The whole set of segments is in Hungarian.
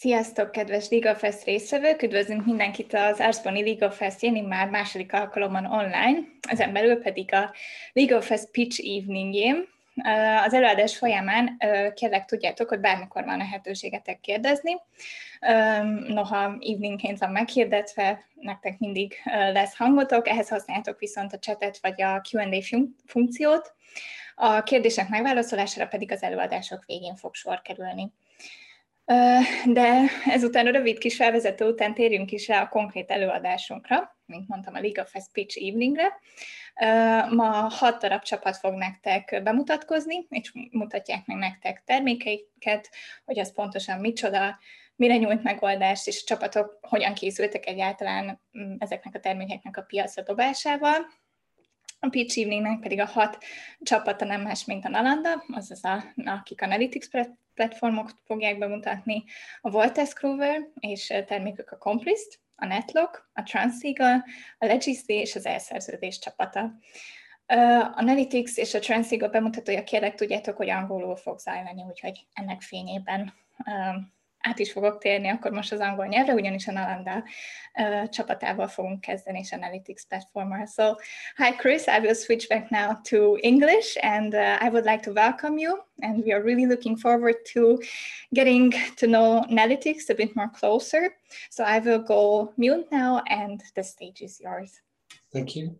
Sziasztok, kedves LegalFest résztvevők! Üdvözlünk mindenkit az Arszboni LegalFest-jén, immár második alkalommal online, ezen belül pedig a LegalFest Pitch Evening-jén. Az előadás folyamán kérlek tudjátok, hogy bármikor van lehetőségetek kérdezni. Noha eveningként van meghirdetve, nektek mindig lesz hangotok, ehhez használjátok viszont a chatet vagy a Q&A funkciót. A kérdések megválaszolására pedig az előadások végén fog sor kerülni. De ezután a rövid kis felvezető után térjünk is rá a konkrét előadásunkra, mint mondtam, a LegalFest Pitch Eveningre. Ma 6 darab csapat fog nektek bemutatkozni, és mutatják meg nektek termékeiket, hogy az pontosan micsoda, mire nyújt megoldást, és a csapatok hogyan készültek egyáltalán ezeknek a termékeknek a piacra dobásával. A Pitch Eveningnek pedig a 6 csapata nem más, mint a Nalanda, azaz akik Analytics platformot fogják bemutatni, a Wolters Kluwer és termékük a Complist, a Netlock, a Transeagle, a Legacy és az elszerződés csapata. Analytics és a Transeagle bemutatója kérlek tudjátok, hogy angolul fog zajlani, úgyhogy ennek fényében át is fogok térni akkor most az angol nyelvre, ugyanis a Nalanda csapatával fogunk kezdeni, és Analytics platformmal. So, hi Chris, I will switch back now to English, and I would like to welcome you, and we are really looking forward to getting to know Analytics a bit more closer. So I will go mute now, and the stage is yours. Thank you.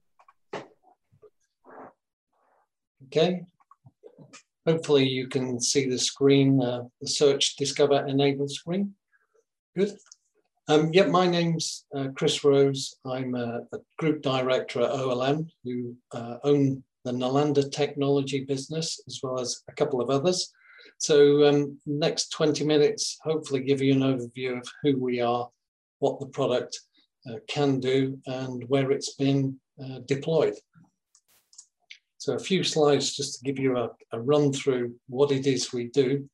Okay. Hopefully you can see the screen, the search, discover, enable screen. Good. My name's Chris Rose. I'm a group director at OLM who own the Nalanda technology business as well as a couple of others. So next 20 minutes, hopefully give you an overview of who we are, what the product can do and where it's been deployed. So a few slides just to give you a run through what it is we do.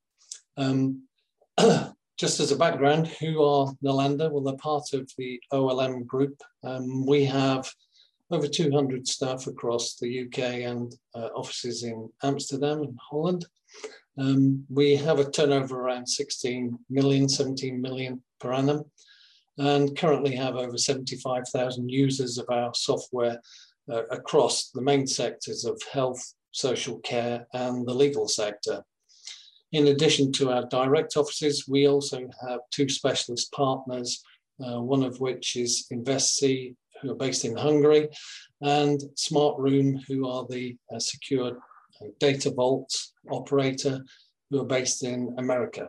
Just as a background, who are Nalanda? Well, they're part of the OLM group. We have over 200 staff across the UK and offices in Amsterdam and Holland. We have a turnover around 16 million, 17 million per annum, and currently have over 75,000 users of our software across the main sectors of health, social care, and the legal sector. In addition to our direct offices, we also have 2 specialist partners, one of which is InvestC, who are based in Hungary, and SmartRoom, who are the secure data vault operator, who are based in America.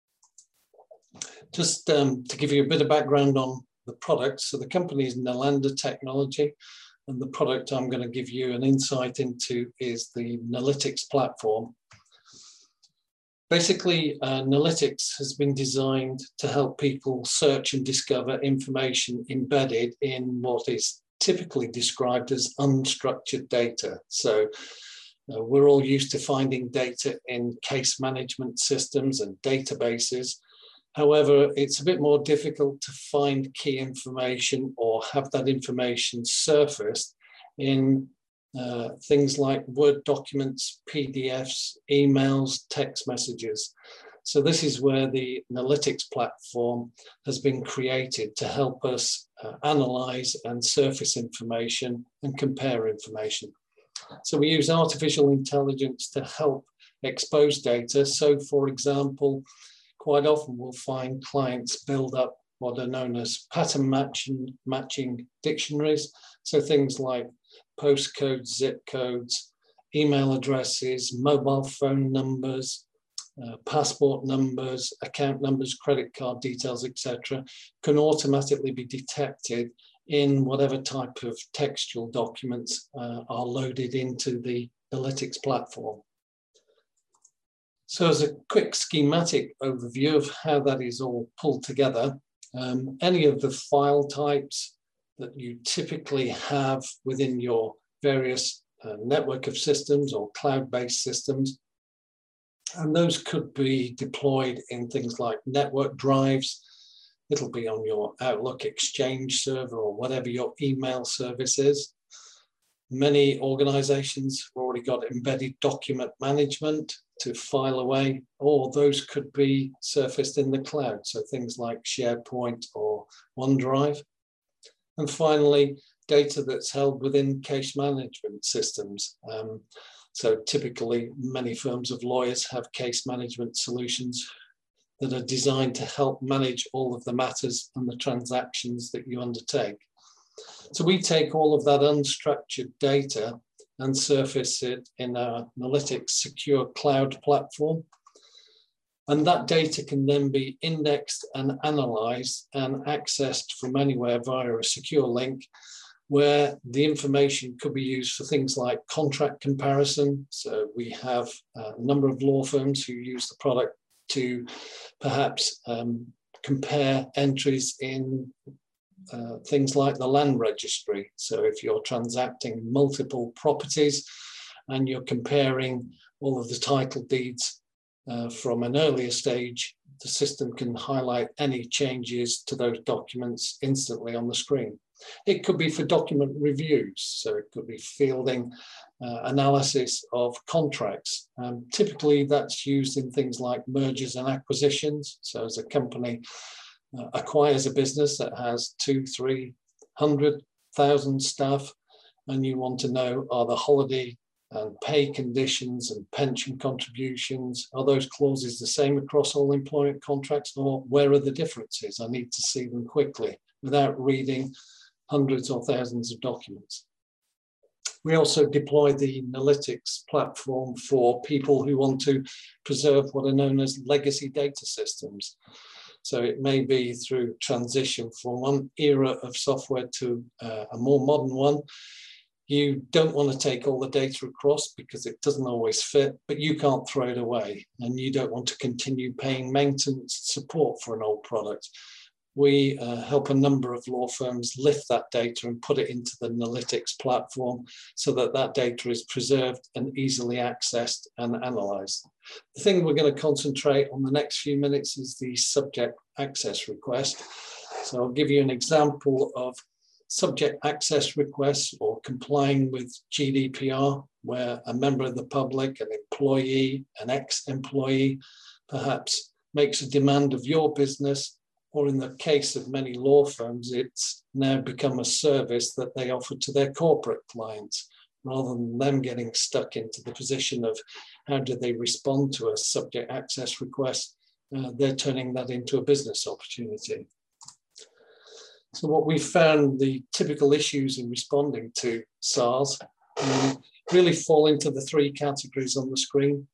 Just to give you a bit of background on the product, so the company is Nalanda Technology, and the product I'm going to give you an insight into is the Nalytics platform. Basically, Nalytics has been designed to help people search and discover information embedded in what is typically described as unstructured data. So we're all used to finding data in case management systems and databases. However, it's a bit more difficult to find key information or have that information surfaced in things like Word documents, PDFs, emails, text messages. So this is where the Nalytics platform has been created to help us analyze and surface information and compare information. So we use artificial intelligence to help expose data. So for example, quite often we'll find clients build up what are known as pattern matching dictionaries. So things like postcodes, zip codes, email addresses, mobile phone numbers, passport numbers, account numbers, credit card details, etc., can automatically be detected in whatever type of textual documents are loaded into the Nalytics platform. So as a quick schematic overview of how that is all pulled together, any of the file types that you typically have within your various network of systems or cloud-based systems, and those could be deployed in things like network drives. It'll be on your Outlook Exchange server or whatever your email service is. Many organizations have already got embedded document management to file away, or those could be surfaced in the cloud, so things like SharePoint or OneDrive. And finally, data that's held within case management systems. So typically, many firms of lawyers have case management solutions that are designed to help manage all of the matters and the transactions that you undertake. So we take all of that unstructured data and surface it in our Nalytics secure cloud platform. And that data can then be indexed and analyzed and accessed from anywhere via a secure link, where the information could be used for things like contract comparison. So we have a number of law firms who use the product to perhaps compare entries in things like the land registry. So if you're transacting multiple properties and you're comparing all of the title deeds from an earlier stage, the system can highlight any changes to those documents instantly on the screen. It could be for document reviews, so it could be fielding analysis of contracts. Typically that's used in things like mergers and acquisitions. So as a company acquires a business that has 200,000-300,000 staff, and you want to know, are the holiday and pay conditions and pension contributions, are those clauses the same across all employment contracts, or where are the differences? I need to see them quickly without reading hundreds or thousands of documents. We also deploy the Nalytics platform for people who want to preserve what are known as legacy data systems. So it may be through transition from one era of software to a more modern one. You don't want to take all the data across because it doesn't always fit, but you can't throw it away, and you don't want to continue paying maintenance support for an old product. We help a number of law firms lift that data and put it into the Nalytics platform so that that data is preserved and easily accessed and analyzed. The thing we're going to concentrate on the next few minutes is the subject access request. So I'll give you an example of subject access requests or complying with GDPR, where a member of the public, an employee, an ex-employee, perhaps makes a demand of your business, or in the case of many law firms, it's now become a service that they offer to their corporate clients, rather than them getting stuck into the position of how do they respond to a subject access request. They're turning that into a business opportunity. So what we found, the typical issues in responding to SARS really fall into the three categories on the screen.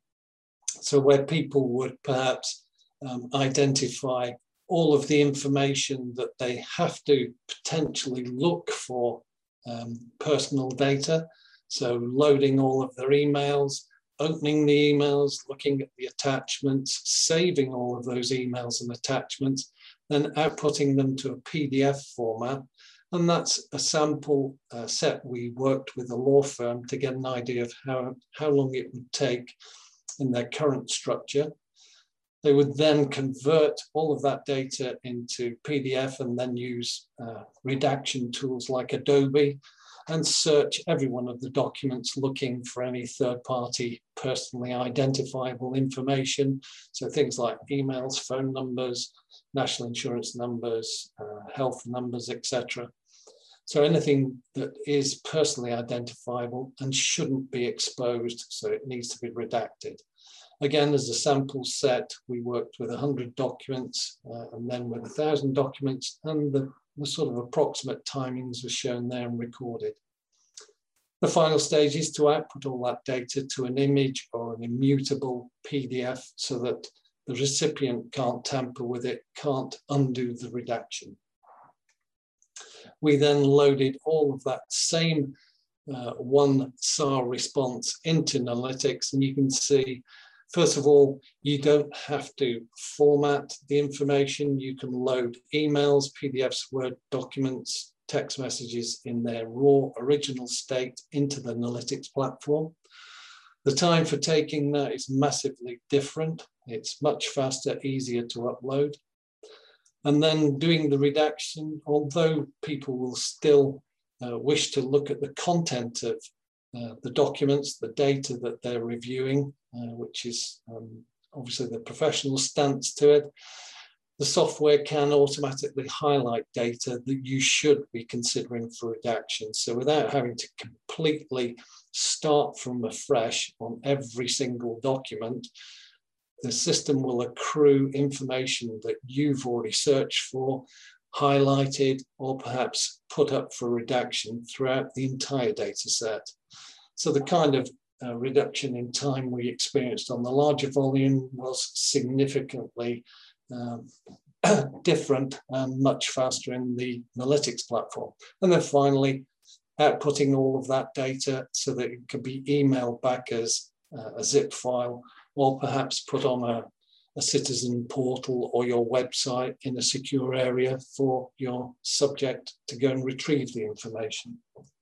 So where people would perhaps identify all of the information that they have to potentially look for personal data. So loading all of their emails, opening the emails, looking at the attachments, saving all of those emails and attachments, then outputting them to a PDF format. And that's a sample set we worked with a law firm to get an idea of how long it would take in their current structure. They would then convert all of that data into PDF and then use redaction tools like Adobe and search every one of the documents looking for any third-party personally identifiable information. So things like emails, phone numbers, national insurance numbers, health numbers, etc. So anything that is personally identifiable and shouldn't be exposed, so it needs to be redacted. Again, as a sample set, we worked with 100 documents and then with 1,000 documents, and the sort of approximate timings were shown there and recorded. The final stage is to output all that data to an image or an immutable PDF so that the recipient can't tamper with it, can't undo the redaction. We then loaded all of that same one SAR response into Nalytics, and you can see, first of all, you don't have to format the information. You can load emails, PDFs, Word documents, text messages in their raw original state into the Nalytics platform. The time for taking that is massively different. It's much faster, easier to upload. And then doing the redaction, although people will still wish to look at the content of the documents, the data that they're reviewing, which is obviously the professional stance to it, the software can automatically highlight data that you should be considering for redaction. So without having to completely start from afresh on every single document, the system will accrue information that you've already searched for, highlighted, or perhaps put up for redaction throughout the entire data set. So the kind of reduction in time we experienced on the larger volume was significantly different and much faster in the Nalytics platform. And then finally, outputting all of that data so that it could be emailed back as a zip file, or perhaps put on a citizen portal or your website in a secure area for your subject to go and retrieve the information.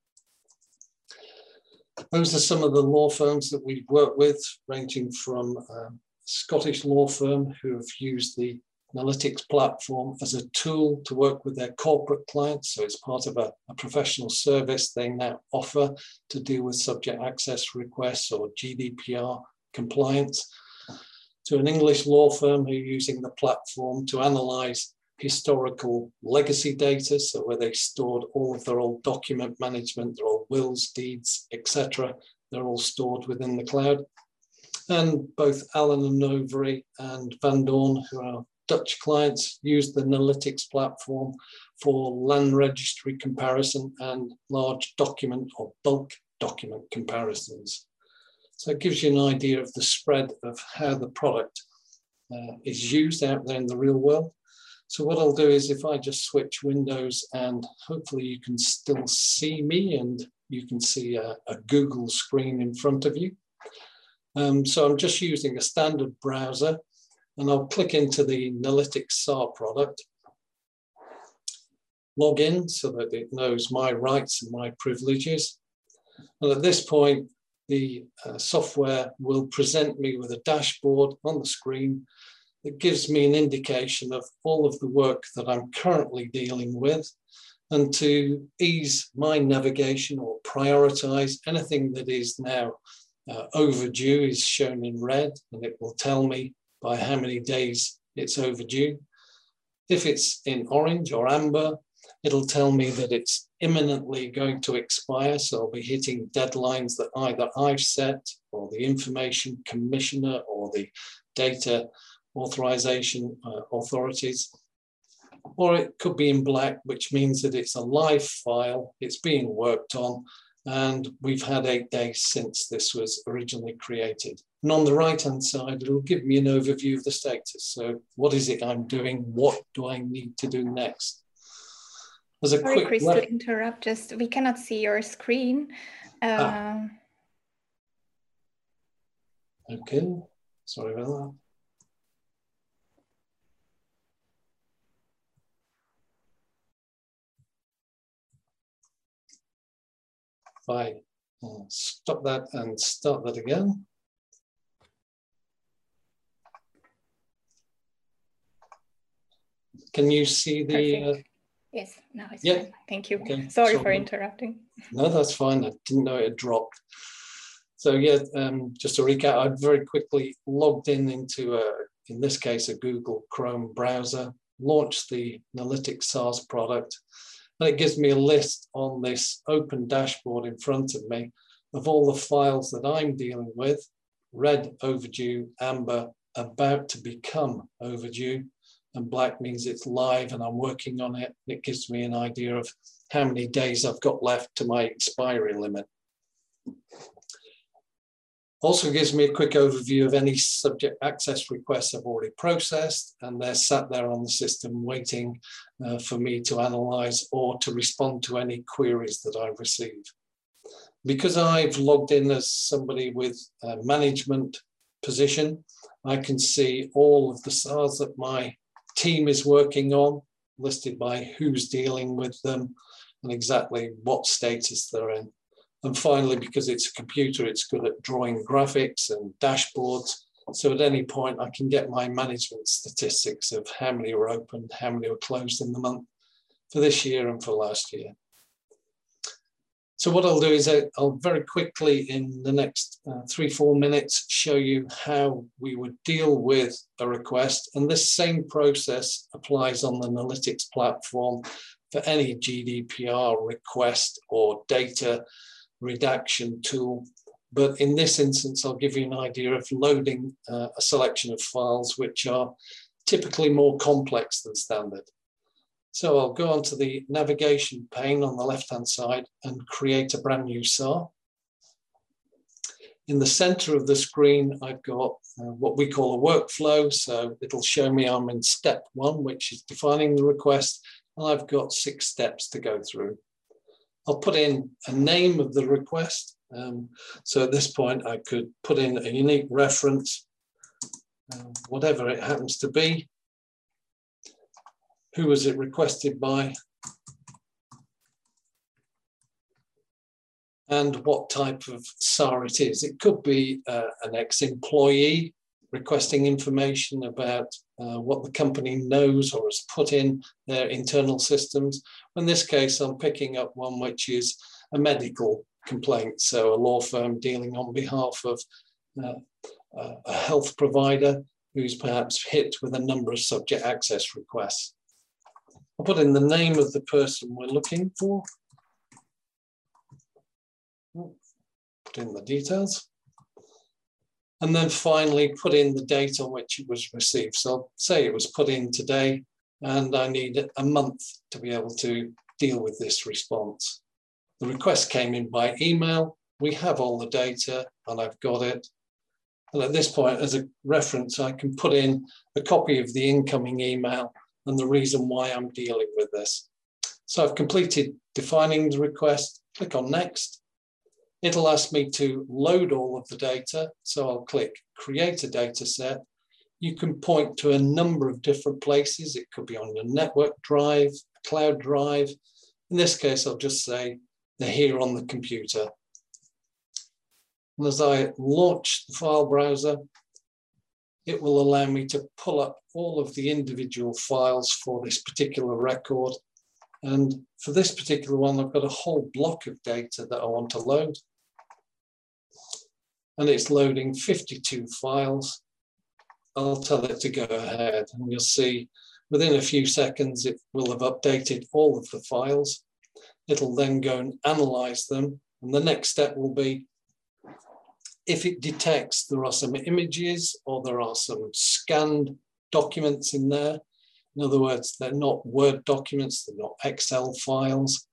Those are some of the law firms that we've worked with, ranging from a Scottish law firm who have used the Nalytics platform as a tool to work with their corporate clients. So it's part of a professional service they now offer to deal with subject access requests or GDPR compliance, to an English law firm who are using the platform to analyze historical legacy data, so where they stored all of their old document management, their old wills, deeds, etc. They're all stored within the cloud. And both Allen and Overy and Van Doorn, who are Dutch clients, use the Nalytics platform for land registry comparison and large document or bulk document comparisons. So it gives you an idea of the spread of how the product is used out there in the real world. So what I'll do is, if I just switch windows, and hopefully you can still see me and you can see a Google screen in front of you. So I'm just using a standard browser, and I'll click into the Nalytics SAR product, log in so that it knows my rights and my privileges. And at this point, the software will present me with a dashboard on the screen that gives me an indication of all of the work that I'm currently dealing with, and to ease my navigation or prioritize anything that is now overdue is shown in red, and it will tell me by how many days it's overdue. If it's in orange or amber, it'll tell me that it's imminently going to expire. So I'll be hitting deadlines that either I've set, or the information commissioner, or the data authorization authorities. Or it could be in black, which means that it's a live file, it's being worked on, and we've had 8 days since this was originally created. And on the right-hand side, it'll give me an overview of the status. So what is it I'm doing? What do I need to do next? As a Sorry, quick Chris, to interrupt, just we cannot see your screen. Okay, sorry about that. If I stop that and start that again. Can you see the... Yes, now it's yeah. fine. Thank you. Okay. Sorry for interrupting. No, that's fine. I didn't know it had dropped. So yeah, just to recap, I very quickly logged into, in this case, a Google Chrome browser, launched the Nalytics SARS product, and it gives me a list on this open dashboard in front of me of all the files that I'm dealing with: red, overdue; amber, about to become overdue; and black means it's live and I'm working on it. It gives me an idea of how many days I've got left to my expiry limit. Also gives me a quick overview of any subject access requests I've already processed, and they're sat there on the system waiting for me to analyze or to respond to any queries that I receive. Because I've logged in as somebody with a management position, I can see all of the SARs that my team is working on, listed by who's dealing with them and exactly what status they're in. And finally, because it's a computer, it's good at drawing graphics and dashboards. So at any point, I can get my management statistics of how many were opened, how many were closed in the month for this year and for last year. So what I'll do is I'll very quickly in the next 3-4 minutes show you how we would deal with a request. And this same process applies on the Nalytics platform for any GDPR request or data redaction tool. But in this instance, I'll give you an idea of loading a selection of files which are typically more complex than standard. So I'll go onto the navigation pane on the left-hand side and create a brand new SAR. In the center of the screen, I've got what we call a workflow. So it'll show me I'm in step 1, which is defining the request. And I've got 6 steps to go through. I'll put in a name of the request. So at this point, I could put in a unique reference, whatever it happens to be. Who was it requested by? And what type of SAR it is. It could be an ex-employee requesting information about what the company knows or has put in their internal systems. In this case, I'm picking up one which is a medical complaint. So a law firm dealing on behalf of a health provider who's perhaps hit with a number of subject access requests. I'll put in the name of the person we're looking for. Put in the details. And then finally put in the date on which it was received. So I'll say it was put in today and I need a month to be able to deal with this response. The request came in by email. We have all the data and I've got it. And at this point, as a reference, I can put in a copy of the incoming email and the reason why I'm dealing with this. So I've completed defining the request, click on next. It'll ask me to load all of the data. So I'll click create a data set. You can point to a number of different places. It could be on your network drive, cloud drive. In this case, I'll just say they're here on the computer. And as I launch the file browser, it will allow me to pull up all of the individual files for this particular record. And for this particular one, I've got a whole block of data that I want to load. And it's loading 52 files. I'll tell it to go ahead. And you'll see within a few seconds, it will have updated all of the files. It'll then go and analyze them. And the next step will be, if it detects there are some images or there are some scanned documents in there, in other words, they're not Word documents, they're not Excel files,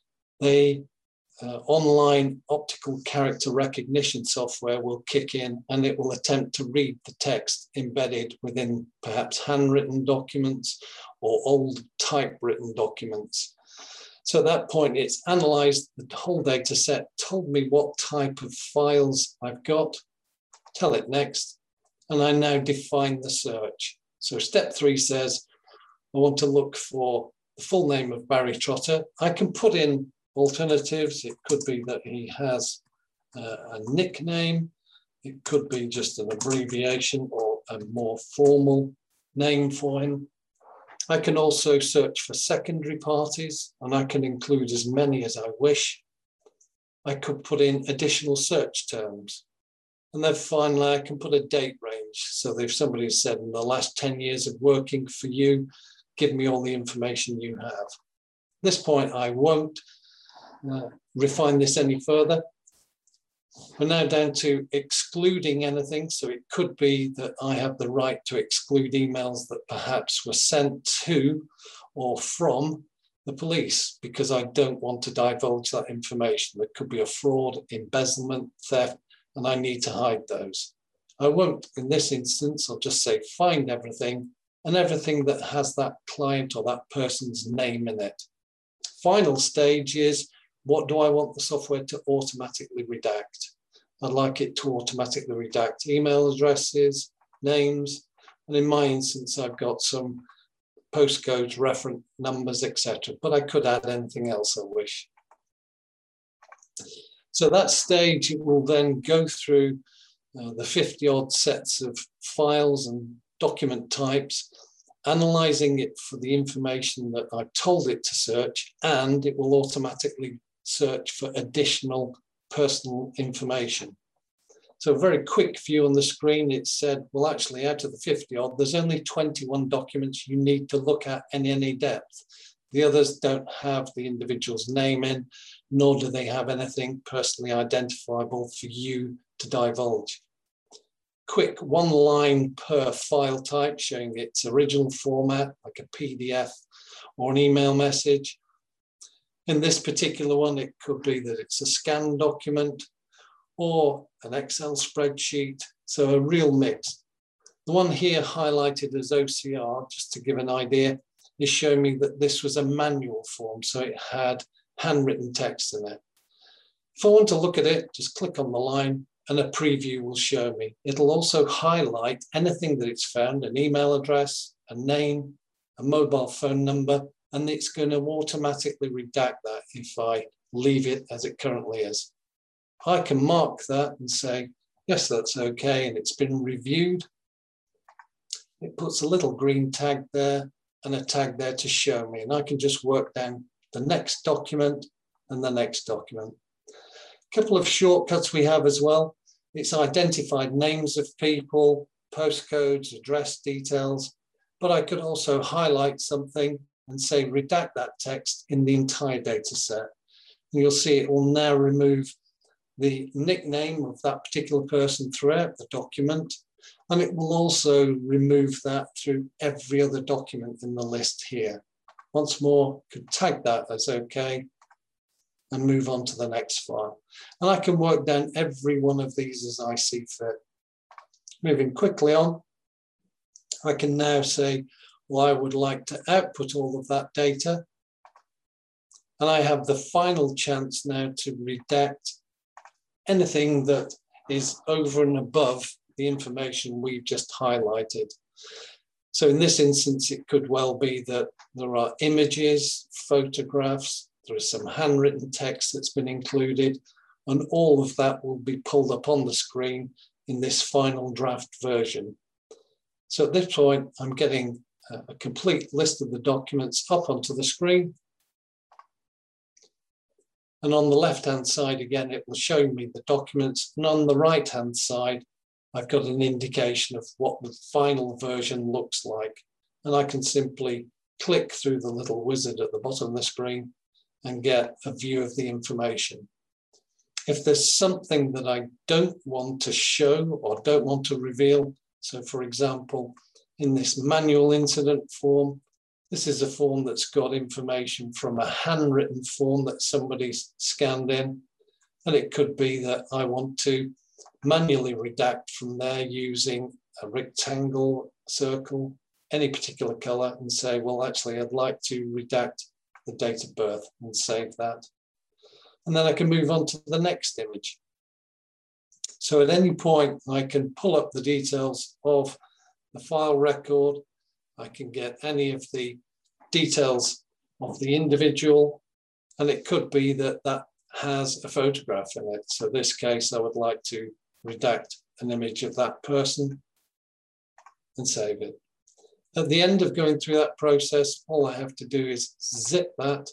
online optical character recognition software will kick in and it will attempt to read the text embedded within perhaps handwritten documents or old typewritten documents. So at that point, it's analyzed the whole data set, told me what type of files I've got, tell it next, and I now define the search. So step 3 says, I want to look for the full name of Barry Trotter. I can put in alternatives. It could be that he has a nickname. It could be just an abbreviation or a more formal name for him. I can also search for secondary parties, and I can include as many as I wish. I could put in additional search terms. And then finally, I can put a date range. So if somebody has said in the last 10 years of working for you, give me all the information you have. At this point, I won't refine this any further. We're now down to excluding anything. So it could be that I have the right to exclude emails that perhaps were sent to or from the police because I don't want to divulge that information. There could be a fraud, embezzlement, theft, and I need to hide those. I won't in this instance. I'll just say find everything and everything that has that client or that person's name in it. Final stage is, what do I want the software to automatically redact? I'd like it to automatically redact email addresses, names, and in my instance, I've got some postcodes, reference numbers, etc. But I could add anything else I wish. So that stage, it will then go through the 50-odd sets of files and document types, analyzing it for the information that I've told it to search, and it will automatically search for additional personal information. So a very quick view on the screen, it said, well, actually out of the 50 odd, there's only 21 documents you need to look at in any depth. The others don't have the individual's name in, nor do they have anything personally identifiable for you to divulge. Quick one line per file type showing its original format, like a PDF or an email message. In this particular one, it could be that it's a scanned document or an Excel spreadsheet, so a real mix. The one here highlighted as OCR, just to give an idea, is showing me that this was a manual form, so it had handwritten text in it. If I want to look at it, just click on the line and a preview will show me. It'll also highlight anything that it's found, an email address, a name, a mobile phone number, and it's going to automatically redact that if I leave it as it currently is. I can mark that and say, yes, that's okay, and it's been reviewed. It puts a little green tag there and a tag there to show me, and I can just work down the next document and the next document. A couple of shortcuts we have as well. It's identified names of people, postcodes, address details, but I could also highlight something and say redact that text in the entire data set. And you'll see it will now remove the nickname of that particular person throughout the document, and it will also remove that through every other document in the list here. Once more, could tag that as okay and move on to the next file. And I can work down every one of these as I see fit. Moving quickly on, I can now say, well, I would like to output all of that data. And I have the final chance now to redact anything that is over and above the information we've just highlighted. So in this instance, it could well be that there are images, photographs, there is some handwritten text that's been included, and all of that will be pulled up on the screen in this final draft version. So at this point, I'm getting a complete list of the documents up onto the screen. And on the left-hand side, again, it will show me the documents. And on the right-hand side, I've got an indication of what the final version looks like. And I can simply click through the little wizard at the bottom of the screen and get a view of the information. If there's something that I don't want to show or don't want to reveal, so for example, in this manual incident form, this is a form that's got information from a handwritten form that somebody's scanned in. And it could be that I want to manually redact from there using a rectangle, circle, any particular color, and say, well, actually, I'd like to redact the date of birth and save that. And then I can move on to the next image. So at any point, I can pull up the details of the file record. I can get any of the details of the individual, and it could be that that has a photograph in it. So in this case, I would like to redact an image of that person and save it. At the end of going through that process, all I have to do is zip that,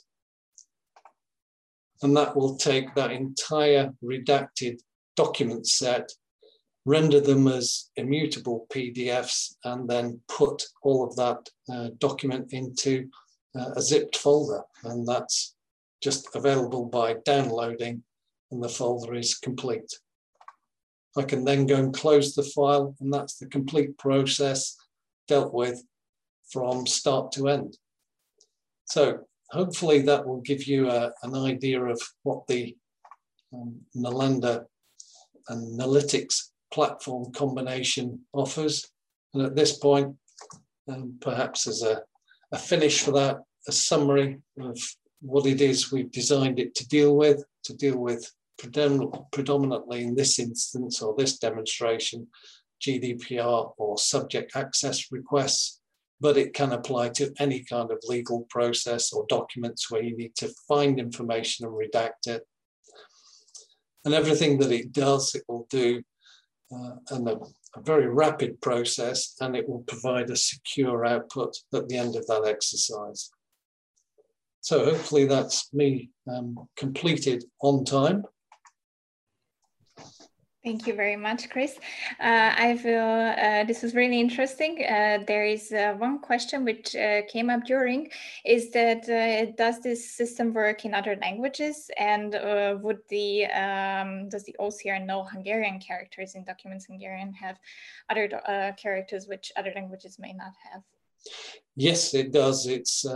and that will take that entire redacted document set, render them as immutable PDFs, and then put all of that document into a zipped folder. And that's just available by downloading, and the folder is complete. I can then go and close the file, and that's the complete process dealt with from start to end. So hopefully that will give you an idea of what the Nalanda and Nalytics platform combination offers. And at this point, perhaps as a finish for that, a summary of what it is we've designed it to deal with predominantly in this instance or this demonstration, GDPR or subject access requests, but it can apply to any kind of legal process or documents where you need to find information and redact it. And everything that it does, it will do in a very rapid process, and it will provide a secure output at the end of that exercise. So hopefully that's me completed on time. Thank you very much, Chris. I feel this was really interesting. There is one question which came up during, is that does this system work in other languages, and does the OCR know Hungarian characters in documents? Hungarian have other characters which other languages may not have? Yes, it does.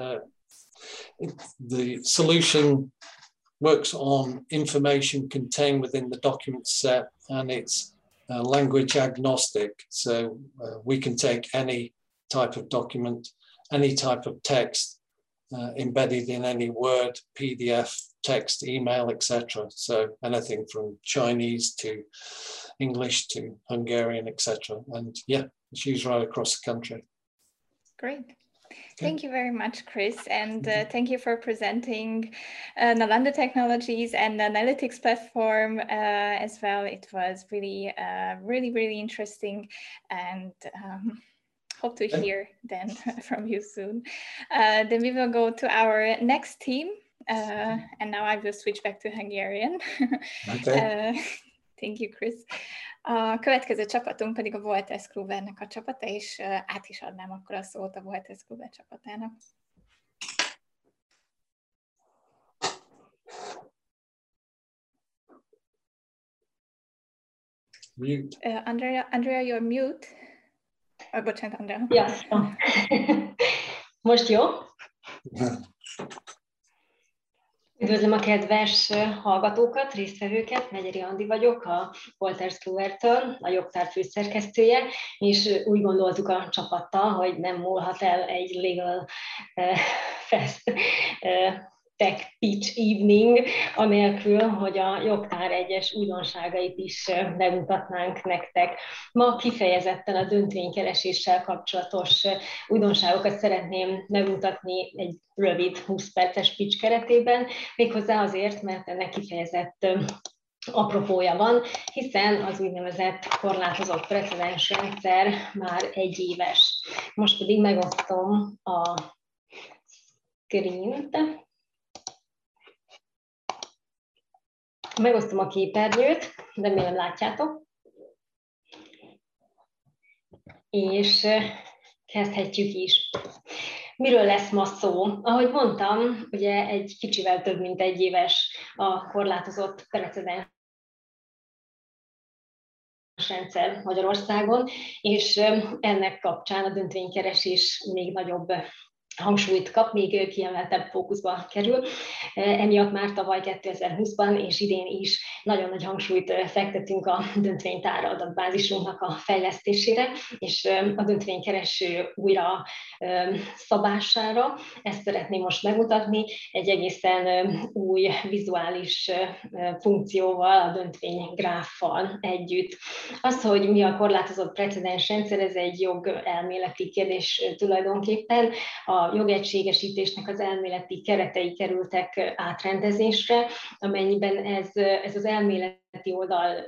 The solution works on information contained within the document set, and it's language agnostic. So we can take any type of document, any type of text embedded in any Word, PDF, text, email, etc. So anything from Chinese to English to Hungarian, etc. And yeah, it's used right across the country. Great. Thank you very much, Chris, and thank you for presenting Nalanda Technologies and the analytics platform as well. It was really, really interesting, and hope to hear then from you soon. Then we will go to our next team, and now I will switch back to Hungarian. Okay. Thank you, Chris. A következő csapatunk pedig a Voltes Kluwernek a csapata, és át is adnám akkor a szót a Voltes Kluwer csapatának. Mute. Andrea, you're mute. Bocsánat, Andrea. Ja. Most jó? Üdvözlöm a kedves hallgatókat, résztvevőket, Megyeri Andi vagyok, a Wolters Kluwertől, a jogtár főszerkesztője, és úgy gondoltuk a csapattal, hogy nem múlhat el egy Legal Fest Tech Pitch Evening, anélkül, hogy a jogtár egyes újdonságait is bemutatnánk nektek. Ma kifejezetten a döntvénykereséssel kapcsolatos újdonságokat szeretném bemutatni egy rövid 20 perces pitch keretében, méghozzá azért, mert ennek kifejezett apropója van, hiszen az úgynevezett korlátozott precedensrendszer már 1 éves. Most pedig megosztom a screen-t. Megosztom a képernyőt, remélem látjátok. És kezdhetjük is. Miről lesz ma szó? Ahogy mondtam, ugye egy kicsivel több mint 1 éves a korlátozott precedens rendszer Magyarországon, és ennek kapcsán a döntvénykeresés még nagyobb hangsúlyt kap, még kiemeltebb fókuszba kerül. Emiatt már tavaly 2020-ban és idén is nagyon nagy hangsúlyt fektetünk a döntvénytár adatbázisunknak a fejlesztésére, és a döntvénykereső újra szabására. Ezt szeretném most megmutatni egy egészen új vizuális funkcióval, a döntvénygráffal együtt. Az, hogy mi a korlátozott precedens rendszer, ez egy jogelméleti kérdés tulajdonképpen. A jogegységesítésnek az elméleti keretei kerültek átrendezésre, amennyiben ez az elméleti oldal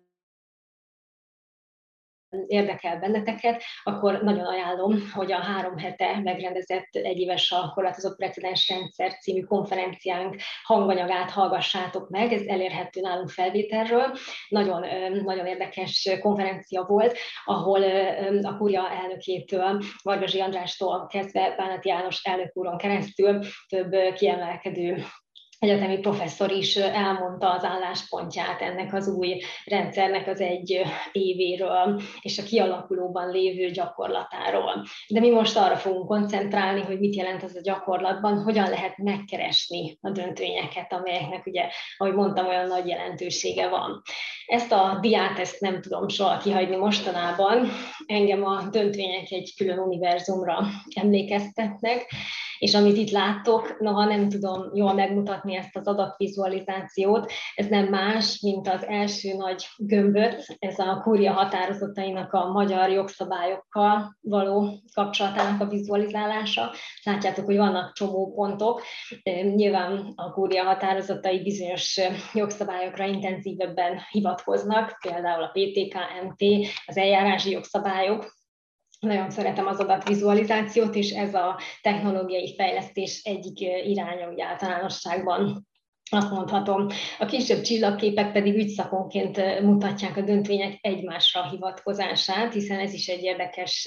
érdekel benneteket, akkor nagyon ajánlom, hogy a 3 hete megrendezett egyéves a korlátozott precedens rendszer című konferenciánk hanganyagát hallgassátok meg, ez elérhető nálunk felvételről. Nagyon, nagyon érdekes konferencia volt, ahol a Kúria elnökétől, Vargasi Andrástól kezdve Bánati János elnök úron keresztül több kiemelkedő egyetemi professzor is elmondta az álláspontját ennek az új rendszernek az 1 évéről és a kialakulóban lévő gyakorlatáról. De mi most arra fogunk koncentrálni, hogy mit jelent az a gyakorlatban, hogyan lehet megkeresni a döntvényeket, amelyeknek ugye, ahogy mondtam, olyan nagy jelentősége van. Ezt a diát, ezt nem tudom soha kihagyni mostanában. Engem a döntvények egy külön univerzumra emlékeztetnek, és amit itt láttok, noha nem tudom jól megmutatni ezt az adatvizualizációt, ez nem más, mint az első nagy gömböt, ez a Kúria határozatainak a magyar jogszabályokkal való kapcsolatának a vizualizálása. Látjátok, hogy vannak csomó pontok, nyilván a Kúria határozatai bizonyos jogszabályokra intenzívebben hivatkoznak, például a PTK, MT, az eljárási jogszabályok, nagyon szeretem az adatvizualizációt, és ez a technológiai fejlesztés egyik iránya úgy általánosságban. Azt mondhatom, a kisebb csillagképek pedig ügyszakonként mutatják a döntvények egymásra hivatkozását, hiszen ez is egy érdekes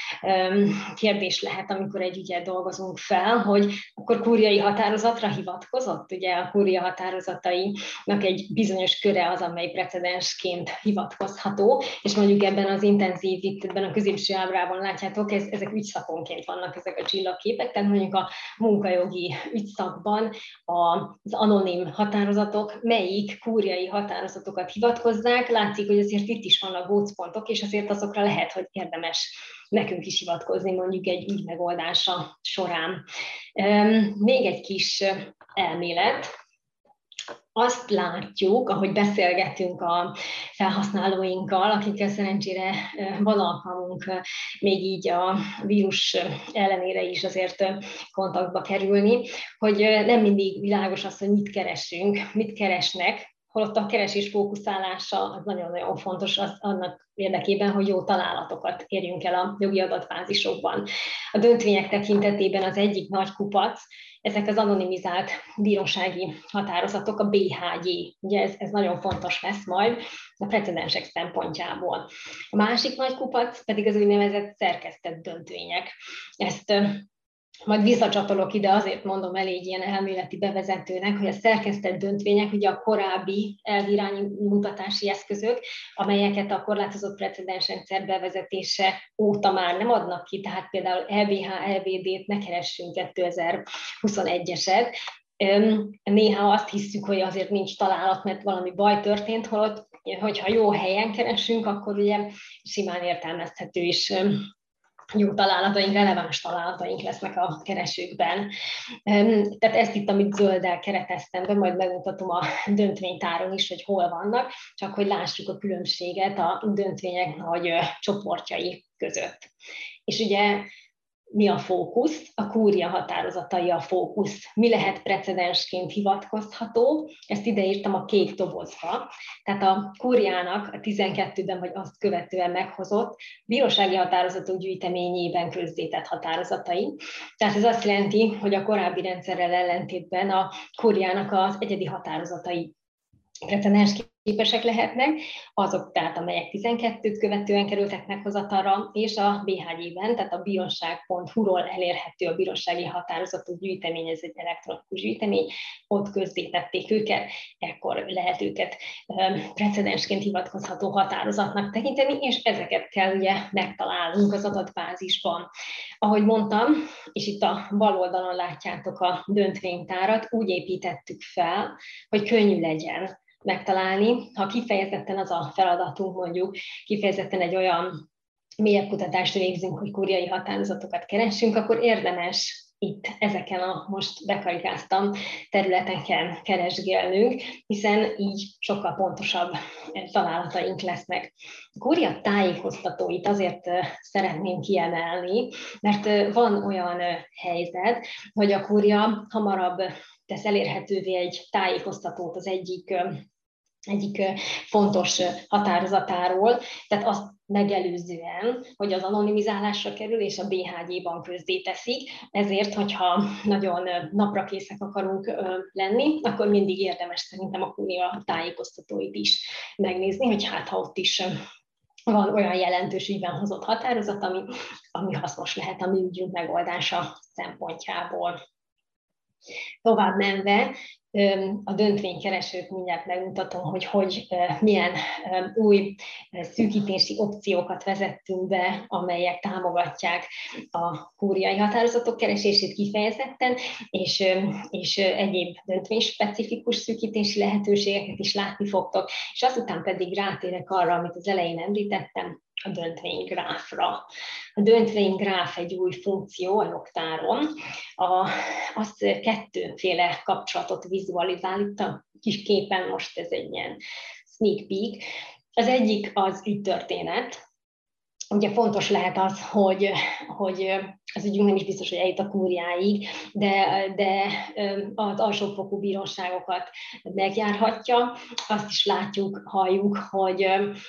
kérdés lehet, amikor egy ügyet dolgozunk fel, hogy akkor kúriai határozatra hivatkozott. Ugye a kúria határozatainak egy bizonyos köre az, amely precedensként hivatkozható, és mondjuk ebben az intenzív, itt ebben a középső ábrában látjátok, ezek ügyszakonként vannak ezek a csillagképek, tehát mondjuk a munkajogi ügyszakban az anonim határozatok melyik kúriai határozatokat hivatkozzák. Látszik, hogy azért itt is vannak gócpontok, és azért azokra lehet, hogy érdemes nekünk is hivatkozni mondjuk egy ügy megoldása során. Még egy kis elmélet. Azt látjuk, ahogy beszélgetünk a felhasználóinkkal, akikkel szerencsére van alkalmunk még így a vírus ellenére is azért kontaktba kerülni, hogy nem mindig világos az, hogy mit keresünk, mit keresnek, holott a keresés fókuszálása az nagyon-nagyon fontos annak érdekében, hogy jó találatokat érjünk el a jogi adatbázisokban. A döntvények tekintetében az egyik nagy kupac, ezek az anonimizált bírósági határozatok, a BHG. Ugye ez nagyon fontos lesz majd a precedensek szempontjából. A másik nagy kupac pedig az úgynevezett szerkesztett döntvények. Ezt majd visszacsatolok ide, azért mondom elég ilyen elméleti bevezetőnek, hogy a szerkesztett döntvények ugye a korábbi elviránymutatási eszközök, amelyeket a korlátozott precedensrendszer bevezetése óta már nem adnak ki, tehát például LBH, LBD-t ne keressünk 2021-eset. Néha azt hiszük, hogy azért nincs találat, mert valami baj történt, holott, hogyha jó helyen keresünk, akkor ugye simán értelmezhető is jó találataink, releváns találataink lesznek a keresőkben. Tehát ezt itt, amit zölddel kereteztem be, majd megmutatom a döntvénytáron is, hogy hol vannak, csak hogy lássuk a különbséget a döntvények nagy csoportjai között. És ugye mi a fókusz? A kúria határozatai a fókusz. Mi lehet precedensként hivatkozható? Ezt ideírtam a kék dobozba. Tehát a kúriának a 12-ben vagy azt követően meghozott bírósági határozatok gyűjteményében közzétett határozatai. Tehát ez azt jelenti, hogy a korábbi rendszerrel ellentétben a kúriának az egyedi határozatai precedens képesek lehetnek, azok tehát, amelyek 12-t követően kerültek meghozatalra, és a BHG-ben, tehát a bíróság.hu-ról elérhető a bírósági határozatok gyűjtemény, ez egy elektronikus gyűjtemény, ott közzétették őket, ekkor lehet őket precedensként hivatkozható határozatnak tekinteni, és ezeket kell ugye megtalálnunk az adatbázisban. Ahogy mondtam, és itt a bal oldalon látjátok a döntvénytárat, úgy építettük fel, hogy könnyű legyen megtalálni. Ha kifejezetten az a feladatunk, mondjuk kifejezetten egy olyan mélyebb kutatást végzünk, hogy kúriai határozatokat keressünk, akkor érdemes itt ezeken a most bekarikáztam területeken keresgélnünk, hiszen így sokkal pontosabb találataink lesznek. A kúria tájékoztatóit azért szeretném kiemelni, mert van olyan helyzet, hogy a kúria hamarabb tesz elérhetővé egy tájékoztatót az egyik fontos határozatáról, tehát azt megelőzően, hogy az anonimizálásra kerül, és a BHG-ban közzéteszik, ezért, hogyha nagyon naprakészek akarunk lenni, akkor mindig érdemes szerintem a kúria tájékoztatóit is megnézni, hogy hát ha ott is van olyan jelentős ügyben hozott határozat, ami hasznos lehet a mi ügyünk megoldása szempontjából. Tovább menve, a döntvénykeresőt mindjárt megmutatom, hogy milyen új szűkítési opciókat vezettünk be, amelyek támogatják a kúriai határozatok keresését kifejezetten, és egyéb döntvényspecifikus szűkítési lehetőségeket is látni fogtok, és azután pedig rátérek arra, amit az elején említettem, a döntvénygráfra. A döntvénygráf egy új funkció a jogtáron, az kettőféle kapcsolatot vizualizál, itt a kis képen most ez egy ilyen sneak peek. Az egyik az ügytörténet, ugye fontos lehet az, hogy az ügyünk nem is biztos, hogy eljut a kúriáig, de az alsófokú bíróságokat megjárhatja. Azt is látjuk, halljuk, hogy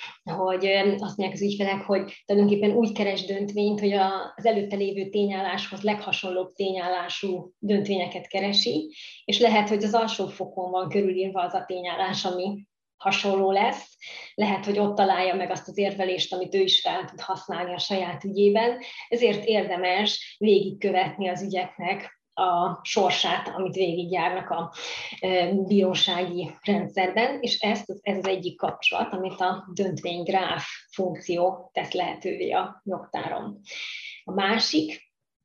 azt mondják az ügyfelek, hogy tulajdonképpen úgy keres döntvényt, hogy az előtte lévő tényálláshoz leghasonlóbb tényállású döntvényeket keresi, és lehet, hogy az alsófokon van körülírva az a tényállás, ami hasonló lesz, lehet, hogy ott találja meg azt az érvelést, amit ő is fel tud használni a saját ügyében, ezért érdemes végigkövetni az ügyeknek a sorsát, amit végigjárnak a bírósági rendszerben, és ez az egyik kapcsolat, amit a döntvénygráf funkció tesz lehetővé a jogtáron. A másik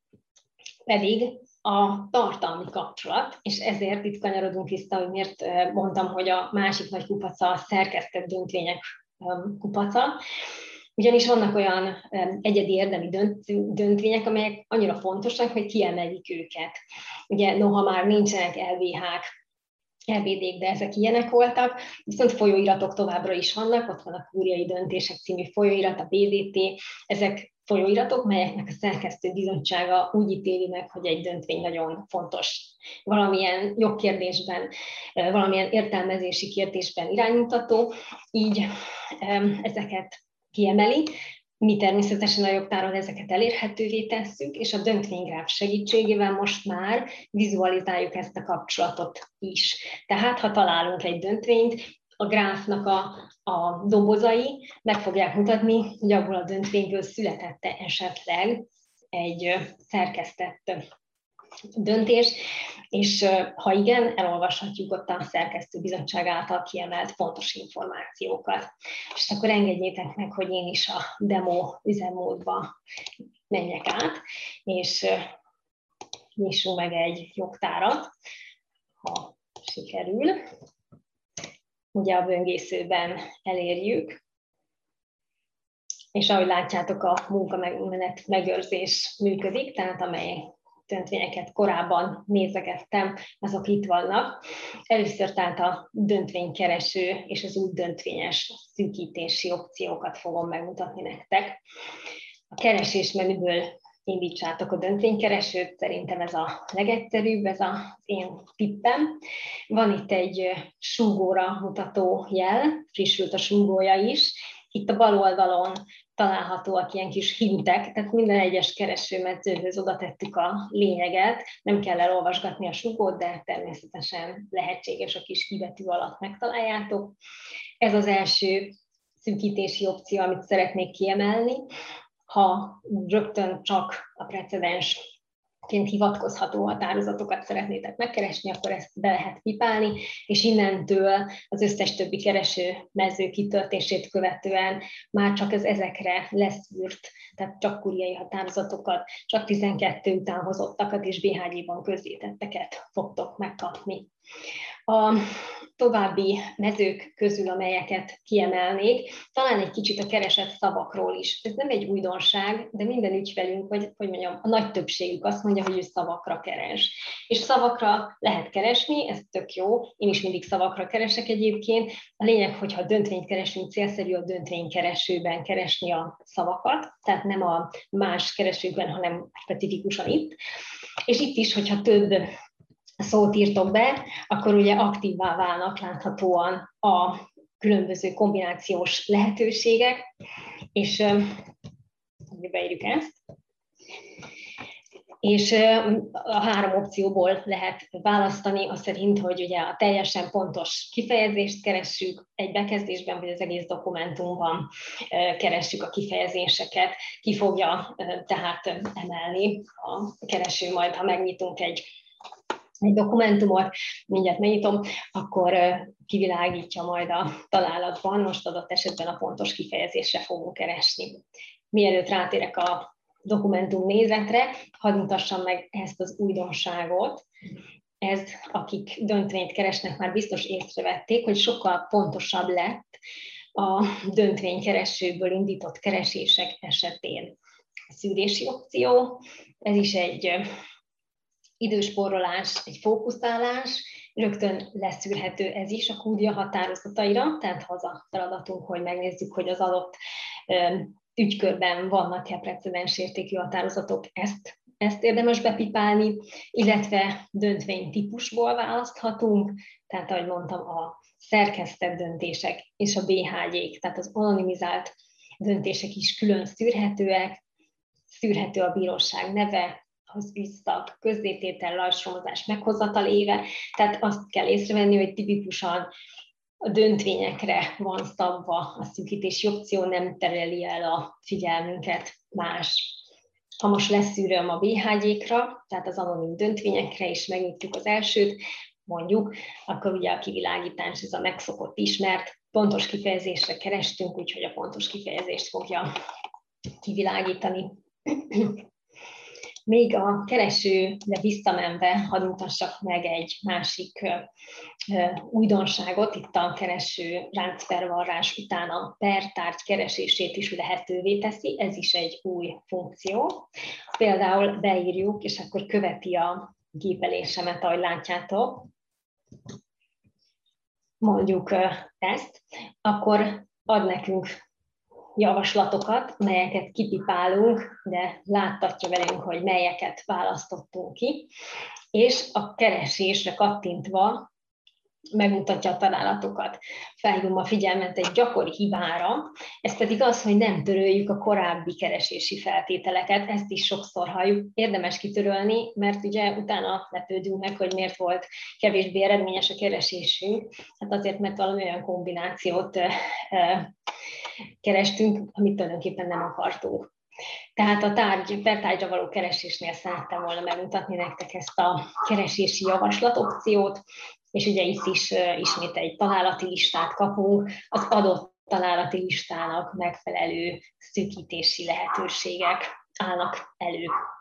pedig a tartalmi kapcsolat, és ezért itt kanyarodunk vissza, hogy miért mondtam, hogy a másik nagy kupaca a szerkesztett döntvények kupaca, ugyanis vannak olyan egyedi érdemi döntvények, amelyek annyira fontosak, hogy kiemelik őket. Ugye noha már nincsenek LVH-k, LBD-k, de ezek ilyenek voltak, viszont folyóiratok továbbra is vannak, ott van a Kúriai Döntések című folyóirat, a BDT, ezek folyóiratok, melyeknek a szerkesztő bizottsága úgy ítéli meg, hogy egy döntvény nagyon fontos valamilyen jogkérdésben, valamilyen értelmezési kérdésben iránymutató, így ezeket kiemeli. Mi természetesen a jogtáron ezeket elérhetővé tesszük, és a döntvénygráf segítségével most már vizualizáljuk ezt a kapcsolatot is. Tehát, ha találunk egy döntvényt, a gráfnak a dobozai meg fogják mutatni, hogy abból a döntvényből születette esetleg egy szerkesztett döntés, és ha igen, elolvashatjuk ott a szerkesztőbizottság által kiemelt fontos információkat. És akkor engedjétek meg, hogy én is a demo üzemmódba menjek át, és nyissunk meg egy jogtárat, ha sikerül. Ugye a böngészőben elérjük, és ahogy látjátok, a munkamenet megőrzés működik, tehát amely döntvényeket korábban nézegettem, azok itt vannak. Először tehát a döntvénykereső és az új döntvényes szűkítési opciókat fogom megmutatni nektek. A keresés menüből indítsátok a döntvénykeresőt, szerintem ez a legegyszerűbb, ez az én tippem. Van itt egy súgóra mutató jel, frissült a súgója is. Itt a bal oldalon találhatóak ilyen kis hintek, tehát minden egyes keresőmedzőhöz oda tettük a lényeget, nem kell elolvasgatni a súgót, de természetesen lehetséges a kis kibetű alatt megtaláljátok. Ez az első szűkítési opció, amit szeretnék kiemelni. Ha rögtön csak a precedensként hivatkozható határozatokat szeretnétek megkeresni, akkor ezt be lehet pipálni, és innentől az összes többi kereső mező kitöltését követően már csak az ezekre leszűrt, tehát csak kúriai határozatokat, csak 12 után hozottakat és BHG-ban közzétetteket fogtok megkapni. A további mezők közül, amelyeket kiemelnék, talán egy kicsit a keresett szavakról is. Ez nem egy újdonság, de minden ügyfelünk, vagy hogy mondjam, a nagy többségük azt mondja, hogy ő szavakra keres. És szavakra lehet keresni, ez tök jó, én is mindig szavakra keresek egyébként. A lényeg, hogyha döntvényt keresünk, célszerű a döntvénykeresőben keresni a szavakat, tehát nem a más keresőkben, hanem specifikusan itt. És itt is, hogyha több szót írtok be, akkor ugye aktívvá válnak láthatóan a különböző kombinációs lehetőségek, és beírjuk ezt. És a 3 opcióból lehet választani, az szerint, hogy ugye a teljesen pontos kifejezést keressük egy bekezdésben, vagy az egész dokumentumban keressük a kifejezéseket, ki fogja tehát emelni a kereső majd, ha megnyitunk egy dokumentumot, mindjárt megnyitom, akkor kivilágítja majd a találatban, most adott esetben a pontos kifejezésre fogunk keresni. Mielőtt rátérek a dokumentum nézetre, hadd mutassam meg ezt az újdonságot. Ez, akik döntvényt keresnek, már biztos észrevették, hogy sokkal pontosabb lett a döntvénykeresőből indított keresések esetén. A szűrési opció, ez is egy időspórolás, egy fókuszálás, rögtön leszűrhető ez is a kúria határozataira, tehát ha az a feladatunk, hogy megnézzük, hogy az adott ügykörben vannak-e precedensértékű határozatok, ezt érdemes bepipálni, illetve döntvénytípusból választhatunk, tehát ahogy mondtam, a szerkesztett döntések és a BHG-k, tehát az anonimizált döntések is külön szűrhetőek, szűrhető a bíróság neve, az ügyszak, közzététel, lassomozás, meghozatal éve, tehát azt kell észrevenni, hogy tipikusan a döntvényekre van szabva a szűkítési opció, nem tereli el a figyelmünket más. Ha most leszűröm a BHG-kra, tehát az anonim döntvényekre, és megnyitjuk az elsőt, mondjuk, akkor ugye a kivilágítás, ez a megszokott ismert, pontos kifejezésre kerestünk, úgyhogy a pontos kifejezést fogja kivilágítani. Még a keresőre visszamenve hadd mutassak meg egy másik újdonságot, itt a kereső ráncpervarrás után a per-tárgy keresését is lehetővé teszi, ez is egy új funkció. Például beírjuk, és akkor követi a gépelésemet, ahogy látjátok, mondjuk ezt, akkor ad nekünk javaslatokat, melyeket kipipálunk, de láttatja velünk, hogy melyeket választottunk ki, és a keresésre kattintva megmutatja a találatokat. Felhívom a figyelmet egy gyakori hibára, ez pedig az, hogy nem töröljük a korábbi keresési feltételeket, ezt is sokszor halljuk, érdemes kitörölni, mert ugye utána lepődünk meg, hogy miért volt kevésbé eredményes a keresésünk, hát azért, mert valami olyan kombinációt kerestünk, amit tulajdonképpen nem akartunk. Tehát a per tárgyra való keresésnél szerettem volna megmutatni nektek ezt a keresési javaslat opciót, és ugye itt is ismét egy találati listát kapunk, az adott találati listának megfelelő szűkítési lehetőségek állnak elő.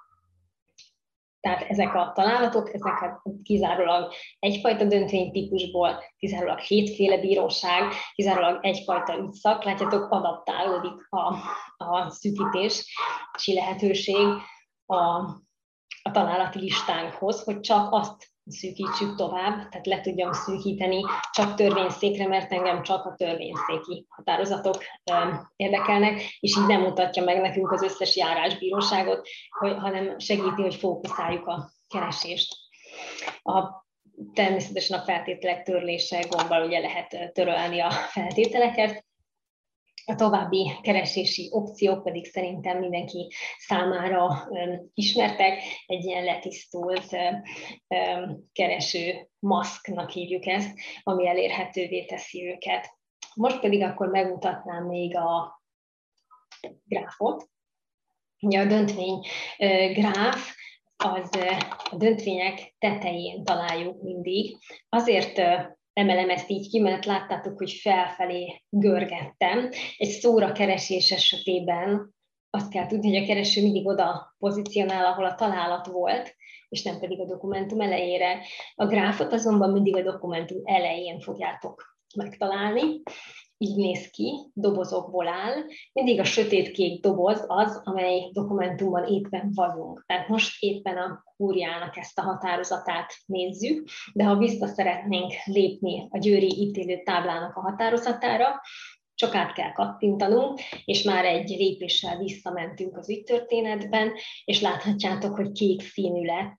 Tehát ezek a találatok, ezek kizárólag egyfajta döntvénytípusból, kizárólag 7 féle bíróság, kizárólag egyfajta ügyszak, látjátok, adaptálódik a szűkítési lehetőség a találati listánkhoz, hogy csak azt szűkítsük tovább, tehát le tudjam szűkíteni csak törvényszékre, mert engem csak a törvényszéki határozatok érdekelnek, és így nem mutatja meg nekünk az összes járásbíróságot, hanem segíti, hogy fókuszáljuk a keresést. Természetesen a feltételek törlése gombbal ugye lehet törölni a feltételeket. A további keresési opciók pedig szerintem mindenki számára ismertek, egy ilyen letisztult kereső maszknak hívjuk ezt, ami elérhetővé teszi őket. Most pedig akkor megmutatnám még a gráfot. Ugye a döntvény gráf, az a döntvények tetején találjuk mindig. Azért emelem ezt így ki, mert láttátok, hogy felfelé görgettem. Egy szóra keresés esetében azt kell tudni, hogy a kereső mindig oda pozícionál, ahol a találat volt, és nem pedig a dokumentum elejére. A gráfot azonban mindig a dokumentum elején fogjátok megtalálni. Így néz ki, dobozokból áll. Mindig a sötétkék doboz az, amely dokumentumban éppen vagyunk. Tehát most éppen a kúriának ezt a határozatát nézzük, de ha vissza szeretnénk lépni a győri ítélő táblának a határozatára, csak át kell kattintanunk, és már egy lépéssel visszamentünk az ügytörténetben, és láthatjátok, hogy kék színű lett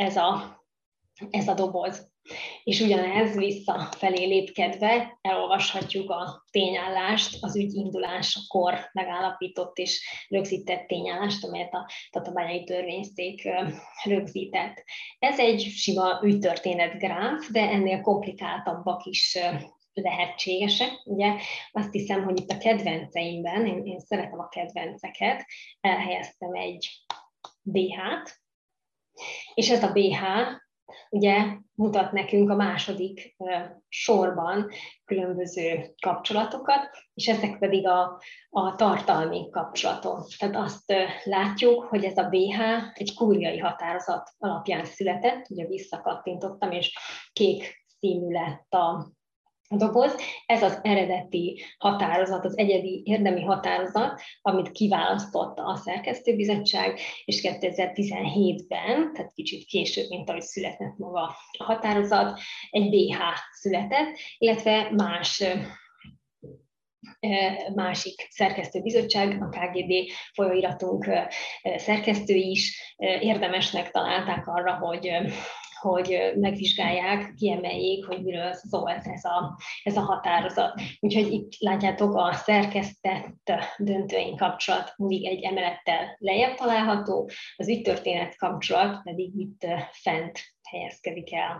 ez a doboz. És ugyanez visszafelé lépkedve elolvashatjuk a tényállást, az ügy indulásakor megállapított és rögzített tényállást, amelyet a tatabányai törvényszék rögzített. Ez egy sima ügytörténet gráf, de ennél komplikáltabbak is lehetségesek. Ugye azt hiszem, hogy itt a kedvenceimben, én szeretem a kedvenceket, elhelyeztem egy BH-t, és ez a BH ugye mutat nekünk a második sorban különböző kapcsolatokat, és ezek pedig a tartalmi kapcsolatok. Tehát azt látjuk, hogy ez a BH egy kúriai határozat alapján született, ugye visszakattintottam, és kék színű lett a doboz. Ez az eredeti határozat, az egyedi érdemi határozat, amit kiválasztotta a szerkesztőbizottság, és 2017-ben, tehát kicsit később, mint ahogy született maga a határozat, egy BH született, illetve más másik szerkesztőbizottság, a KGB folyóiratunk szerkesztői is érdemesnek találták arra, hogy megvizsgálják, kiemeljék, hogy miről szólt ez a határozat. Úgyhogy itt látjátok, a szerkesztett döntőink kapcsolat mindig egy emelettel lejjebb található, az ügytörténet kapcsolat pedig itt fent helyezkedik el.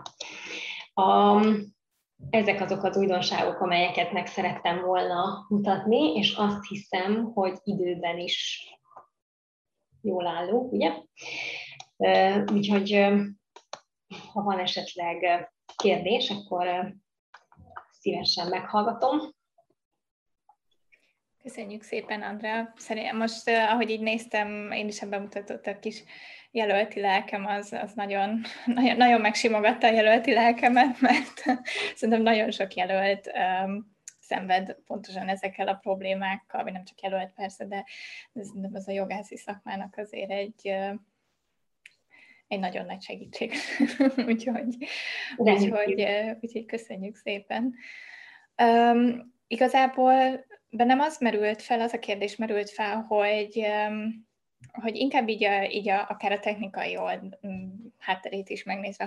Ezek azok az újdonságok, amelyeket meg szerettem volna mutatni, és azt hiszem, hogy időben is jól állunk, ugye? Úgyhogy ha van esetleg kérdés, akkor szívesen meghallgatom. Köszönjük szépen, Andrea. Szerintem most, ahogy így néztem, én is bemutatott a kis jelölti lelkem, az nagyon, nagyon, nagyon megsimogatta a jelölti lelkemet, mert szerintem nagyon sok jelölt szenved pontosan ezekkel a problémákkal, vagy nem csak jelölt persze, de ez a jogászi szakmának azért egy nagyon nagy segítség. úgyhogy köszönjük szépen. Igazából bennem az a kérdés merült fel, hogy inkább így akár a technikai hátterét is megnézve,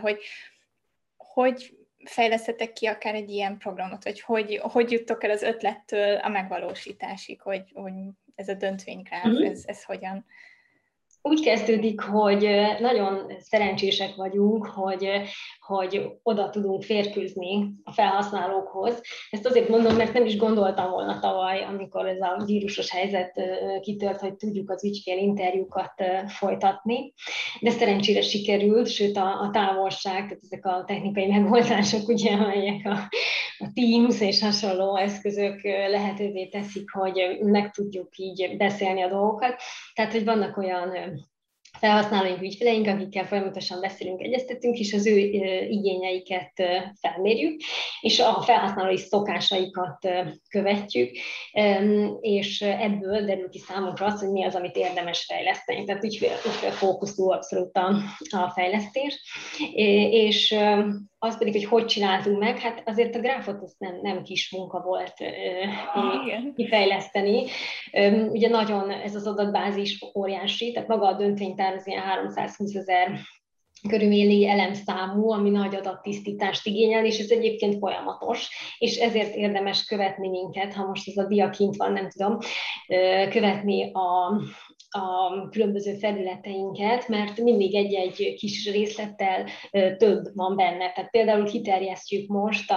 hogy fejlesztettek ki akár egy ilyen programot, vagy hogy juttok el az ötlettől a megvalósításig, hogy ez a döntvénygráf, ez hogyan? Úgy kezdődik, hogy nagyon szerencsések vagyunk, hogy oda tudunk férkőzni a felhasználókhoz. Ezt azért mondom, mert nem is gondoltam volna tavaly, amikor ez a vírusos helyzet kitört, hogy tudjuk az ügyfélinterjúkat folytatni. De szerencsére sikerült, sőt a távolság, tehát ezek a technikai megoldások, ugye, amelyek a Teams és hasonló eszközök lehetővé teszik, hogy meg tudjuk így beszélni a dolgokat. Tehát, hogy vannak olyan felhasználóink, ügyfeleink, akikkel folyamatosan beszélünk, egyeztetünk, és az ő igényeiket felmérjük, és a felhasználói szokásaikat követjük, és ebből derül ki számunkra az, hogy mi az, amit érdemes fejleszteni. Tehát ügyfélfókuszú abszolút a fejlesztés, és az pedig, hogy csináltunk meg, hát azért a gráfot az nem kis munka volt kifejleszteni. Ugye nagyon ez az adatbázis óriási, tehát maga a döntvénytár az ilyen 320 000 körülbelüli elemszámú, ami nagy adattisztítást igényel, és ez egyébként folyamatos, és ezért érdemes követni minket, ha most ez a dia kint van, nem tudom, követni a különböző felületeinket, mert mindig egy kis részlettel több van benne. Tehát például kiterjesztjük most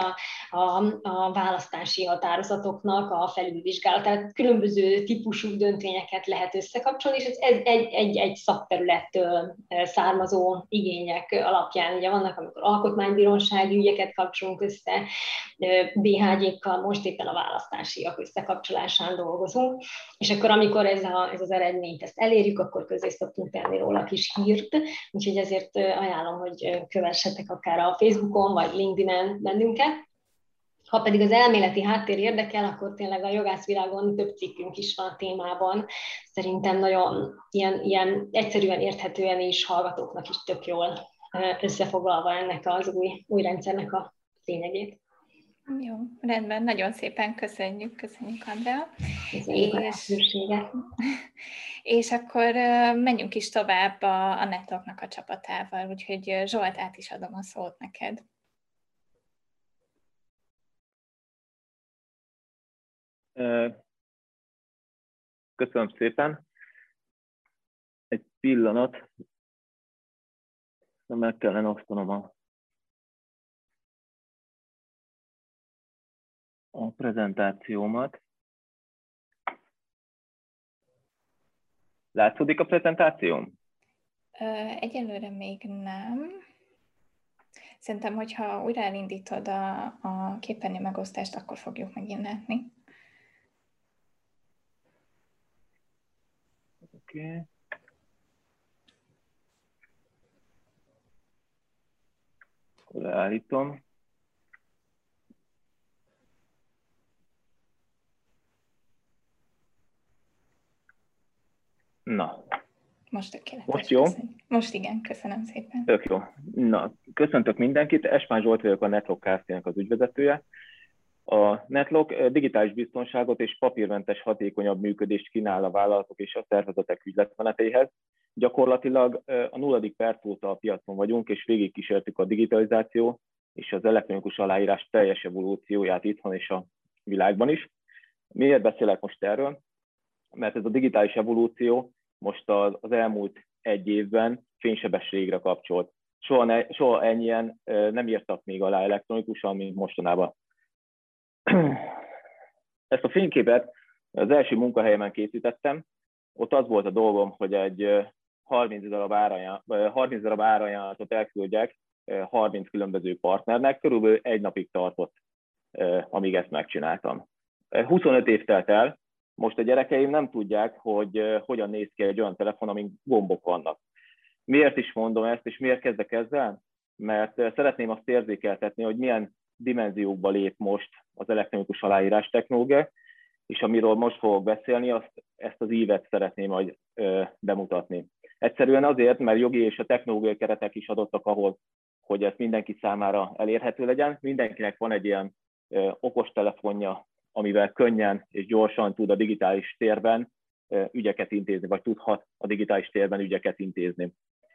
a választási határozatoknak a felülvizsgálatát. Különböző típusú döntvényeket lehet összekapcsolni, és ez egy szakterülettől származó igények alapján. Ugye vannak, amikor alkotmánybírósági ügyeket kapcsolunk össze, BHG-kkal, most éppen a választásiak összekapcsolásán dolgozunk, és akkor amikor ez az eredményt ezt elérjük, akkor közé szoktunk tenni róla kis hírt, úgyhogy ezért ajánlom, hogy kövessetek akár a Facebookon, vagy LinkedIn-en bennünket. Ha pedig az elméleti háttér érdekel, akkor tényleg a jogászvilágon több cikkünk is van a témában. Szerintem nagyon ilyen egyszerűen érthetően is hallgatóknak is tök jól összefoglalva ennek az új rendszernek a lényegét. Jó, rendben, nagyon szépen köszönjük Andrea. Köszönjük a lehetőséget. És akkor menjünk is tovább a Networknak a csapatával, úgyhogy Zsolt, át is adom a szót neked. Köszönöm szépen. Egy pillanat, meg kellene osztanom a prezentációmat. Látszódik a prezentációm? Egyelőre még nem. Szerintem, hogyha újra elindítod a képernyő megosztást, akkor fogjuk megint látni. Oké. Akkor leállítom. Na. Most tökéletes. Most jó? Most igen, köszönöm szépen. Tök jó. Na, köszöntök mindenkit. Espán Zsolt vagyok, a Network Kft-nek az ügyvezetője. A NetLock digitális biztonságot és papírmentes hatékonyabb működést kínál a vállalatok és a szervezetek ügyletmeneteihez. Gyakorlatilag a 0. perc óta a piacon vagyunk, és végigkísértük a digitalizáció és az elektronikus aláírás teljes evolúcióját itthon és a világban is. Miért beszélek most erről? Mert ez a digitális evolúció most az elmúlt 1 évben fénysebességre kapcsolt. Soha ennyien nem írtak még alá elektronikusan, mint mostanában. Ezt a fényképet az első munkahelyemen készítettem. Ott az volt a dolgom, hogy egy 30 darab árajánlatot elküldjek 30 különböző partnernek. Körülbelül 1 napig tartott, amíg ezt megcsináltam. 25 év telt el. Most a gyerekeim nem tudják, hogy hogyan néz ki egy olyan telefon, amin gombok vannak. Miért is mondom ezt, és miért kezdek ezzel? Mert szeretném azt érzékeltetni, hogy milyen dimenziókba lép most az elektronikus aláírás technológia, és amiről most fogok beszélni, ezt az ívet szeretném majd bemutatni. Egyszerűen azért, mert jogi és a technológiai keretek is adottak ahhoz, hogy ez mindenki számára elérhető legyen. Mindenkinek van egy ilyen okostelefonja, amivel könnyen és gyorsan tud a digitális térben ügyeket intézni, vagy tudhat a digitális térben ügyeket intézni.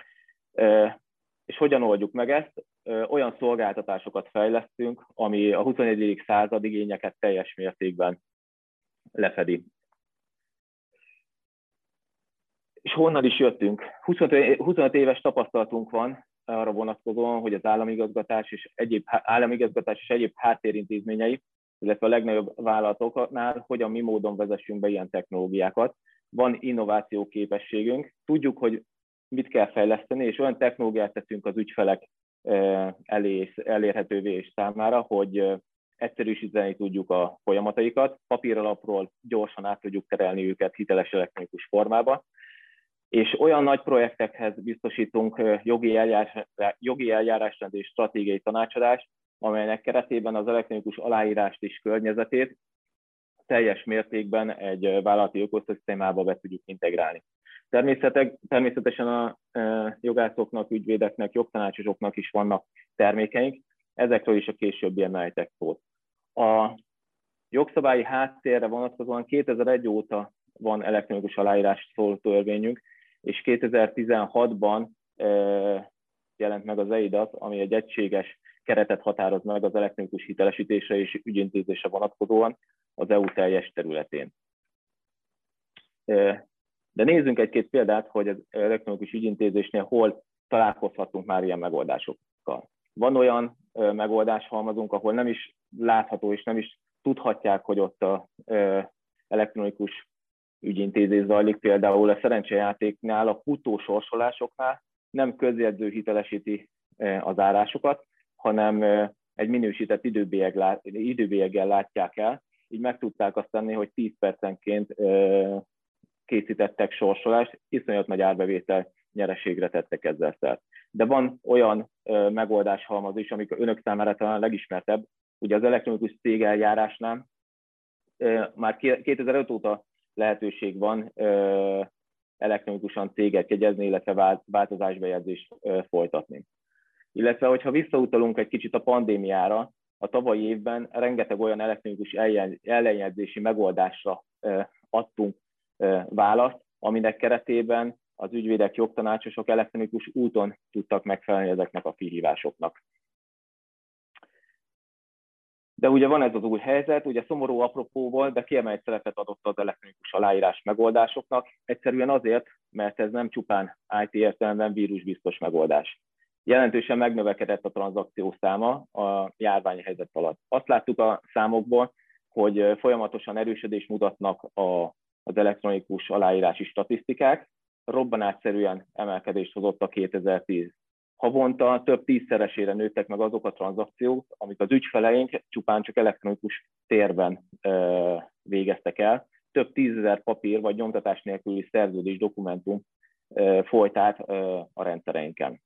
És hogyan oldjuk meg ezt? Olyan szolgáltatásokat fejlesztünk, ami a 21. század igényeket teljes mértékben lefedi. És honnan is jöttünk? 25 éves tapasztalatunk van arra vonatkozóan, hogy az államigazgatás és egyéb háttérintézményei, illetve a legnagyobb vállalatoknál hogyan mi módon vezessünk be ilyen technológiákat. Van innováció képességünk, tudjuk, hogy mit kell fejleszteni, és olyan technológiát teszünk az ügyfelek elérhetővé és számára, hogy egyszerűsíteni tudjuk a folyamataikat, papíralapról gyorsan át tudjuk terelni őket hiteles elektronikus formába, és olyan nagy projektekhez biztosítunk jogi eljárásrend és stratégiai tanácsadást, amelynek keretében az elektronikus aláírást és környezetét teljes mértékben egy vállalati ökoszisztémába be tudjuk integrálni. Természetesen a jogászoknak, ügyvédeknek, jogtanácsosoknak is vannak termékeink, ezekről is a későbbiekben ejtek szót. A jogszabályi háttérre vonatkozóan 2001 óta van elektronikus aláírás szóló törvényünk, és 2016-ban jelent meg az EIDAS, ami egy egységes keretet határoz meg az elektronikus hitelesítésre és ügyintézésre vonatkozóan az EU teljes területén. De nézzünk egy-két példát, hogy az elektronikus ügyintézésnél hol találkozhatunk már ilyen megoldásokkal. Van olyan megoldáshalmazunk, ahol nem is látható és nem is tudhatják, hogy ott az elektronikus ügyintézés zajlik. Például a szerencsejátéknál, a futó sorsolásoknál nem közjegyző hitelesíti az árásokat, hanem egy minősített időbélyeggel látják el. Így meg tudták azt tenni, hogy 10 percenként készítettek sorsolást, iszonyat nagy árbevétel nyereségre tettek ezzel szert. De van olyan megoldáshalmaz is, amik önök számára talán legismertebb. Ugye az elektronikus cégeljárásnál már 2005 óta lehetőség van elektronikusan céget jegyezni, illetve változásbejegyzést folytatni. Illetve, hogyha visszautalunk egy kicsit a pandémiára, a tavalyi évben rengeteg olyan elektronikus ellenjegyzési megoldásra adtunk választ, aminek keretében az ügyvédek, jogtanácsosok elektronikus úton tudtak megfelelni ezeknek a kihívásoknak. De ugye van ez az új helyzet, ugye szomorú apropóval, de kiemelt szerepet adott az elektronikus aláírás megoldásoknak, egyszerűen azért, mert ez nem csupán IT értelemben vírusbiztos megoldás. Jelentősen megnövekedett a tranzakció száma a járványhelyzet alatt. Azt láttuk a számokból, hogy folyamatosan erősödést mutatnak az elektronikus aláírási statisztikák, robbanásszerűen emelkedést hozott a 2010. Havonta több 10-szeresére nőttek meg azok a tranzakciók, amik az ügyfeleink csupán csak elektronikus térben végeztek el. Több 10 000 papír vagy nyomtatás nélküli szerződés dokumentum folyt át a rendszereinken.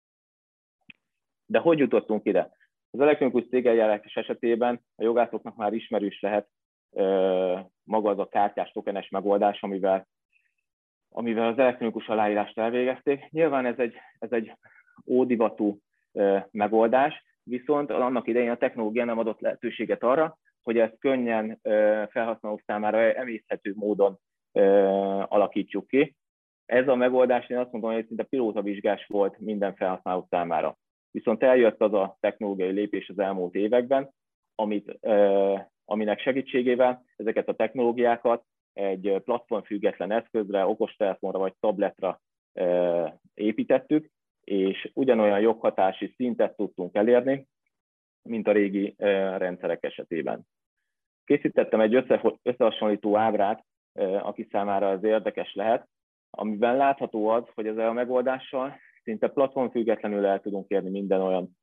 De hogy jutottunk ide? Az elektronikus cégeljárás esetében a jogászoknak már ismerős lehet maga az a kártyás tokenes megoldás, amivel az elektronikus aláírást elvégezték. Nyilván ez egy ódivatú megoldás, viszont annak idején a technológia nem adott lehetőséget arra, hogy ezt könnyen felhasználók számára emészhető módon alakítsuk ki. Ez a megoldás, én azt mondom, hogy szinte pilótavizsgás volt minden felhasználó számára. Viszont eljött az a technológiai lépés az elmúlt években, aminek segítségével ezeket a technológiákat egy platformfüggetlen eszközre, okostelefonra vagy tabletra építettük, és ugyanolyan joghatási szintet tudtunk elérni, mint a régi rendszerek esetében. Készítettem egy összehasonlító ábrát, aki számára ez érdekes lehet, amiben látható az, hogy ezzel a megoldással szinte platformfüggetlenül el tudunk érni minden olyan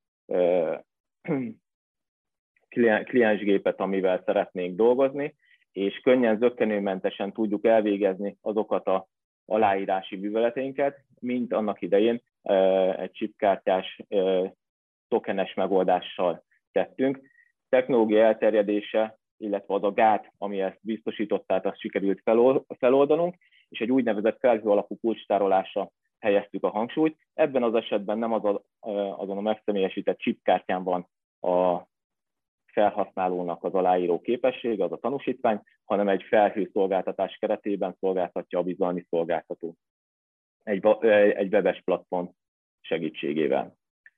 kliensgépet, amivel szeretnénk dolgozni, és könnyen, zökkenőmentesen tudjuk elvégezni azokat az aláírási műveleteinket, mint annak idején egy chipkártyás, tokenes megoldással tettünk. Technológia elterjedése, illetve az a gát, ami ezt biztosítottát, azt sikerült feloldanunk, és egy úgynevezett felhő alapú kulcstárolásra helyeztük a hangsúlyt. Ebben az esetben nem azon a megszemélyesített chipkártyán van a felhasználónak az aláíró képessége, az a tanúsítvány, hanem egy felhőszolgáltatás keretében szolgáltatja a bizalmi szolgáltató egy webes platform segítségével.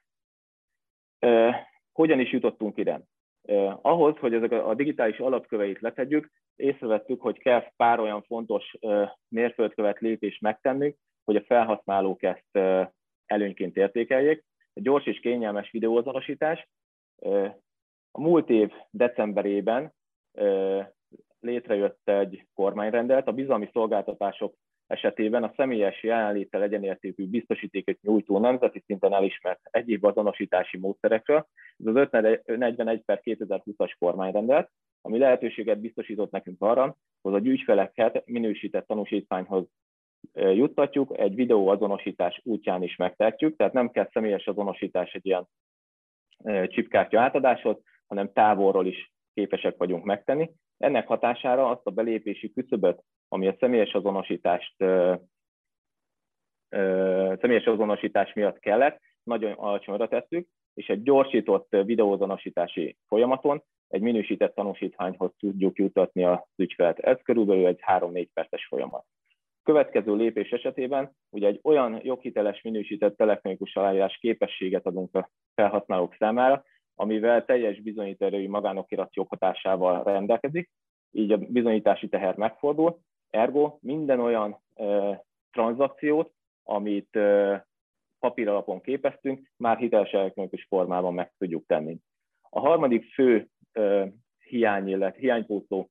Hogyan is jutottunk ide? Ahhoz, hogy ezek a digitális alapköveit letegyük, észrevettük, hogy kell pár olyan fontos mérföldkövet lépést megtennünk, hogy a felhasználók ezt előnyként értékeljék. Egy gyors és kényelmes videóazonosítás. A múlt év decemberében létrejött egy kormányrendelet, a bizalmi szolgáltatások esetében a személyes jelenléttel egyenértékű biztosítékot nyújtó nemzeti szinten elismert egyéb azonosítási módszerekről. Ez az 541/2020-as kormányrendelet, ami lehetőséget biztosított nekünk arra, hogy az ügyfeleket minősített tanúsítványhoz juttatjuk, egy videóazonosítás útján is megtehetjük, tehát nem kell személyes azonosítás egy ilyen chipkártya átadáshoz, hanem távolról is képesek vagyunk megtenni. Ennek hatására azt a belépési küszöböt, ami a személyes azonosítás miatt kellett, nagyon alacsonyra tettük, és egy gyorsított videóazonosítási folyamaton egy minősített tanúsítványhoz tudjuk juttatni az ügyfelet. Ez körülbelül egy 3-4 perces folyamat. Következő lépés esetében ugye egy olyan joghiteles minősített elektronikus aláírás képességet adunk a felhasználók számára, amivel teljes bizonyítóerői magánokirat joghatásával rendelkezik, így a bizonyítási teher megfordul, ergo minden olyan tranzakciót, amit papíralapon képeztünk, már hiteles elektronikus formában meg tudjuk tenni. A harmadik fő hiánypótló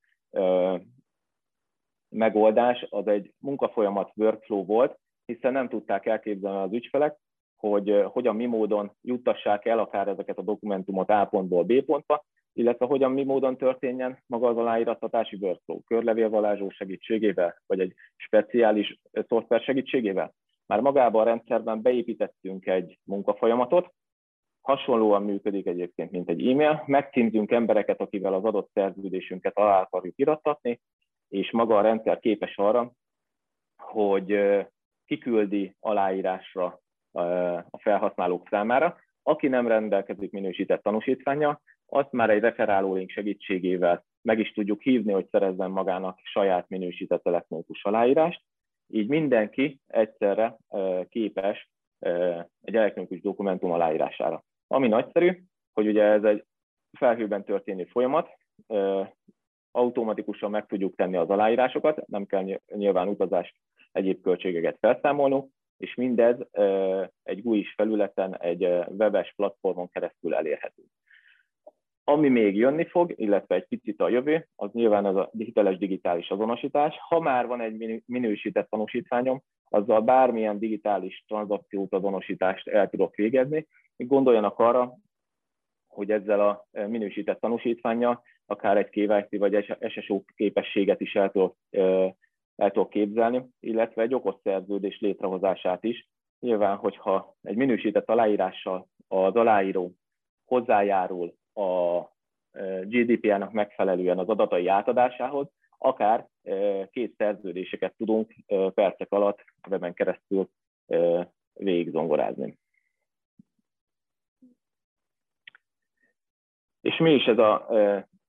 megoldás az egy munkafolyamat workflow volt, hiszen nem tudták elképzelni az ügyfelek, hogy hogyan, mi módon juttassák el akár ezeket a dokumentumot A pontból B pontba, illetve hogyan, mi módon történjen maga az aláírattatási workflow, körlevélvarázsló segítségével, vagy egy speciális szoftver segítségével. Már magában a rendszerben beépítettünk egy munkafolyamatot, hasonlóan működik egyébként, mint egy e-mail, megcímzünk embereket, akivel az adott szerződésünket alá akarjuk irattatni, és maga a rendszer képes arra, hogy kiküldi aláírásra a felhasználók számára. Aki nem rendelkezik minősített tanúsítvánnyal, azt már egy referáló link segítségével meg is tudjuk hívni, hogy szerezzen magának saját minősített elektronikus aláírást. Így mindenki egyszerre képes egy elektronikus dokumentum aláírására. Ami nagyszerű, hogy ugye ez egy felhőben történő folyamat, automatikusan meg tudjuk tenni az aláírásokat, nem kell nyilván utazást, egyéb költségeket felszámolnunk, és mindez egy GUI-s felületen, egy webes platformon keresztül elérhető. Ami még jönni fog, illetve egy picit a jövő, az nyilván az a hiteles digitális azonosítás. Ha már van egy minősített tanúsítványom, azzal bármilyen digitális tranzakciót, azonosítást el tudok végezni. Gondoljanak arra, hogy ezzel a minősített tanúsítvánnyal akár egy KYC vagy SSO képességet is el tudok képzelni, illetve egy okos szerződés létrehozását is. Nyilván, hogyha egy minősített aláírással az aláíró hozzájárul a GDPR-nak megfelelően az adatai átadásához, akár két szerződéseket tudunk percek alatt a weben keresztül végigzongorázni. És mi is ez a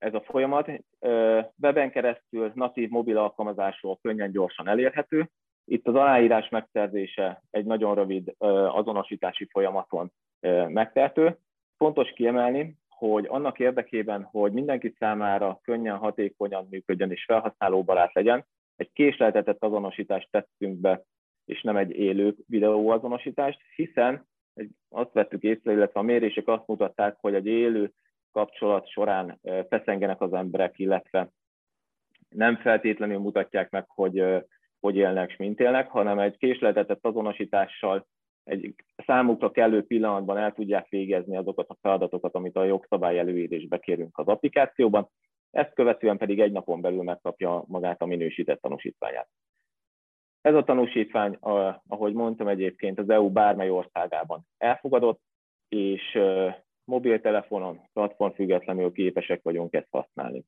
ez a folyamat. Weben keresztül natív mobil alkalmazásról könnyen, gyorsan elérhető. Itt az aláírás megszerzése egy nagyon rövid azonosítási folyamaton megtehető. Fontos kiemelni, hogy annak érdekében, hogy mindenki számára könnyen, hatékonyan működjön és felhasználóbarát legyen, egy késleltetett azonosítást tettünk be, és nem egy élő videóazonosítást, hiszen azt vettük észre, illetve a mérések azt mutatták, hogy egy élő kapcsolat során feszengenek az emberek, illetve nem feltétlenül mutatják meg, hogy élnek és mint élnek, hanem egy késleltetett azonosítással egy számukra kellő pillanatban el tudják végezni azokat a feladatokat, amit a jogszabály előírásba kérünk az applikációban, ezt követően pedig egy napon belül megkapja magát a minősített tanúsítványát. Ez a tanúsítvány, ahogy mondtam, egyébként az EU bármely országában elfogadott, és mobiltelefonon, platformfüggetlenül képesek vagyunk ezt használni.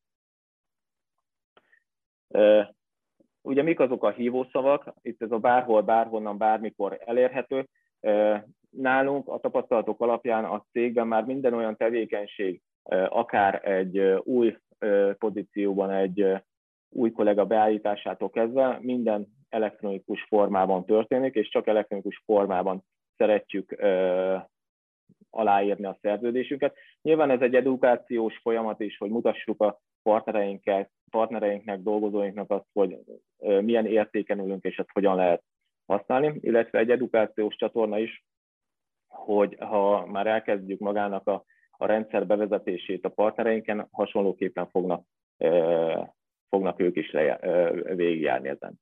Ugye mik azok a hívószavak? Itt ez a bárhol, bárhonnan, bármikor elérhető. Nálunk a tapasztalatok alapján a cégben már minden olyan tevékenység, akár egy új pozícióban, egy új kollega beállításától kezdve minden elektronikus formában történik, és csak elektronikus formában szeretjük aláírni a szerződésünket. Nyilván ez egy edukációs folyamat is, hogy mutassuk a partnereinknek, dolgozóinknak azt, hogy milyen értéken ülünk, és ezt hogyan lehet használni, illetve egy edukációs csatorna is, hogy ha már elkezdjük magának a rendszer bevezetését a partnereinken, hasonlóképpen fognak ők is végigjárni ezen.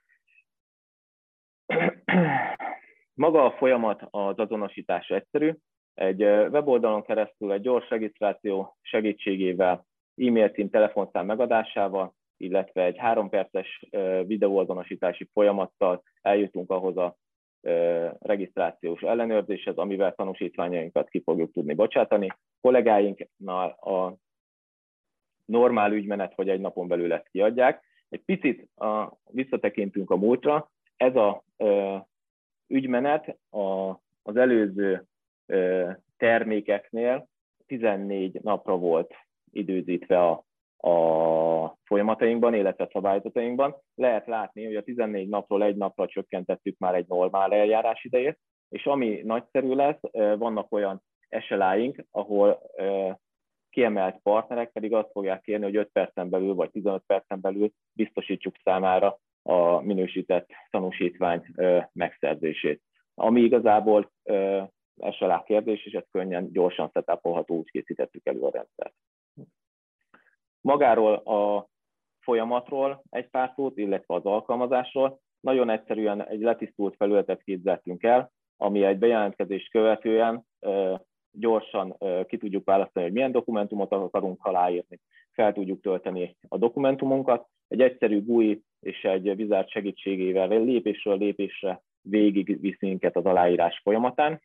Maga a folyamat, az azonosítás egyszerű. Egy weboldalon keresztül egy gyors regisztráció segítségével, e-mail cím, telefonszám megadásával, illetve egy 3 perces videóazonosítási folyamattal eljutunk ahhoz a regisztrációs ellenőrzéshez, amivel tanúsítványainkat ki fogjuk tudni bocsátani. Kollégáinknál a normál ügymenet, hogy egy napon belül ezt kiadják. Egy picit visszatekintünk a múltra. Ez a ügymenet az előző termékeknél 14 napra volt időzítve a folyamatainkban, illetve szabályzatainkban. Lehet látni, hogy a 14 napról egy napra csökkentettük már egy normál eljárás idejét, és ami nagyszerű lesz, vannak olyan SLA-ink, ahol kiemelt partnerek pedig azt fogják kérni, hogy 5 percen belül vagy 15 percen belül biztosítsuk számára a minősített tanúsítvány megszerzését. Ami igazából SLA kérdés, és ez könnyen, gyorsan setupolható, úgy készítettük elő a rendszert. Magáról a folyamatról egy pár szót, illetve az alkalmazásról. Nagyon egyszerűen egy letisztult felületet képzeltünk el, ami egy bejelentkezést követően gyorsan ki tudjuk választani, hogy milyen dokumentumot akarunk aláírni, fel tudjuk tölteni a dokumentumunkat. Egy egyszerű GUI és egy wizard segítségével lépésről lépésre végigvisz minket az aláírás folyamatán.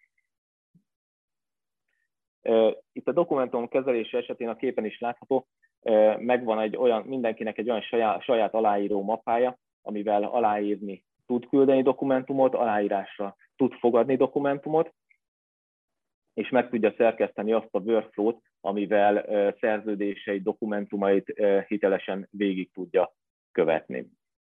Itt a dokumentum kezelése esetén a képen is látható, megvan mindenkinek egy olyan saját aláíró mappája, amivel aláírni tud küldeni dokumentumot, aláírásra tud fogadni dokumentumot, és meg tudja szerkeszteni azt a workflow-t, amivel szerződései, dokumentumait hitelesen végig tudja követni.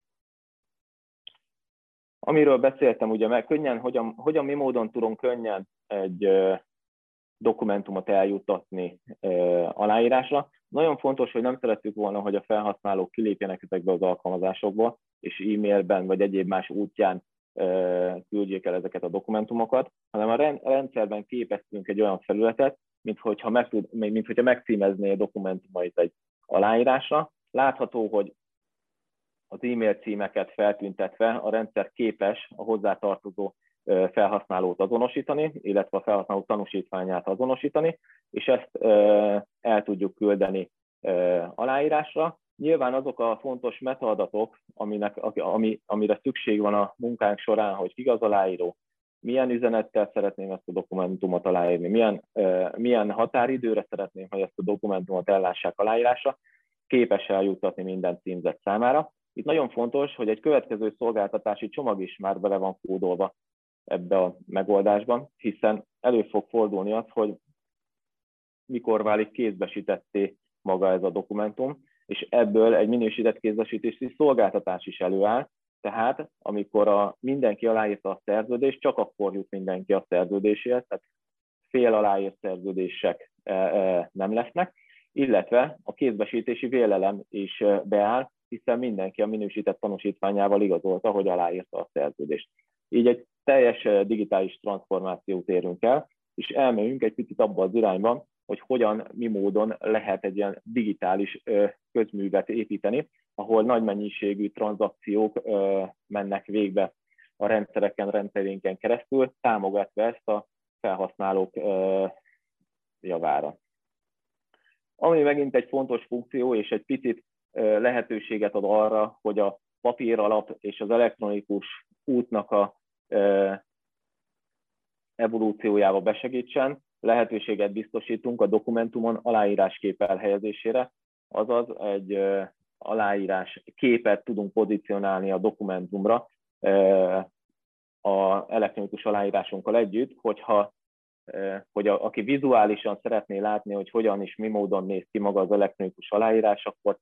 Amiről beszéltem, ugye könnyen, hogyan mi módon tudunk könnyen egy dokumentumot eljuttatni aláírásra. Nagyon fontos, hogy nem szerettük volna, hogy a felhasználók kilépjenek ezekbe az alkalmazásokba, és e-mailben vagy egyéb más útján küldjék el ezeket a dokumentumokat, hanem a rendszerben képeztünk egy olyan felületet, minthogyha megcímezné a dokumentumait egy aláírásra. Látható, hogy az e-mail címeket feltüntetve a rendszer képes a hozzátartozó felhasználót azonosítani, illetve a felhasználó tanúsítványát azonosítani, és ezt el tudjuk küldeni aláírásra. Nyilván azok a fontos metaadatok, amire szükség van a munkánk során, hogy kik az aláíró, milyen üzenettel szeretném ezt a dokumentumot aláírni, milyen határidőre szeretném, hogy ezt a dokumentumot ellássák aláírásra, képes eljuttatni minden címzett számára. Itt nagyon fontos, hogy egy következő szolgáltatási csomag is már bele van kódolva ebbe a megoldásban, hiszen elő fog fordulni az, hogy mikor válik kézbesítetté maga ez a dokumentum, és ebből egy minősített kézbesítési szolgáltatás is előáll, tehát amikor mindenki aláírta a szerződést, csak akkor jut mindenki a szerződéséhez, tehát fél aláírt szerződések nem lesznek, illetve a kézbesítési vélelem is beáll, hiszen mindenki a minősített tanúsítványával igazolta, hogy aláírta a szerződést. Így egy teljes digitális transformációt érünk el, és elmegyünk egy picit abba az irányban, hogy hogyan, mi módon lehet egy ilyen digitális közművet építeni, ahol nagy mennyiségű tranzakciók mennek végbe a rendszerénken keresztül, támogatva ezt a felhasználók javára. Ami megint egy fontos funkció, és egy picit lehetőséget ad arra, hogy a papíralap és az elektronikus útnak a evolúciójába besegítsen, lehetőséget biztosítunk a dokumentumon aláíráskép elhelyezésére, azaz egy aláírás képet tudunk pozícionálni a dokumentumra az elektronikus aláírásunkkal együtt, hogy aki vizuálisan szeretné látni, hogy hogyan és mi módon néz ki maga az elektronikus aláírás, akkor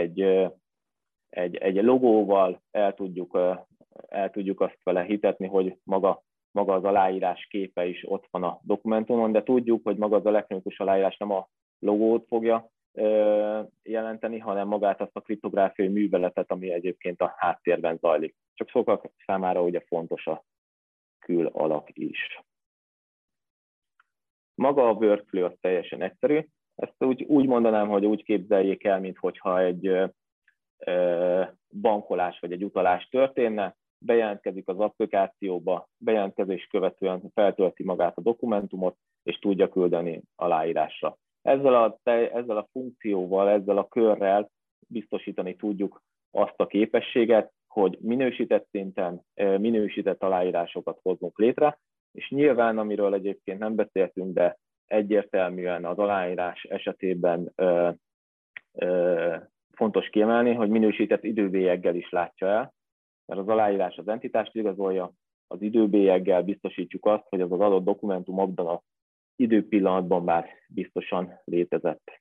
egy logóval el tudjuk azt vele hitetni, hogy maga az aláírás képe is ott van a dokumentumon, de tudjuk, hogy maga az elektronikus aláírás nem a logót fogja jelenteni, hanem magát azt a kriptográfiai műveletet, ami egyébként a háttérben zajlik. Csak sokak számára ugye fontos a külalak is. Maga a workflow az teljesen egyszerű. Ezt úgy mondanám, hogy úgy képzeljék el, minthogyha egy bankolás vagy egy utalás történne, bejelentkezik az applikációba, bejelentkezés követően feltölti magát a dokumentumot, és tudja küldeni aláírásra. Ezzel a funkcióval, ezzel a körrel biztosítani tudjuk azt a képességet, hogy minősített szinten minősített aláírásokat hozzunk létre, és nyilván, amiről egyébként nem beszéltünk, de egyértelműen az aláírás esetében fontos kiemelni, hogy minősített időbélyeggel is látja el, mert az aláírás az entitást igazolja, az időbélyeggel biztosítjuk azt, hogy az adott dokumentum abban az időpillanatban már biztosan létezett.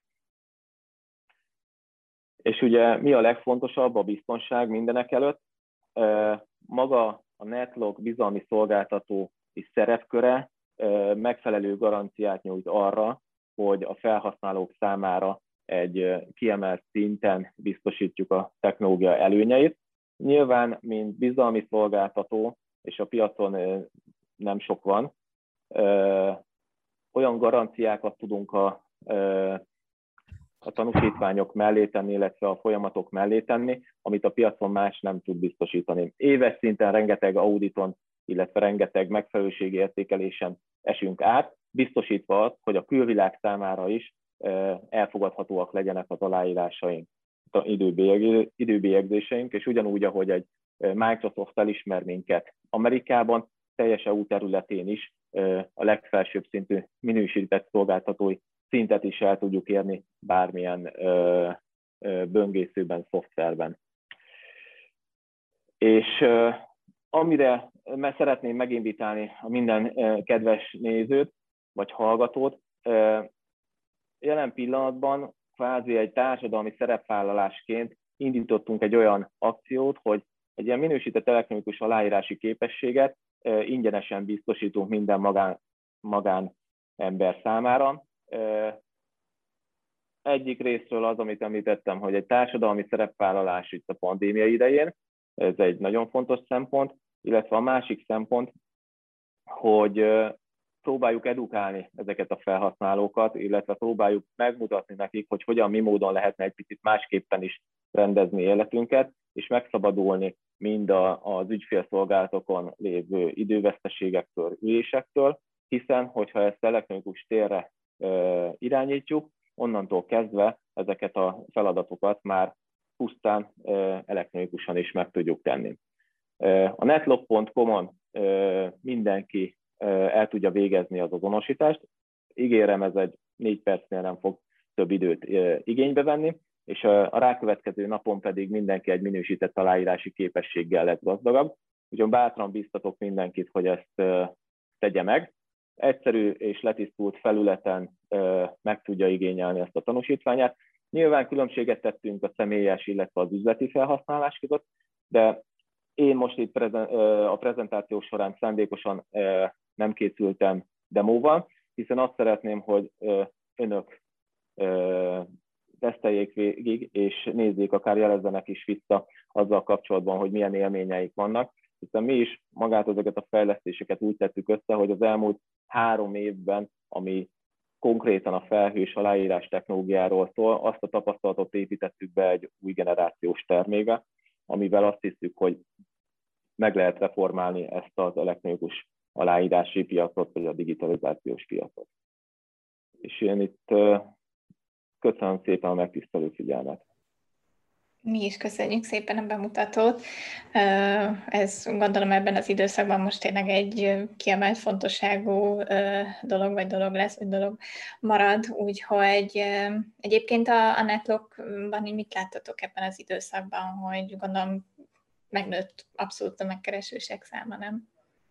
És ugye mi a legfontosabb? A biztonság mindenek előtt. Maga a NetLock bizalmi szolgáltató és szerepköre megfelelő garanciát nyújt arra, hogy a felhasználók számára egy kiemelt szinten biztosítjuk a technológia előnyeit. Nyilván, mint bizalmi szolgáltató, és a piacon nem sok van, olyan garanciákat tudunk a tanúsítványok mellé tenni, illetve a folyamatok mellé tenni, amit a piacon más nem tud biztosítani. Éves szinten rengeteg auditon, illetve rengeteg megfelelőségi értékelésen esünk át, biztosítva azt, hogy a külvilág számára is elfogadhatóak legyenek az aláírásaink, időbélyegzéseink, és ugyanúgy, ahogy egy Microsoft elismer minket Amerikában, teljes EU területén is a legfelsőbb szintű minősített szolgáltatói szintet is el tudjuk érni bármilyen böngészőben, szoftverben. És amire szeretném meginvitálni a minden kedves nézőt, vagy hallgatót, jelen pillanatban kvázi egy társadalmi szerepvállalásként indítottunk egy olyan akciót, hogy egy ilyen minősített elektronikus aláírási képességet ingyenesen biztosítunk minden magánember számára. Egyik részről az, amit említettem, hogy egy társadalmi szerepvállalás itt a pandémia idején, ez egy nagyon fontos szempont, illetve a másik szempont, hogy próbáljuk edukálni ezeket a felhasználókat, illetve próbáljuk megmutatni nekik, hogy hogyan, mi módon lehetne egy picit másképpen is rendezni életünket, és megszabadulni mind az ügyfélszolgálatokon lévő időveszteségektől, ülésektől, hiszen, hogyha ezt elektronikus térre irányítjuk, onnantól kezdve ezeket a feladatokat már pusztán elektronikusan is meg tudjuk tenni. A netlock.com-on mindenki el tudja végezni az azonosítást. Ígérem, ez egy 4 percnél nem fog több időt igénybe venni, és a rákövetkező napon pedig mindenki egy minősített aláírási képességgel lett gazdagabb. Úgyhogy bátran biztatok mindenkit, hogy ezt tegye meg. Egyszerű és letisztult felületen meg tudja igényelni ezt a tanúsítványát. Nyilván különbséget tettünk a személyes, illetve az üzleti felhasználás között, de én most itt a prezentáció során szándékosan nem készültem demóval, hiszen azt szeretném, hogy önök teszteljék végig, és nézzék, akár jelezzenek is vissza azzal kapcsolatban, hogy milyen élményeik vannak, hiszen mi is magát ezeket a fejlesztéseket úgy tettük össze, hogy az elmúlt 3 évben, ami konkrétan a felhős aláírás technológiáról szól, azt a tapasztalatot építettük be egy új generációs termékbe, amivel azt hiszük, hogy meg lehet reformálni ezt az elektronikus aláírási piacot, vagy a digitalizációs piacot. És én itt köszönöm szépen a megtisztelő figyelmet. Mi is köszönjük szépen a bemutatót. Ez gondolom ebben az időszakban most tényleg egy kiemelt fontosságú dolog, vagy dolog lesz, vagy dolog marad. Úgyhogy egyébként a Netlockban mit láttatok ebben az időszakban, hogy gondolom megnőtt abszolút a megkeresések száma, nem?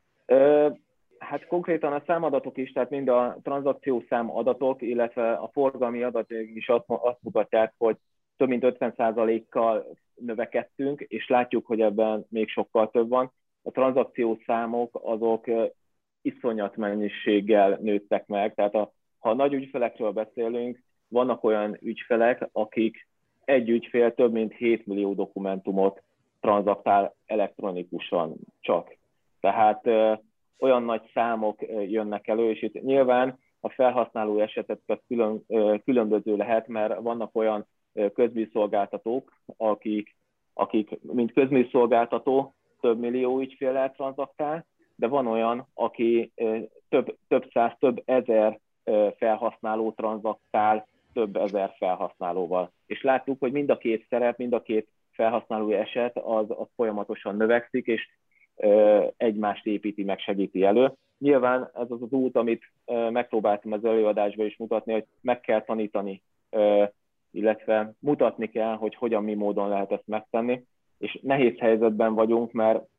Hát konkrétan a számadatok is, tehát mind a tranzakciószám adatok, illetve a forgalmi adatok is azt mutatják, hogy több mint 50%-kal növekedtünk, és látjuk, hogy ebben még sokkal több van. A tranzakciószámok azok iszonyat mennyiséggel nőttek meg, tehát ha nagy ügyfelekről beszélünk, vannak olyan ügyfelek, akik egy ügyfél több mint 7 millió dokumentumot tranzaktál elektronikusan csak. Tehát olyan nagy számok jönnek elő, és itt nyilván a felhasználó esetet különböző lehet, mert vannak olyan közműszolgáltatók, akik mint közműszolgáltató több millió ügyféllel tranzaktál, de van olyan, aki több száz, több ezer felhasználó tranzaktál több ezer felhasználóval. És láttuk, hogy mind a két szerep, mind a két felhasználói eset az folyamatosan növekszik, és egymást építi, meg segíti elő. Nyilván ez az út, amit megpróbáltam az előadásban is mutatni, hogy meg kell tanítani, illetve mutatni kell, hogy hogyan, mi módon lehet ezt megtenni. És nehéz helyzetben vagyunk,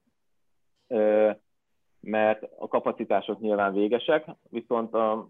mert a kapacitások nyilván végesek, viszont a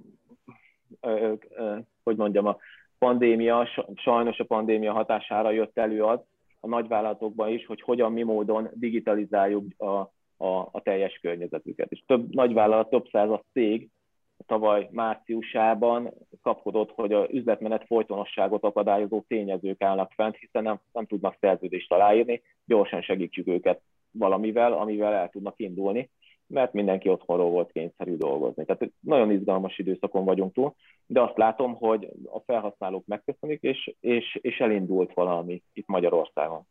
pandémia, sajnos a pandémia hatására jött elő az a nagyvállalatokban is, hogy hogyan, mi módon digitalizáljuk a teljes környezetüket. És több nagyvállalat, több százas cég tavaly márciusában kapkodott, hogy az üzletmenet folytonosságot akadályozó tényezők állnak fent, hiszen nem tudnak szerződést aláírni, gyorsan segítsük őket valamivel, amivel el tudnak indulni, mert mindenki otthonról volt kényszerű dolgozni. Tehát nagyon izgalmas időszakon vagyunk túl, de azt látom, hogy a felhasználók megköszönik, és elindult valami itt Magyarországon.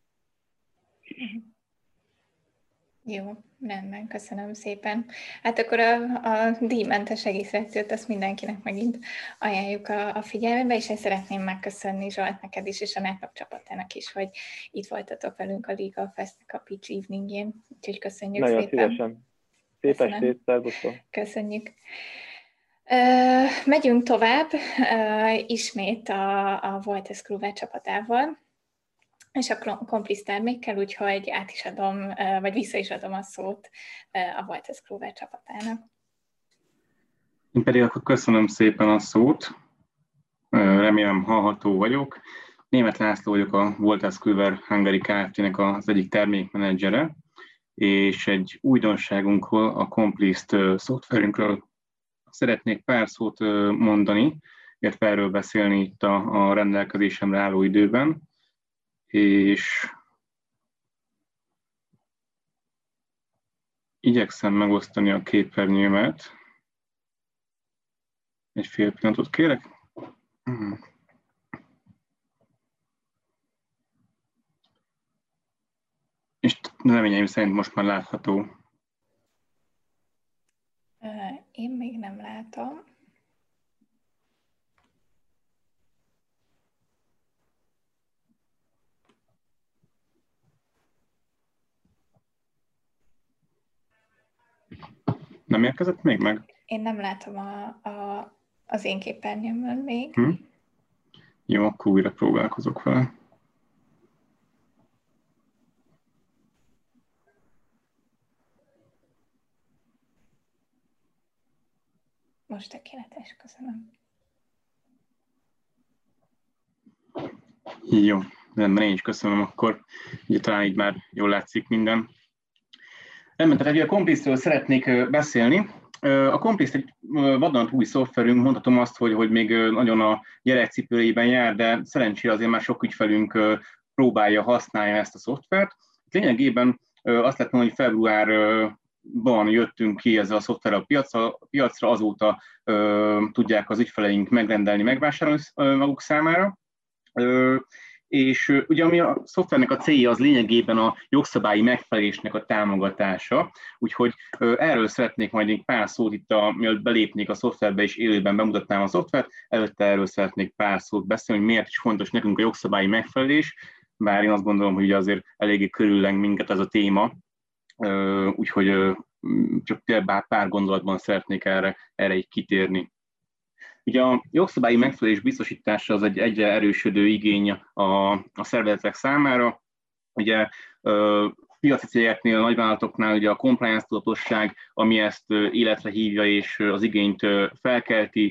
Jó, rendben, köszönöm szépen. Hát akkor a díjmentes egészreakciót azt mindenkinek megint ajánljuk a figyelmébe, és én szeretném megköszönni Zsolt neked is, és a Netlock csapatának is, hogy itt voltatok velünk a Legal Festnek a Pitch Eveningjén. Úgyhogy köszönjük nagyon szépen. Nagyon szívesen. Szép estét, szervusztok. Köszönjük. Megyünk tovább, ismét a Wolters Kluwer csapatával, és a Complice termékkel, úgyhogy át is adom, vagy vissza is adom a szót a Wolters Kluwer csapatának. Én pedig akkor köszönöm szépen a szót, remélem hallható vagyok. Németh László vagyok, a Wolters Kluwer Hungary Kft-nek az egyik termékmenedzsere, és egy újdonságunkról, a Complice szoftverünkről szeretnék pár szót mondani, illetve erről beszélni itt a rendelkezésemre álló időben, és igyekszem megosztani a képernyőmet. Egy fél pillanatot kérek. És reményeim szerint most már látható. Én még nem látom. Nem érkezett még meg? Én nem látom az én képernyőmön még. Jó, akkor újra próbálkozok vele. Most tökéletes, köszönöm. Jó, rendben, én is köszönöm akkor. Ugye talán így már jól látszik minden. Rendben, tehát ugye a Complice-ről szeretnék beszélni. A Complice egy vadonatúj szoftverünk, mondhatom azt, hogy még nagyon a gyerekcipőjében jár, de szerencsére azért már sok ügyfelünk próbálja, használja ezt a szoftvert. Lényegében azt lehet mondani, hogy februárban jöttünk ki ezzel a szoftverrel a piacra, azóta tudják az ügyfeleink megrendelni, megvásárolni maguk számára. És ugye ami a szoftvernek a célja, az lényegében a jogszabályi megfelelésnek a támogatása, úgyhogy erről szeretnék majd egy pár szót itt, mielőtt belépnék a szoftverbe és élőben bemutatnám a szoftvert, előtte erről szeretnék pár szót beszélni, hogy miért is fontos nekünk a jogszabályi megfelelés, bár én azt gondolom, hogy azért eléggé körülleng minket ez a téma, úgyhogy csak pár gondolatban szeretnék erre így kitérni. Ugye a jogszabályi megfelelés biztosítása az egy egyre erősödő igény a szervezetek számára. Ugye piaci cégeknél, nagyvállalatoknál ugye a compliance tudatosság, ami ezt életre hívja és az igényt felkelti,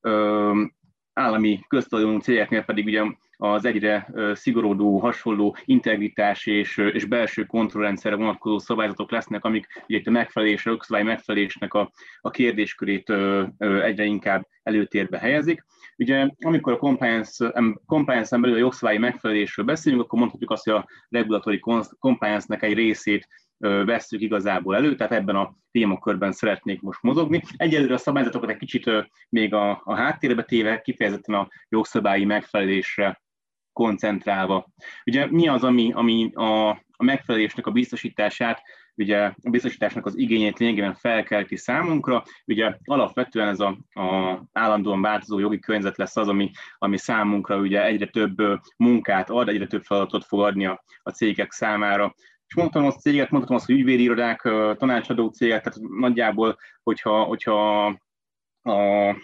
állami köztulajdonú cégeknél pedig ugye az egyre szigorodó, hasonló integritás és belső kontrollrendszerre vonatkozó szabályzatok lesznek, amik ugye a megfelelés, a jogszabályi megfelelésnek a kérdéskörét egyre inkább előtérbe helyezik. Ugye amikor a compliance-en belül a jogszabályi megfelelésről beszélünk, akkor mondhatjuk azt, hogy a regulatory compliance-nek egy részét vesszük igazából elő, tehát ebben a témakörben szeretnék most mozogni. Egyelőre a szabályzatokat egy kicsit még a háttérbe téve, kifejezetten a jogszabályi megfelelésre koncentrálva. Ugye mi az, ami a megfelelésnek a biztosítását, ugye a biztosításnak az igényét lényegében felkelti számunkra, ugye alapvetően ez a állandóan változó jogi környezet lesz az, ami számunkra ugye egyre több munkát ad, egyre több feladatot fog adni a cégek számára. És mondhatom azt cégek, mondhatom azt, hogy ügyvédi irodák, tanácsadó cégek, tehát nagyjából, hogyha a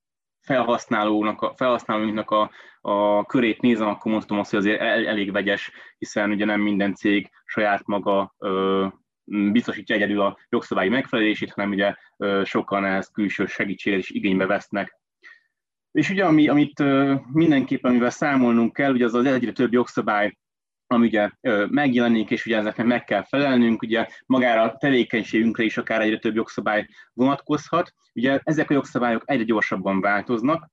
felhasználóinknak a körét nézem, akkor mondhatom azt, hogy azért elég vegyes, hiszen ugye nem minden cég saját maga biztosítja egyedül a jogszabályi megfelelését, hanem ugye sokan ehhez külső segítséget is igénybe vesznek. És ugye amit mindenképpen, amivel számolnunk kell, ugye az egyre több jogszabály, ami ugye megjelenik, és ugye ezeknek meg kell felelnünk, ugye magára a tevékenységünkre is akár egyre több jogszabály vonatkozhat. Ugye ezek a jogszabályok egyre gyorsabban változnak.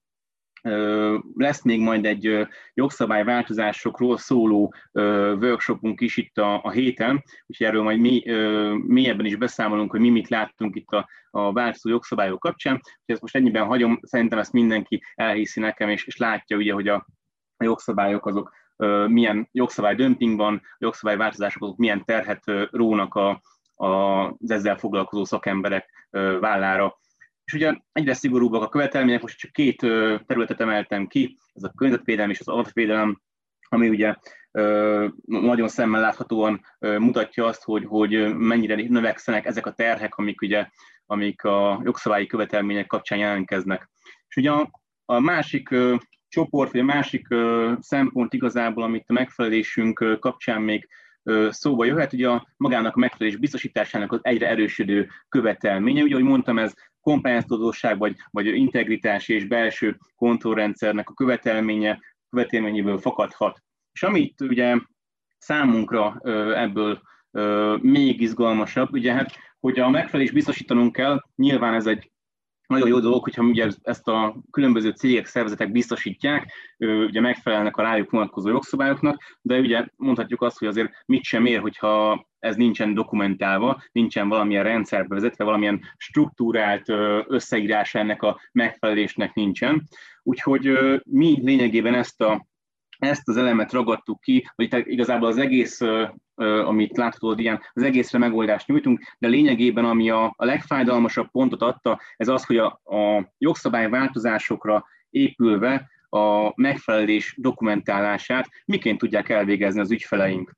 Lesz még majd egy jogszabályváltozásokról szóló workshopunk is itt a héten, úgyhogy erről majd mélyebben is beszámolunk, hogy mi mit láttunk itt a változó jogszabályok kapcsán. Úgyhogy ezt most ennyiben hagyom, szerintem ezt mindenki elhiszi nekem, és látja, ugye, hogy a jogszabályok azok milyen jogszabálydömping van, a jogszabályváltozások azok milyen terhet rónak az ezzel foglalkozó szakemberek vállára. És ugye egyre szigorúbbak a követelmények, most csak két területet emeltem ki, ez a környezetvédelem és az adatvédelem, ami ugye nagyon szemmel láthatóan mutatja azt, hogy mennyire növekszenek ezek a terhek, amik a jogszabályi követelmények kapcsán jelentkeznek. És ugye a másik csoport, vagy a másik szempont igazából, amit a megfelelésünk kapcsán még szóba jöhet, ugye a magának a megfelelés biztosításának az egyre erősödő követelménye. Ugye, ahogy mondtam, ez compliance tudatosság, vagy integritás és belső kontrollrendszernek a követelményéből fakadhat. És amit ugye számunkra ebből még izgalmasabb, ugye hát, hogy a megfelelés biztosítanunk kell, nyilván ez egy nagyon jó dolog, hogyha ugye ezt a különböző cégek, szervezetek biztosítják, ugye megfelelnek a rájuk vonatkozó jogszabályoknak, de ugye mondhatjuk azt, hogy azért mit sem ér, hogyha ez nincsen dokumentálva, nincsen valamilyen rendszerbe vezetve, valamilyen struktúrált összeírása ennek a megfelelésnek nincsen. Úgyhogy mi lényegében ezt az elemet ragadtuk ki, hogy igazából az egész, amit látható ilyen, az egészre megoldást nyújtunk, de lényegében ami a legfájdalmasabb pontot adta, ez az, hogy a jogszabályváltozásokra épülve a megfelelés dokumentálását miként tudják elvégezni az ügyfeleink.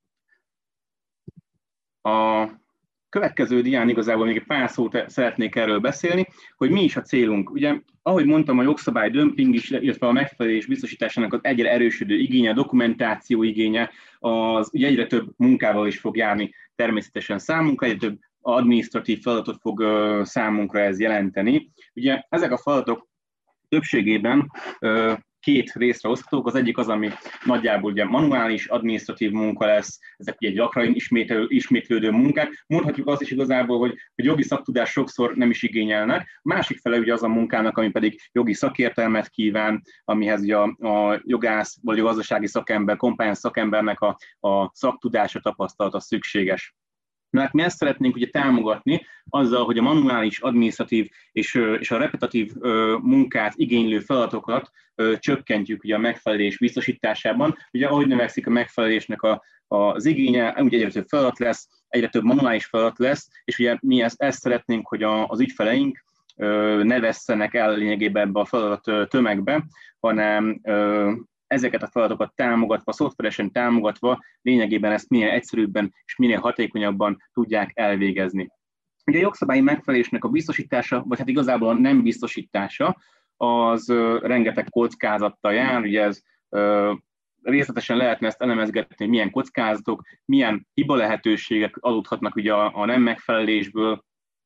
A következő dián igazából még egy pár szót szeretnék erről beszélni, hogy mi is a célunk. Ugye, ahogy mondtam, a jogszabálydömping is, illetve a megfelelés biztosításának az egyre erősödő igénye, a dokumentáció igénye, az ugye egyre több munkával is fog járni természetesen számunkra, egyre több adminisztratív feladatot fog számunkra ez jelenteni. Ugye ezek a feladatok többségében két részre oszthatók. Az egyik az, ami nagyjából ugye manuális, adminisztratív munka lesz, ezek ugye gyakran ismétlődő munkák. Mondhatjuk azt is igazából, hogy jogi szaktudás sokszor nem is igényelnek. A másik fele ugye az a munkának, ami pedig jogi szakértelmet kíván, amihez ugye a jogász vagy a gazdasági szakember, compliance szakembernek a szaktudása, tapasztalata szükséges. Mert mi ezt szeretnénk ugye támogatni azzal, hogy a manuális, adminisztratív és a repetitív munkát igénylő feladatokat csökkentjük ugye a megfelelés biztosításában. Ugye ahogy növekszik a megfelelésnek az igénye, ugye egyre több feladat lesz, egyre több manuális feladat lesz, és ugye mi ezt szeretnénk, hogy az ügyfeleink ne vesszenek el lényegében ebbe a feladat tömegbe, hanem ezeket a feladatokat támogatva, szoftveresen támogatva, lényegében ezt minél egyszerűbben és minél hatékonyabban tudják elvégezni. Ugye a jogszabályi megfelelésnek a biztosítása, vagy hát igazából a nem biztosítása, az rengeteg kockázattal jár, ugye ez részletesen lehetne ezt elemezgetni, hogy milyen kockázatok, milyen hiba lehetőségek adódhatnak ugye a nem megfelelésből.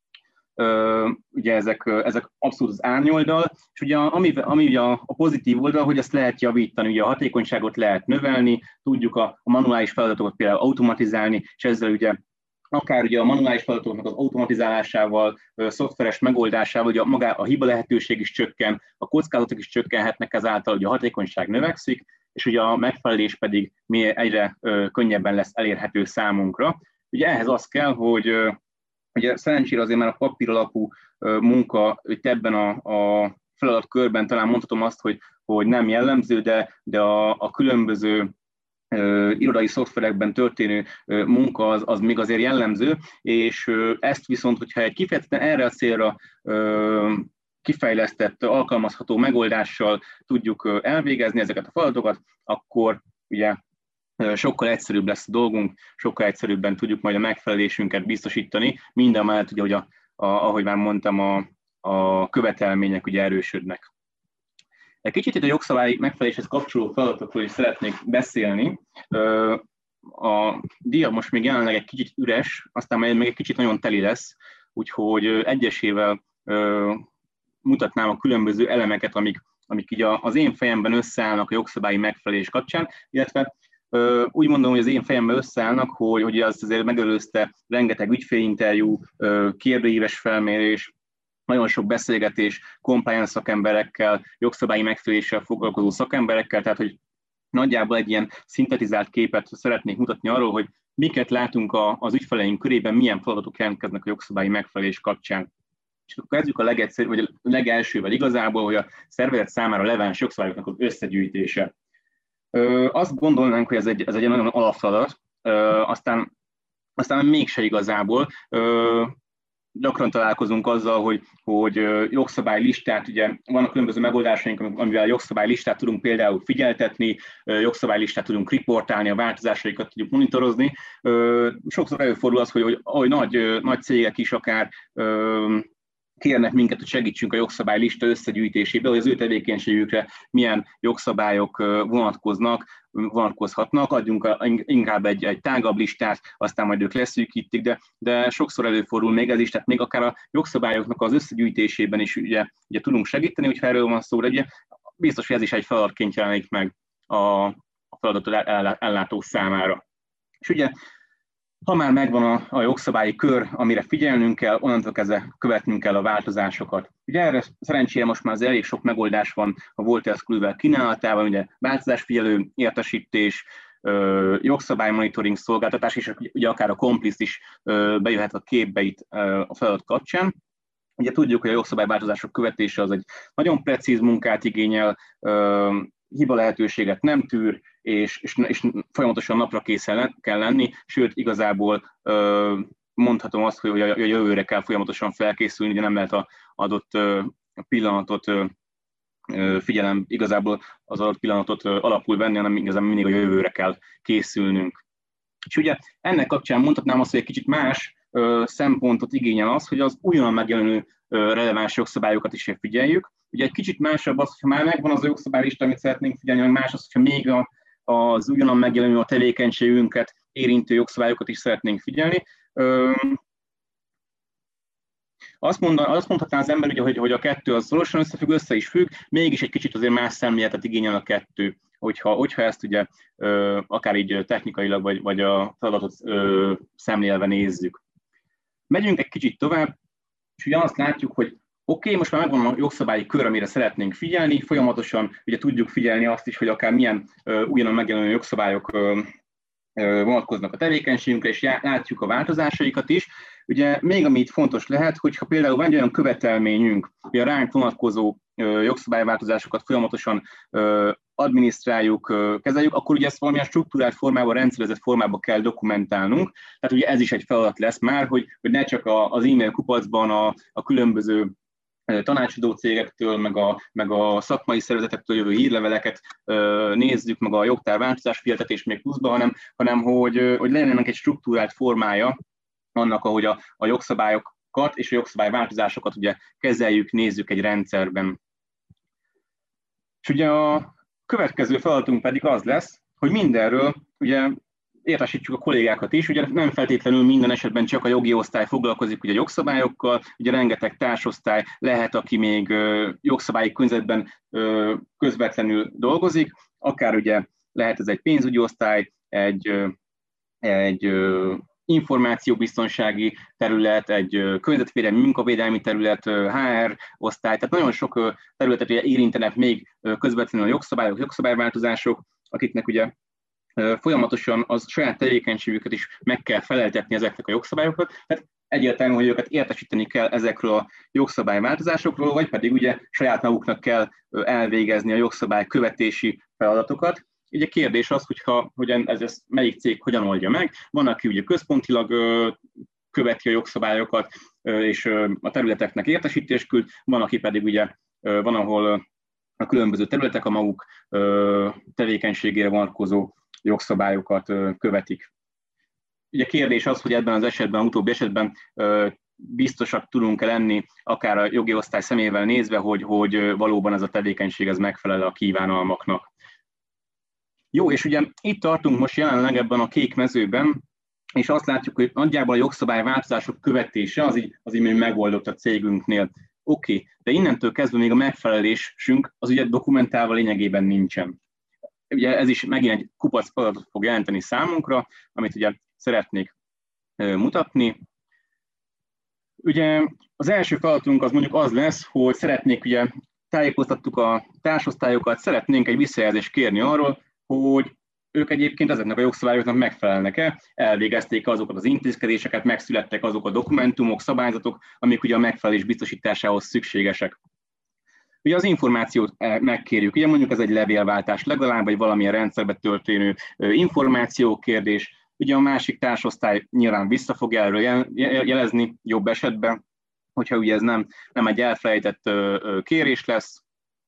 Ugye ezek abszolút az árnyoldal, és ugye ami ugye a pozitív oldal, hogy ezt lehet javítani, ugye a hatékonyságot lehet növelni, tudjuk a manuális feladatokat például automatizálni, és ezzel ugye akár ugye a manuális feladatoknak az automatizálásával, szoftveres megoldásával, ugye maga a hiba lehetőség is csökken, a kockázatok is csökkenhetnek ezáltal, ugye a hatékonyság növekszik, és ugye a megfelelés pedig egyre könnyebben lesz elérhető számunkra. Ugye ehhez az kell, hogy ugye szerencsére azért már a papír alapú munka itt ebben a feladatkörben talán mondhatom azt, hogy nem jellemző, de a különböző irodai szoftverekben történő munka az még azért jellemző, és ezt viszont, hogyha egy kifejezetten erre a célra kifejlesztett, alkalmazható megoldással tudjuk elvégezni ezeket a feladatokat, akkor ugye sokkal egyszerűbb lesz a dolgunk, sokkal egyszerűbben tudjuk majd a megfelelésünket biztosítani, mindamellett, ugye, hogy ahogy már mondtam, a követelmények ugye erősödnek. Egy kicsit itt a jogszabályi megfeleléshez kapcsoló feladatokról is szeretnék beszélni. A dia most még jelenleg egy kicsit üres, aztán majd még egy kicsit nagyon teli lesz, úgyhogy egyesével mutatnám a különböző elemeket, amik így az én fejemben összeállnak a jogszabályi megfelelés kapcsán, illetve úgy mondom, hogy az én fejemben összeállnak, hogy azt azért megelőzte rengeteg ügyfélinterjú, kérdőíves felmérés, nagyon sok beszélgetés compliance szakemberekkel, jogszabályi megfeleléssel foglalkozó szakemberekkel, tehát hogy nagyjából egy ilyen szintetizált képet szeretnék mutatni arról, hogy miket látunk az ügyfeleink körében, milyen feladatok jelentkeznek a jogszabályi megfelelés kapcsán. És akkor kezdjük a legelsővel igazából, hogy a szervezet számára releváns jogszabályoknak az összegyűjtése. Azt gondolnánk, hogy ez egy nagyon alapfeladat, aztán mégse igazából. Gyakran találkozunk azzal, hogy jogszabálylistát, ugye vannak különböző megoldásaink, amivel jogszabálylistát tudunk például figyeltetni, jogszabálylistát tudunk riportálni, a változásaikat tudjuk monitorozni. Sokszor előfordul az, hogy nagy cégek is akár kérnek minket, hogy segítsünk a jogszabálylista összegyűjtésébe, hogy az ő tevékenységükre milyen jogszabályok vonatkozhatnak, adjunk inkább egy tágabb listát, aztán majd ők leszűkítik, de sokszor előfordul még ez is, tehát még akár a jogszabályoknak az összegyűjtésében is ugye tudunk segíteni, hogyha erről van szó, de ugye biztos, hogy ez is egy feladatként jelenik meg a feladatot ellátó számára. És ugye ha már megvan a jogszabályi kör, amire figyelnünk kell, onnantól kezdve követnünk kell a változásokat. Ugye erre szerencsére most már elég sok megoldás van a Wolters Kluwer kínálatában, ugye változásfigyelő értesítés, jogszabálymonitoring szolgáltatás, és ugye akár a Complice is bejöhet a képbe itt a feladat kapcsán. Ugye tudjuk, hogy a jogszabályváltozások követése az egy nagyon precíz munkát igényel, hiba lehetőséget nem tűr, és folyamatosan napra készen kell lenni, sőt, igazából mondhatom azt, hogy a jövőre kell folyamatosan felkészülni, de nem lehet az adott pillanatot igazából az adott pillanatot alapul venni, hanem igazán mindig a jövőre kell készülnünk. És ugye ennek kapcsán mondhatnám azt, hogy egy kicsit más szempontot igényel az, hogy az újonnan megjelenő releváns jogszabályokat is figyeljük. Ugye egy kicsit másabb az, hogyha már megvan az a jogszabálylista, amit szeretnénk figyelni, meg más az, hogyha még az újonnan megjelenő a tevékenységünket érintő jogszabályokat is szeretnénk figyelni. Azt mondhatná az ember, ugye, hogy a kettő az szorosan összefügg, össze is függ, mégis egy kicsit azért más szemléletet igényel a kettő, hogyha ezt ugye akár így technikailag, vagy a feladatot szemlélve nézzük. Megyünk egy kicsit tovább, és ugye azt látjuk, hogy oké, most már megvan a jogszabályi kör, amire szeretnénk figyelni, folyamatosan ugye tudjuk figyelni azt is, hogy akár milyen újonnan megjelenő jogszabályok vonatkoznak a tevékenységünkre, és látjuk a változásaikat is. Ugye még ami itt fontos lehet, hogyha például van egy olyan követelményünk, hogy a ránk vonatkozó jogszabályváltozásokat folyamatosan adminisztráljuk, kezeljük, akkor ugye ezt valamilyen struktúrált formában, rendszerezett formában kell dokumentálnunk. Tehát ugye ez is egy feladat lesz már, hogy ne csak az e-mail kupacban a különböző tanácsadó cégektől, meg a szakmai szervezetektől jövő hírleveleket nézzük, meg a jogtárváltozás figyeltetés még pluszban, hanem hogy legyen ennek egy struktúrált formája annak, ahogy a jogszabályokat és a jogszabályváltozásokat ugye kezeljük, nézzük egy rendszerben. És ugye a következő feladatunk pedig az lesz, hogy mindenről ugye értesítsük a kollégákat is, ugye nem feltétlenül minden esetben csak a jogi osztály foglalkozik ugye jogszabályokkal, ugye rengeteg társosztály lehet, aki még jogszabályi környezetben közvetlenül dolgozik, akár ugye lehet ez egy pénzügyi osztály, egy információbiztonsági terület, egy környezetvédelmi, munkavédelmi terület, HR osztály, tehát nagyon sok területet érintenek még közvetlenül a jogszabályok, jogszabályváltozások, akiknek ugye folyamatosan az saját tevékenységüket is meg kell feleltetni ezeknek a jogszabályokat, tehát egyértelmű, hogy őket értesíteni kell ezekről a jogszabályváltozásokról, vagy pedig ugye saját maguknak kell elvégezni a jogszabály követési feladatokat. Ugye kérdés az, hogy ez melyik cég hogyan oldja meg. Van, aki ugye központilag követi a jogszabályokat, és a területeknek értesítést küld, van, aki pedig ugye van, ahol a különböző területek a maguk tevékenységére vonatkozó jogszabályokat követik. Ugye kérdés az, hogy ebben az esetben, utóbbi esetben biztosak tudunk-e lenni, akár a jogi osztály szemével nézve, hogy valóban ez a tevékenység ez megfelel a kívánalmaknak. Jó, és ugye itt tartunk most jelenleg ebben a kék mezőben, és azt látjuk, hogy nagyjából a jogszabályváltozások követése az így még megoldott a cégünknél. Oké, de innentől kezdve még a megfelelésünk az ugye dokumentálva lényegében nincsen. Ugye ez is megint egy kupac feladatot fog jelenteni számunkra, amit ugye szeretnék mutatni. Ugye az első feladatunk az mondjuk az lesz, hogy szeretnék, ugye tájékoztattuk a társosztályokat, szeretnénk egy visszajelzést kérni arról, hogy ők egyébként ezeknek a jogszabályoknak megfelelnek-e, elvégezték azokat az intézkedéseket, megszülettek azok a dokumentumok, szabályzatok, amik ugye a megfelelés biztosításához szükségesek. Ugye az információt megkérjük, ugye mondjuk ez egy levélváltás legalább, vagy valamilyen rendszerbe történő információkérdés. Ugye a másik társosztály nyilván vissza fog erről jelezni jobb esetben, hogyha ugye ez nem egy elfelejtett kérés lesz.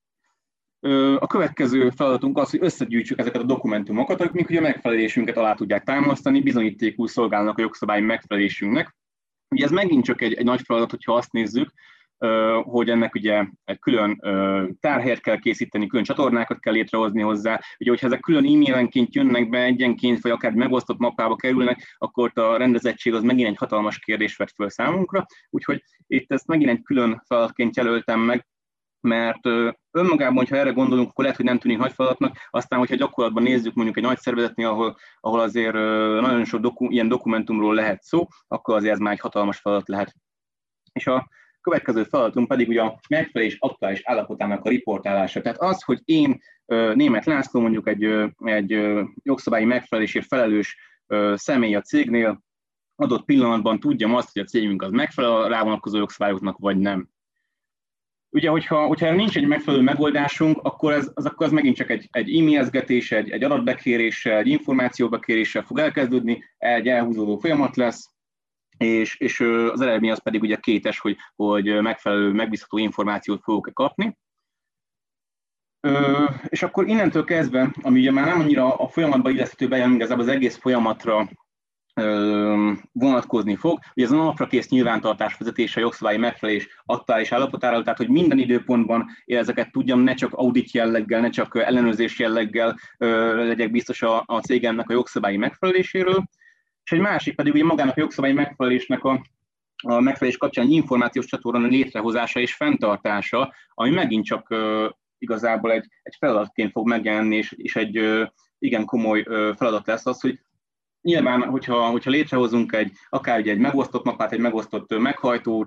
A következő feladatunk az, hogy összegyűjtsük ezeket a dokumentumokat, amik ugye a megfelelésünket alá tudják támasztani, bizonyítékul szolgálnak a jogszabályi megfelelésünknek. Ugye ez megint csak egy nagy feladat, hogyha azt nézzük, hogy ennek ugye egy külön tárhelyet kell készíteni, külön csatornákat kell létrehozni hozzá. Ugye, hogyha ezek külön e-mailenként jönnek be egyenként, vagy akár megosztott mappába kerülnek, akkor a rendezettség az megint egy hatalmas kérdést vet föl számunkra. Úgyhogy itt ezt megint egy külön feladatként jelöltem meg, mert önmagában, hogyha erre gondolunk, akkor lehet, hogy nem tűnik nagy feladatnak, aztán, hogyha gyakorlatban nézzük mondjuk egy nagy szervezetnél, ahol azért nagyon sok ilyen dokumentumról lehet szó, akkor azért ez már egy hatalmas feladat lehet. És a következő feladatunk pedig ugye a megfelelés aktuális állapotának a riportálása. Tehát az, hogy én, Németh László, mondjuk egy jogszabályi megfelelésért felelős személy a cégnél, adott pillanatban tudjam azt, hogy a cégünk az megfelel a rávonatkozó jogszabályoknak, vagy nem. Ugye, hogyha nincs egy megfelelő megoldásunk, akkor az megint csak egy e-mailezgetés, egy adatbekéréssel, egy információbekéréssel fog elkezdődni, egy elhúzódó folyamat lesz, és az eredmény az pedig ugye kétes, hogy megfelelő, megbízható információt fogok kapni. És akkor innentől kezdve, ami ugye már nem annyira a folyamatban illeszthető be, hanem igazából az egész folyamatra vonatkozni fog. Ugye ez a naprakész nyilvántartás vezetése a jogszabályi megfelelés aktuális állapotára, tehát hogy minden időpontban ezeket tudjam, ne csak audit jelleggel, ne csak ellenőrzés jelleggel legyek biztos a cégemnek a jogszabályi megfeleléséről. És egy másik pedig ugye magának a jogszabályi megfelelésnek a megfelelés kapcsán egy információs csatorna létrehozása és fenntartása, ami megint csak igazából egy feladatként fog megjelenni, és egy igen komoly feladat lesz az, hogy nyilván, hogyha létrehozunk akár egy megosztott mapát, egy megosztott meghajtót,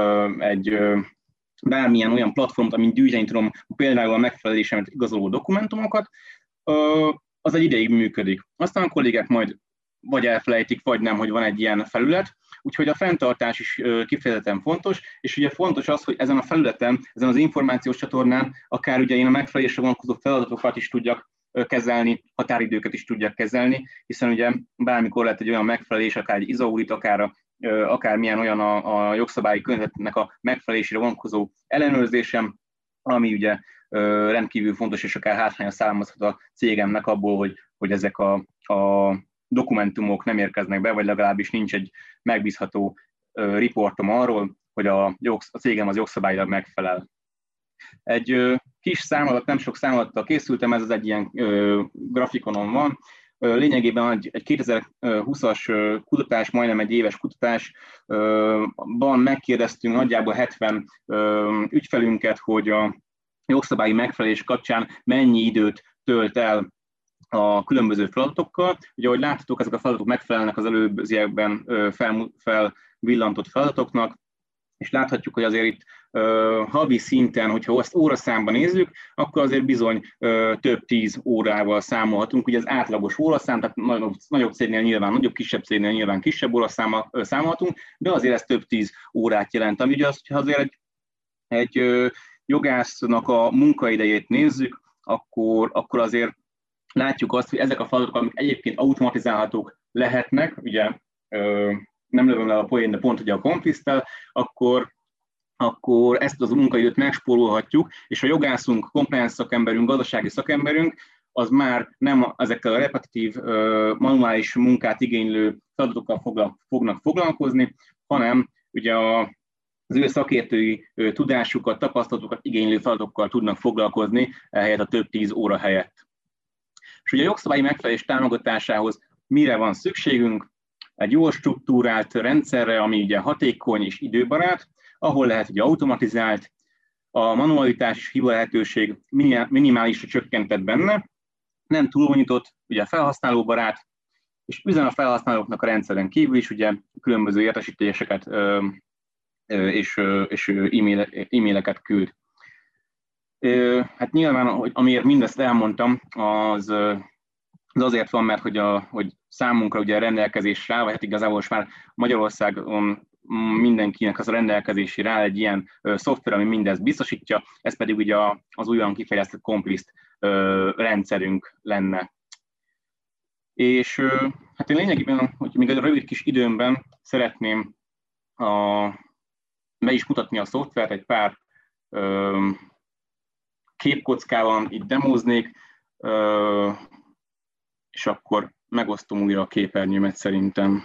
bármilyen olyan platformot, amin gyűjteni tudom például a megfelelésemet igazoló dokumentumokat, az egy ideig működik. Aztán a kollégák majd vagy elfelejtik, vagy nem, hogy van egy ilyen felület, úgyhogy a fenntartás is kifejezetten fontos, és ugye fontos az, hogy ezen a felületen, ezen az információs csatornán akár ugye én a megfelelésre vonatkozó feladatokat is tudjak kezelni, határidőket is tudjak kezelni, hiszen ugye bármikor lehet egy olyan megfelelés, akár egy ISO-audit, akármilyen olyan a jogszabályi környezetnek a megfelelésére vonatkozó ellenőrzésem, ami ugye rendkívül fontos, és akár hátránya származhat a cégemnek abból, hogy ezek a dokumentumok nem érkeznek be, vagy legalábbis nincs egy megbízható riportom arról, hogy a cégem az jogszabályilag megfelel. Egy kis számadat, nem sok számadattal készültem, ez az egy ilyen grafikonon van. Lényegében egy 2020-as kutatás, majdnem egy éves kutatásban megkérdeztünk nagyjából 70 ügyfelünket, hogy a jogszabályi megfelelés kapcsán mennyi időt tölt el a különböző feladatokkal. Ugye, ahogy láthatók, ezek a feladatok megfelelnek az előbbiekben felvillantott feladatoknak, és láthatjuk, hogy azért itt havi szinten, hogyha ezt óraszámban nézzük, akkor azért bizony több 10 órával számolhatunk. Ugye az átlagos óraszám, tehát nagyobb cégnél nyilván nagyobb, kisebb cégnél nyilván kisebb óraszámmal számolhatunk, de azért ez több 10 órát jelent. Ami ugye az, hogyha azért egy jogásznak a munkaidejét nézzük, akkor azért látjuk azt, hogy ezek a feladatok, amik egyébként automatizálhatók lehetnek, ugye nem lövöm le a poén, de pont ugye a Complisztel, akkor ezt az munkaidőt megspórolhatjuk, és a jogászunk, compliance szakemberünk, gazdasági szakemberünk, az már nem ezekkel a repetitív, manuális munkát igénylő feladatokkal fognak foglalkozni, hanem ugye az ő szakértői tudásukat, tapasztalatokat igénylő feladatokkal tudnak foglalkozni, ehelyett a több 10 óra helyett. És ugye a jogszabályi megfelelés támogatásához mire van szükségünk? Egy jól struktúrált rendszerre, ami ugye hatékony és időbarát, ahol lehet ugye automatizált, a manualitás és hiba lehetőség minimálisra csökkentett benne, nem túlbonyolított, ugye felhasználóbarát, és üzen a felhasználóknak a rendszeren kívül is ugye különböző értesítéseket és e-maileket küld. Hát nyilván, amiért mindezt elmondtam, az azért van, mert hogy számunkra ugye a rendelkezésre áll, vagy hát igazából most már Magyarországon mindenkinek az a rendelkezésére áll egy ilyen szoftver, ami mindezt biztosítja, ez pedig ugye az újonnan kifejlesztett Compliszт rendszerünk lenne. És hát én lényegében, hogy még egy rövid kis időmben szeretném be is mutatni a szoftvert, egy pár képkockával itt demóznék, és akkor megosztom újra a képernyőmet szerintem.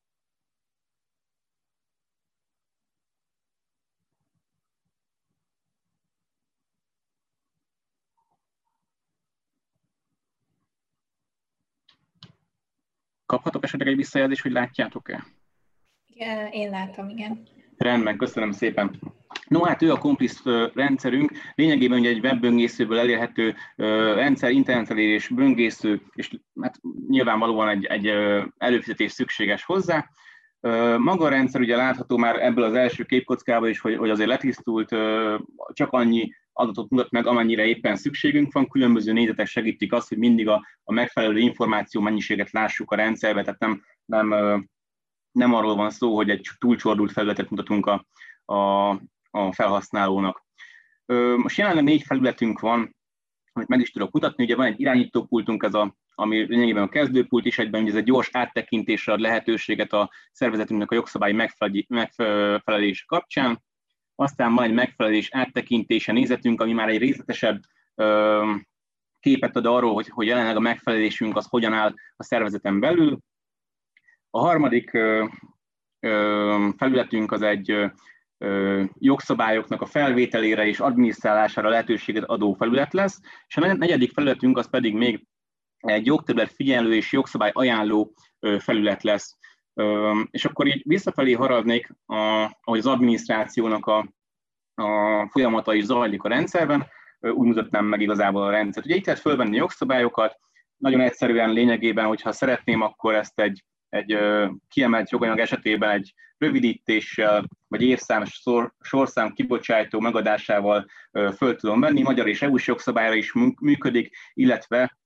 Kaphatok esetleg egy visszajelzést, hogy látjátok-e? Én látom, igen. Rendben, köszönöm szépen. No, hát ő a Compliszт rendszerünk, lényegében ugye egy webböngészőből elérhető rendszer, internetelérés, böngésző, és hát nyilvánvalóan egy előfizetés szükséges hozzá. Maga a rendszer ugye látható már ebből az első képkockában is, hogy azért letisztult, csak annyi adatot mutat meg, amennyire éppen szükségünk van. Különböző nézetek segítik azt, hogy mindig a megfelelő információ mennyiséget lássuk a rendszerbe, tehát nem arról van szó, hogy egy túlcsordult felületet mutatunk a felhasználónak. Most jelenleg 4 felületünk van, amit meg is tudok mutatni. Ugye van egy irányítópultunk, ami lényegében a kezdőpult is egyben, ez egy gyors áttekintésre ad lehetőséget a szervezetünknek a jogszabályi megfelelés kapcsán. Aztán van egy megfelelés áttekintése nézetünk, ami már egy részletesebb képet ad arról, hogy jelenleg a megfelelésünk az hogyan áll a szervezeten belül. A harmadik felületünk az egy jogszabályoknak a felvételére és adminisztrálására lehetőséget adó felület lesz, és a negyedik felületünk az pedig még egy jogterület figyelő és jogszabály ajánló felület lesz. És akkor így visszafelé haradnék, ahogy az adminisztrációnak a folyamata is zajlik a rendszerben, úgy mutatnám meg igazából a rendszert. Ugye itt lehet fölvenni jogszabályokat, nagyon egyszerűen lényegében, hogyha szeretném, akkor ezt egy kiemelt joganyag esetében egy rövidítéssel, vagy évszám, sorszám kibocsátó megadásával föl tudom venni. Magyar és EU-s jogszabályra is működik, illetve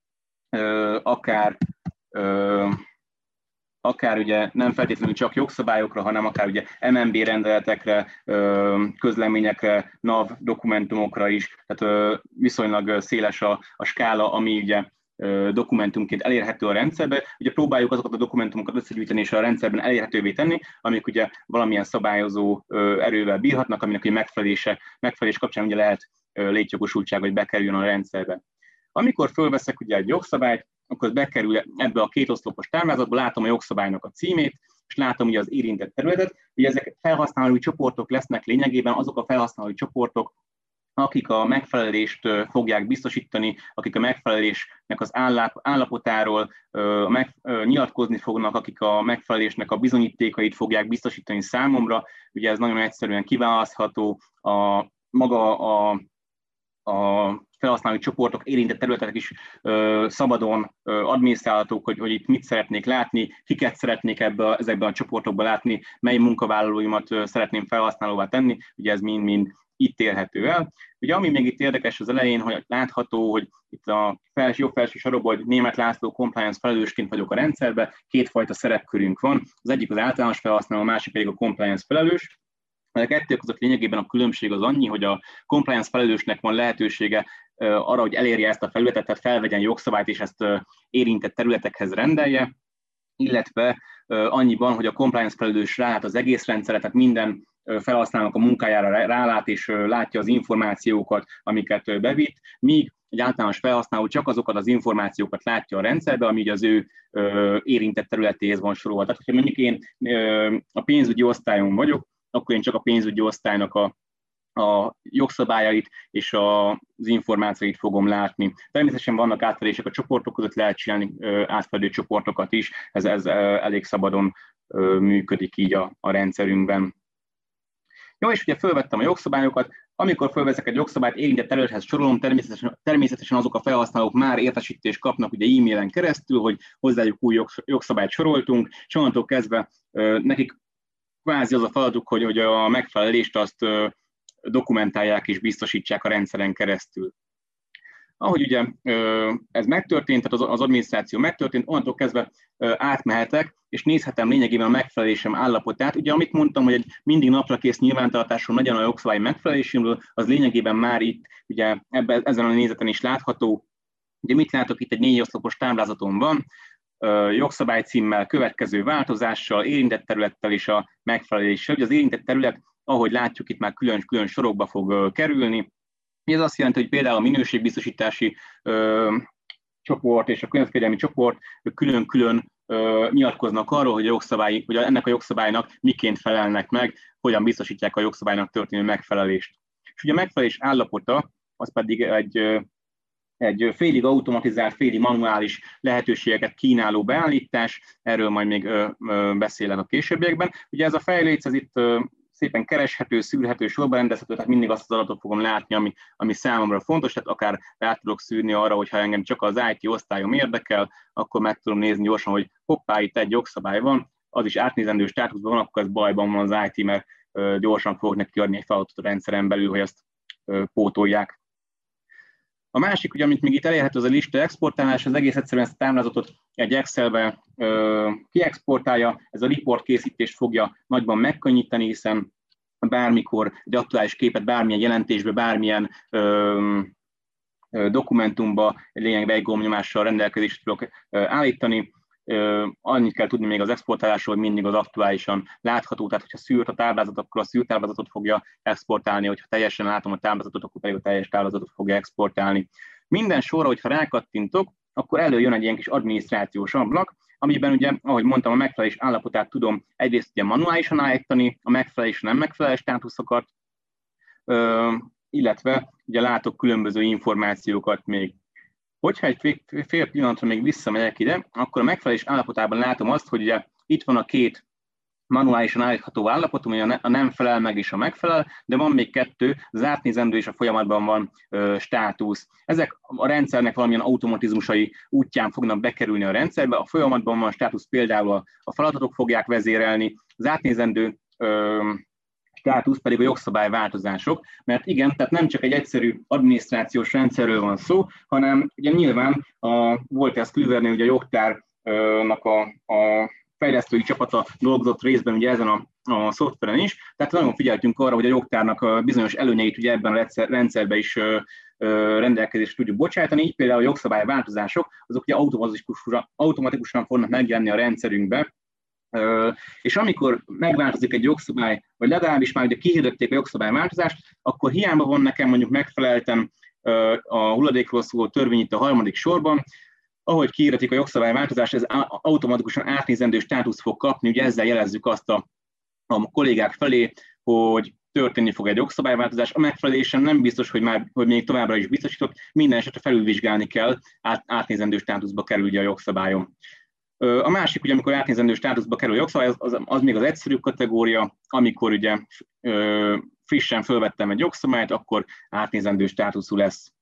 akár ugye nem feltétlenül csak jogszabályokra, hanem akár ugye MNB rendeletekre, közleményekre, NAV dokumentumokra is, tehát viszonylag széles a skála, ami ugye dokumentumként elérhető a rendszerbe. Ugye próbáljuk azokat a dokumentumokat összegyűjteni és a rendszerben elérhetővé tenni, amik ugye valamilyen szabályozó erővel bírhatnak, aminek ugye megfelelés kapcsán ugye lehet létjogosultság, hogy bekerüljön a rendszerbe. Amikor fölveszek ugye egy jogszabályt, akkor bekerül ebbe a kétoszlopos táblázatba, látom a jogszabálynak a címét, és látom ugye az érintett területet. Ugye ezek felhasználói csoportok lesznek lényegében azok a felhasználói csoportok, akik a megfelelést fogják biztosítani, akik a megfelelésnek az állapotáról nyilatkozni fognak, akik a megfelelésnek a bizonyítékait fogják biztosítani számomra. Ugye ez nagyon egyszerűen kiválasztható, maga a felhasználói csoportok, érintett területek is szabadon adminisztrálhatók, hogy itt mit szeretnék látni, kiket szeretnék ezekben a csoportokban látni, mely munkavállalóimat szeretném felhasználóvá tenni, ugye ez mind-mind itt érhető el. Ugye ami még itt érdekes az elején, hogy látható, hogy itt a jobb felső sarokban, hogy Németh László compliance felelősként vagyok a rendszerben, kétfajta szerepkörünk van, az egyik az általános felhasználó, a másik pedig a compliance felelős. A kettő között lényegében a különbség az annyi, hogy a compliance felelősnek van lehetősége arra, hogy elérje ezt a felületet, tehát felvegyen jogszabályt és ezt érintett területekhez rendelje, illetve annyiban, hogy a compliance felelős rálát az egész rendszerre, tehát minden felhasználónak a munkájára rálát és látja az információkat, amiket bevitt, míg egy általános felhasználó csak azokat az információkat látja a rendszerbe, ami az ő érintett területéhez van sorolva. Tehát, hogyha mondjuk én a pénzügyi osztályon vagyok, akkor én csak a pénzügyi osztálynak a jogszabályait és az információit fogom látni. Természetesen vannak átfedések a csoportok között, lehet csinálni átfedő csoportokat is, ez elég szabadon működik így a rendszerünkben. Jó, és ugye fölvettem a jogszabályokat, amikor fölveszek egy jogszabályt, érintett területhez sorolom, természetesen azok a felhasználók már értesítést kapnak ugye e-mailen keresztül, hogy hozzájuk új jogszabályt soroltunk, és onnantól kezdve nekik kvázi az a feladatuk, hogy a megfelelést azt dokumentálják és biztosítsák a rendszeren keresztül. Ahogy ugye ez megtörtént, tehát az adminisztráció megtörtént, onnantól kezdve átmehetek, és nézhetem lényegében a megfelelésem állapotát. Ugye amit mondtam, hogy egy mindig napra kész nyilvántartáson legyen a jogszabály megfeleléséről, az lényegében már itt, ugye ezen a nézeten is látható. Ugye mit látok itt, egy 4 oszlopos táblázaton van, jogszabálycímmel, következő változással, érintett területtel és a megfeleléssel. Ugye az érintett terület, ahogy látjuk, itt már külön sorokba fog kerülni. Ez azt jelenti, hogy például a minőségbiztosítási csoport és a környezetvédelmi csoport külön-külön nyilatkoznak arról, hogy ennek a jogszabálynak miként felelnek meg, hogyan biztosítják a jogszabálynak történő megfelelést. És ugye a megfelelés állapota az pedig egy félig automatizált, félig manuális lehetőségeket kínáló beállítás, erről majd még beszélek a későbbiekben. Ugye ez a fejléc, ez itt szépen kereshető, szűrhető, sorba rendezhető, tehát mindig azt az adatot fogom látni, ami számomra fontos, tehát akár rá tudok szűrni arra, hogyha engem csak az IT osztályom érdekel, akkor meg tudom nézni gyorsan, hogy hoppá, itt egy jogszabály van, az is átnézendő státuszban van, akkor ez bajban van az IT, mert gyorsan fogok neki adni egy feladatot a rendszeren belül, hogy ezt pótolják. A másik, ugye, amit még itt elérhető, az a lista exportálás, az egész egyszerűen ezt a táblázatot egy Excelbe kiexportálja, ez a report készítést fogja nagyban megkönnyíteni, hiszen bármikor egy aktuális képet bármilyen jelentésbe, bármilyen dokumentumba lényegben egy gombnyomással rendelkezésre tudok állítani. Annyit kell tudni még az exportálásról, hogy mindig az aktuálisan látható, tehát hogyha szűrt a táblázat, akkor a szűrt táblázatot fogja exportálni, hogyha teljesen látom a táblázatot, akkor pedig a teljes táblázatot fogja exportálni. Minden sorra, hogyha rákattintok, akkor előjön egy ilyen kis adminisztrációs ablak, amiben ugye, ahogy mondtam, a megfelelés állapotát tudom egyrészt ugye manuálisan állítani, a megfelelés nem megfelelő státuszokat, illetve ugye látok különböző információkat még. Hogyha egy fél pillanatra még visszamegyek ide, akkor a megfelelés állapotában látom azt, hogy ugye itt van a két manuálisan állítható állapot, ami a nem felel meg és a megfelel, de van még kettő, az átnézendő és a folyamatban van státusz. Ezek a rendszernek valamilyen automatizmusai útján fognak bekerülni a rendszerbe, a folyamatban van státusz, például a feladatok fogják vezérelni, az átnézendő státusz pedig a jogszabályváltozások, mert igen, tehát nem csak egy egyszerű adminisztrációs rendszerről van szó, hanem ugye nyilván a Wolters Kluwernél ugye a jogtárnak a fejlesztői csapata dolgozott részben ugye ezen a szoftveren is, tehát nagyon figyeltünk arra, hogy a jogtárnak a bizonyos előnyeit ugye ebben a rendszerben is rendelkezésre tudjuk bocsájtani, így például a jogszabályváltozások, azok ugye automatikusan fognak megjelenni a rendszerünkbe, és amikor megváltozik egy jogszabály, vagy legalábbis már ugye kihirdették a jogszabályváltozást, akkor hiába van nekem mondjuk megfelelten a hulladékról szóló törvény itt a harmadik sorban, ahogy kiirdetik a jogszabályváltozást, ez automatikusan átnézendő státusz fog kapni, ugye ezzel jelezzük azt a kollégák felé, hogy történni fog egy jogszabályváltozás. A megfelelésen nem biztos, hogy még továbbra is biztosított, minden esetre felülvizsgálni kell, átnézendő státuszba kerül ugye a jogszabályon. A másik, ugye, amikor átnézendő státuszba kerül a jogszabály, az még az egyszerűbb kategória, amikor ugye frissen fölvettem egy jogszabályt, akkor átnézendő státuszú lesz.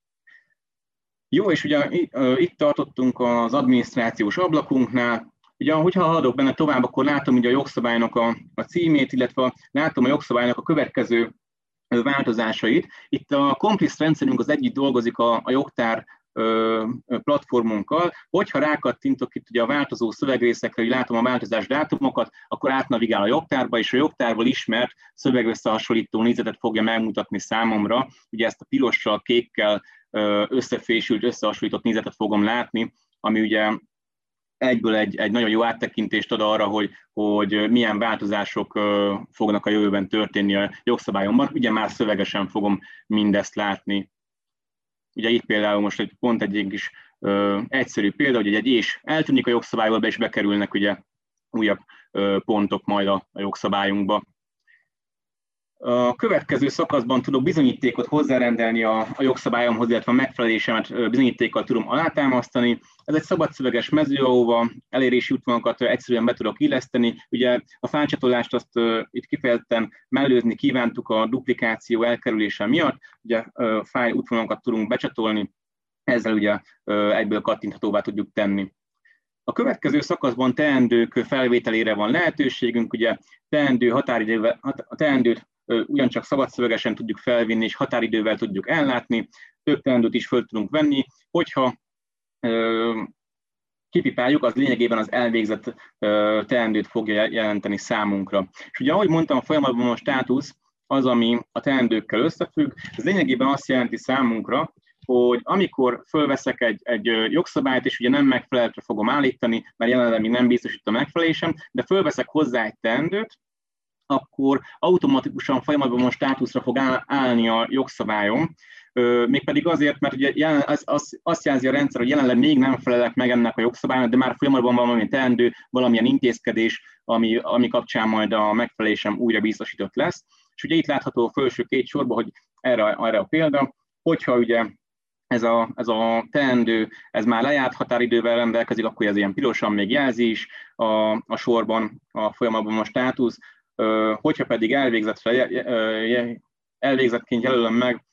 Jó, és ugye itt tartottunk az adminisztrációs ablakunknál. Ugye, hogyha haladok benne tovább, akkor látom ugye a jogszabálynak a címét, illetve látom a jogszabálynak a következő változásait. Itt a Complice rendszerünk az együtt dolgozik a jogtár platformunkkal. Hogyha rákattintok itt ugye a változó szövegrészekre, hogy látom a változás dátumokat, akkor átnavigál a jogtárba, és a jogtárból ismert szövegösszehasonlító nézetet fogja megmutatni számomra. Ugye ezt a pirossal, kékkel összefésült, összehasonlított nézetet fogom látni, ami ugye egyből egy nagyon jó áttekintést ad arra, hogy milyen változások fognak a jövőben történni a jogszabályomban. Ugye már szövegesen fogom mindezt látni. Ugye itt például most pont egy kis egyszerű példa, hogy egy és eltűnik a jogszabályból, és bekerülnek ugye újabb pontok majd a jogszabályunkba. A következő szakaszban tudok bizonyítékot hozzárendelni a jogszabályomhoz, illetve a megfelelésemet bizonyítékkal tudom alátámasztani. Ez egy szabadszöveges mező, ahova elérési útvonalakat egyszerűen be tudok illeszteni. Ugye a fájlcsatolást azt itt kifejezetten mellőzni kívántuk a duplikáció elkerülése miatt. Ugye fájl útvonalakat tudunk becsatolni, ezzel ugye egyből kattinthatóvá tudjuk tenni. A következő szakaszban teendők felvételére van lehetőségünk, ugye teendőt ugyancsak szabadszövegesen tudjuk felvinni, és határidővel tudjuk ellátni, több teendőt is föl tudunk venni, hogyha kipipáljuk, az lényegében az elvégzett teendőt fogja jelenteni számunkra. És ugye ahogy mondtam, a folyamatban a státusz az, ami a teendőkkel összefügg, ez lényegében azt jelenti számunkra, hogy amikor fölveszek egy jogszabályt, és ugye nem megfelelőtre fogom állítani, mert jelenleg még nem biztosít a megfelelésem, de fölveszek hozzá egy teendőt, akkor automatikusan folyamatban státuszra fog állni a jogszabályom, mégpedig azért, mert ugye azt jelzi a rendszer, hogy jelenleg még nem felelek meg ennek a jogszabálynak, de már folyamatban van valami teendő, valamilyen intézkedés, ami kapcsán majd a megfelelésem újra biztosított lesz. És ugye itt látható a felső két sorban, hogy erre a példa, hogyha ugye ez a teendő, ez már lejárt határidővel rendelkezik, akkor ez ilyen pirosan még jelzi is a sorban, a folyamatban a státusz. Hogyha pedig elvégzettként jelölöm meg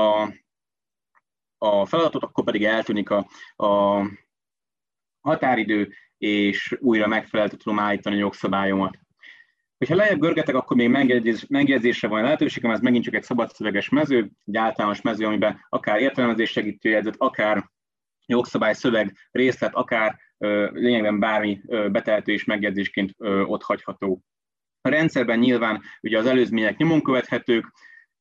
a feladatot, akkor pedig eltűnik a határidő, és újra megfelelően tudom állítani a jogszabályomat. Hogyha lejjebb görgetek, akkor még megjegyzésre van lehetőségem, ez megint csak egy szabadszöveges mező, egy általános mező, amiben akár értelmezés segítőjegyzet, akár jogszabály szöveg részlet, akár lényegben bármi betehető és megjegyzésként ott hagyható. A rendszerben nyilván ugye az előzmények nyomon követhetők,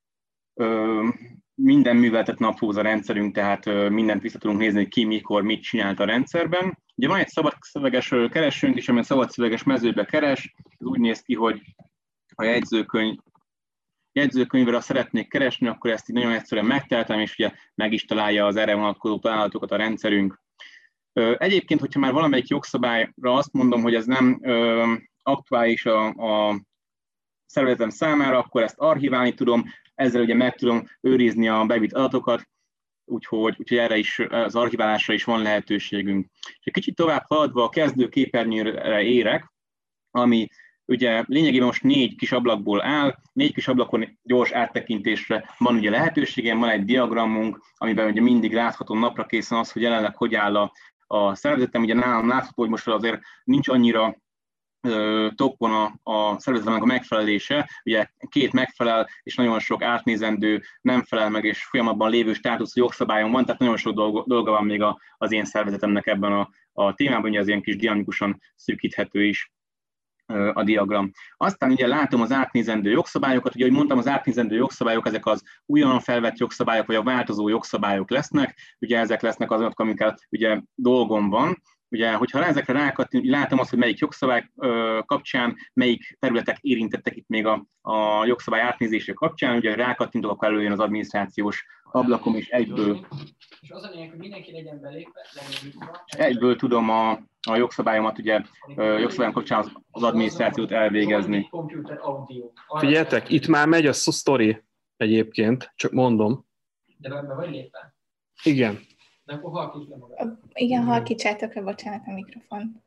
minden műveltet naplóz a rendszerünk, tehát mindent vissza tudunk nézni, hogy ki, mikor, mit csinált a rendszerben. Ugye van egy szabadszöveges keresőnk is, ami a szabadszöveges mezőbe keres. Ez úgy néz ki, hogy a jegyzőkönyvre szeretnék keresni, akkor ezt így nagyon egyszerűen megteltem, és ugye meg is találja az erre vonatkozó találatokat a rendszerünk. Egyébként, hogyha már valamelyik jogszabályra azt mondom, hogy ez nem aktuális a szervezetem számára, akkor ezt archiválni tudom, ezzel ugye meg tudom őrizni a bevitt adatokat, úgyhogy erre is, az archiválásra is van lehetőségünk. És egy kicsit tovább haladva a kezdő képernyőre érek, ami ugye lényegében most 4 kis ablakból áll, 4 kis ablakon gyors áttekintésre van ugye lehetőségem, van egy diagramunk, amiben ugye mindig látható napra készen az, hogy jelenleg hogy áll a szervezetem. Ugye nálam látható, hogy most azért nincs annyira toppon a szervezetemnek a megfelelése, ugye 2 megfelel, és nagyon sok átnézendő nem felel meg, és folyamatban lévő státusz jogszabályon van, tehát nagyon sok dolga van még az én szervezetemnek ebben a témában, ugye az ilyen kis dinamikusan szűkíthető is a diagram. Aztán ugye látom az átnézendő jogszabályokat, ugye, ahogy mondtam, az átnézendő jogszabályok, ezek az újonnan felvett jogszabályok, vagy a változó jogszabályok lesznek, ugye ezek lesznek azok, amikkel ugye dolgom van. Ugye, hogyha ezekre rákattintok, látom azt, hogy melyik jogszabály kapcsán, melyik területek érintettek itt még a jogszabály átnézése kapcsán, ugye rákattintok, akkor előjön az adminisztrációs ablakom, és egyből... És az a lényeg, hogy mindenki legyen belépve, egyből tudom a jogszabályomat, ugye jogszabályom kapcsán az adminisztrációt elvégezni. Figyeljetek, itt már megy a sztori egyébként, csak mondom. De be vagy lépve? Igen. De akkor halkíts le magad. Igen, halkítsátok le, bocsánat, a mikrofon.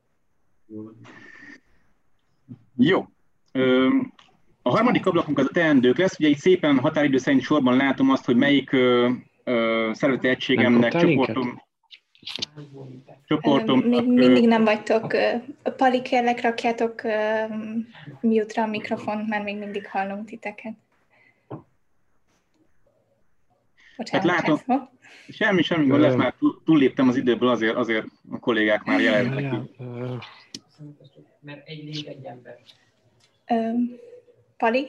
Jó. A harmadik ablakunk az a teendők lesz. Ugye itt szépen határidő szerint sorban látom azt, hogy melyik szervezeti egységemnek csoportom. Még mindig nem vagytok. Pali, kérlek, rakjátok mute-ra a mikrofont, mert még mindig hallunk titeket. Hát látom, semmi gond lesz, már túlléptem az időből, azért a kollégák már jelentek. Mert egy lég, egy ember. Pali?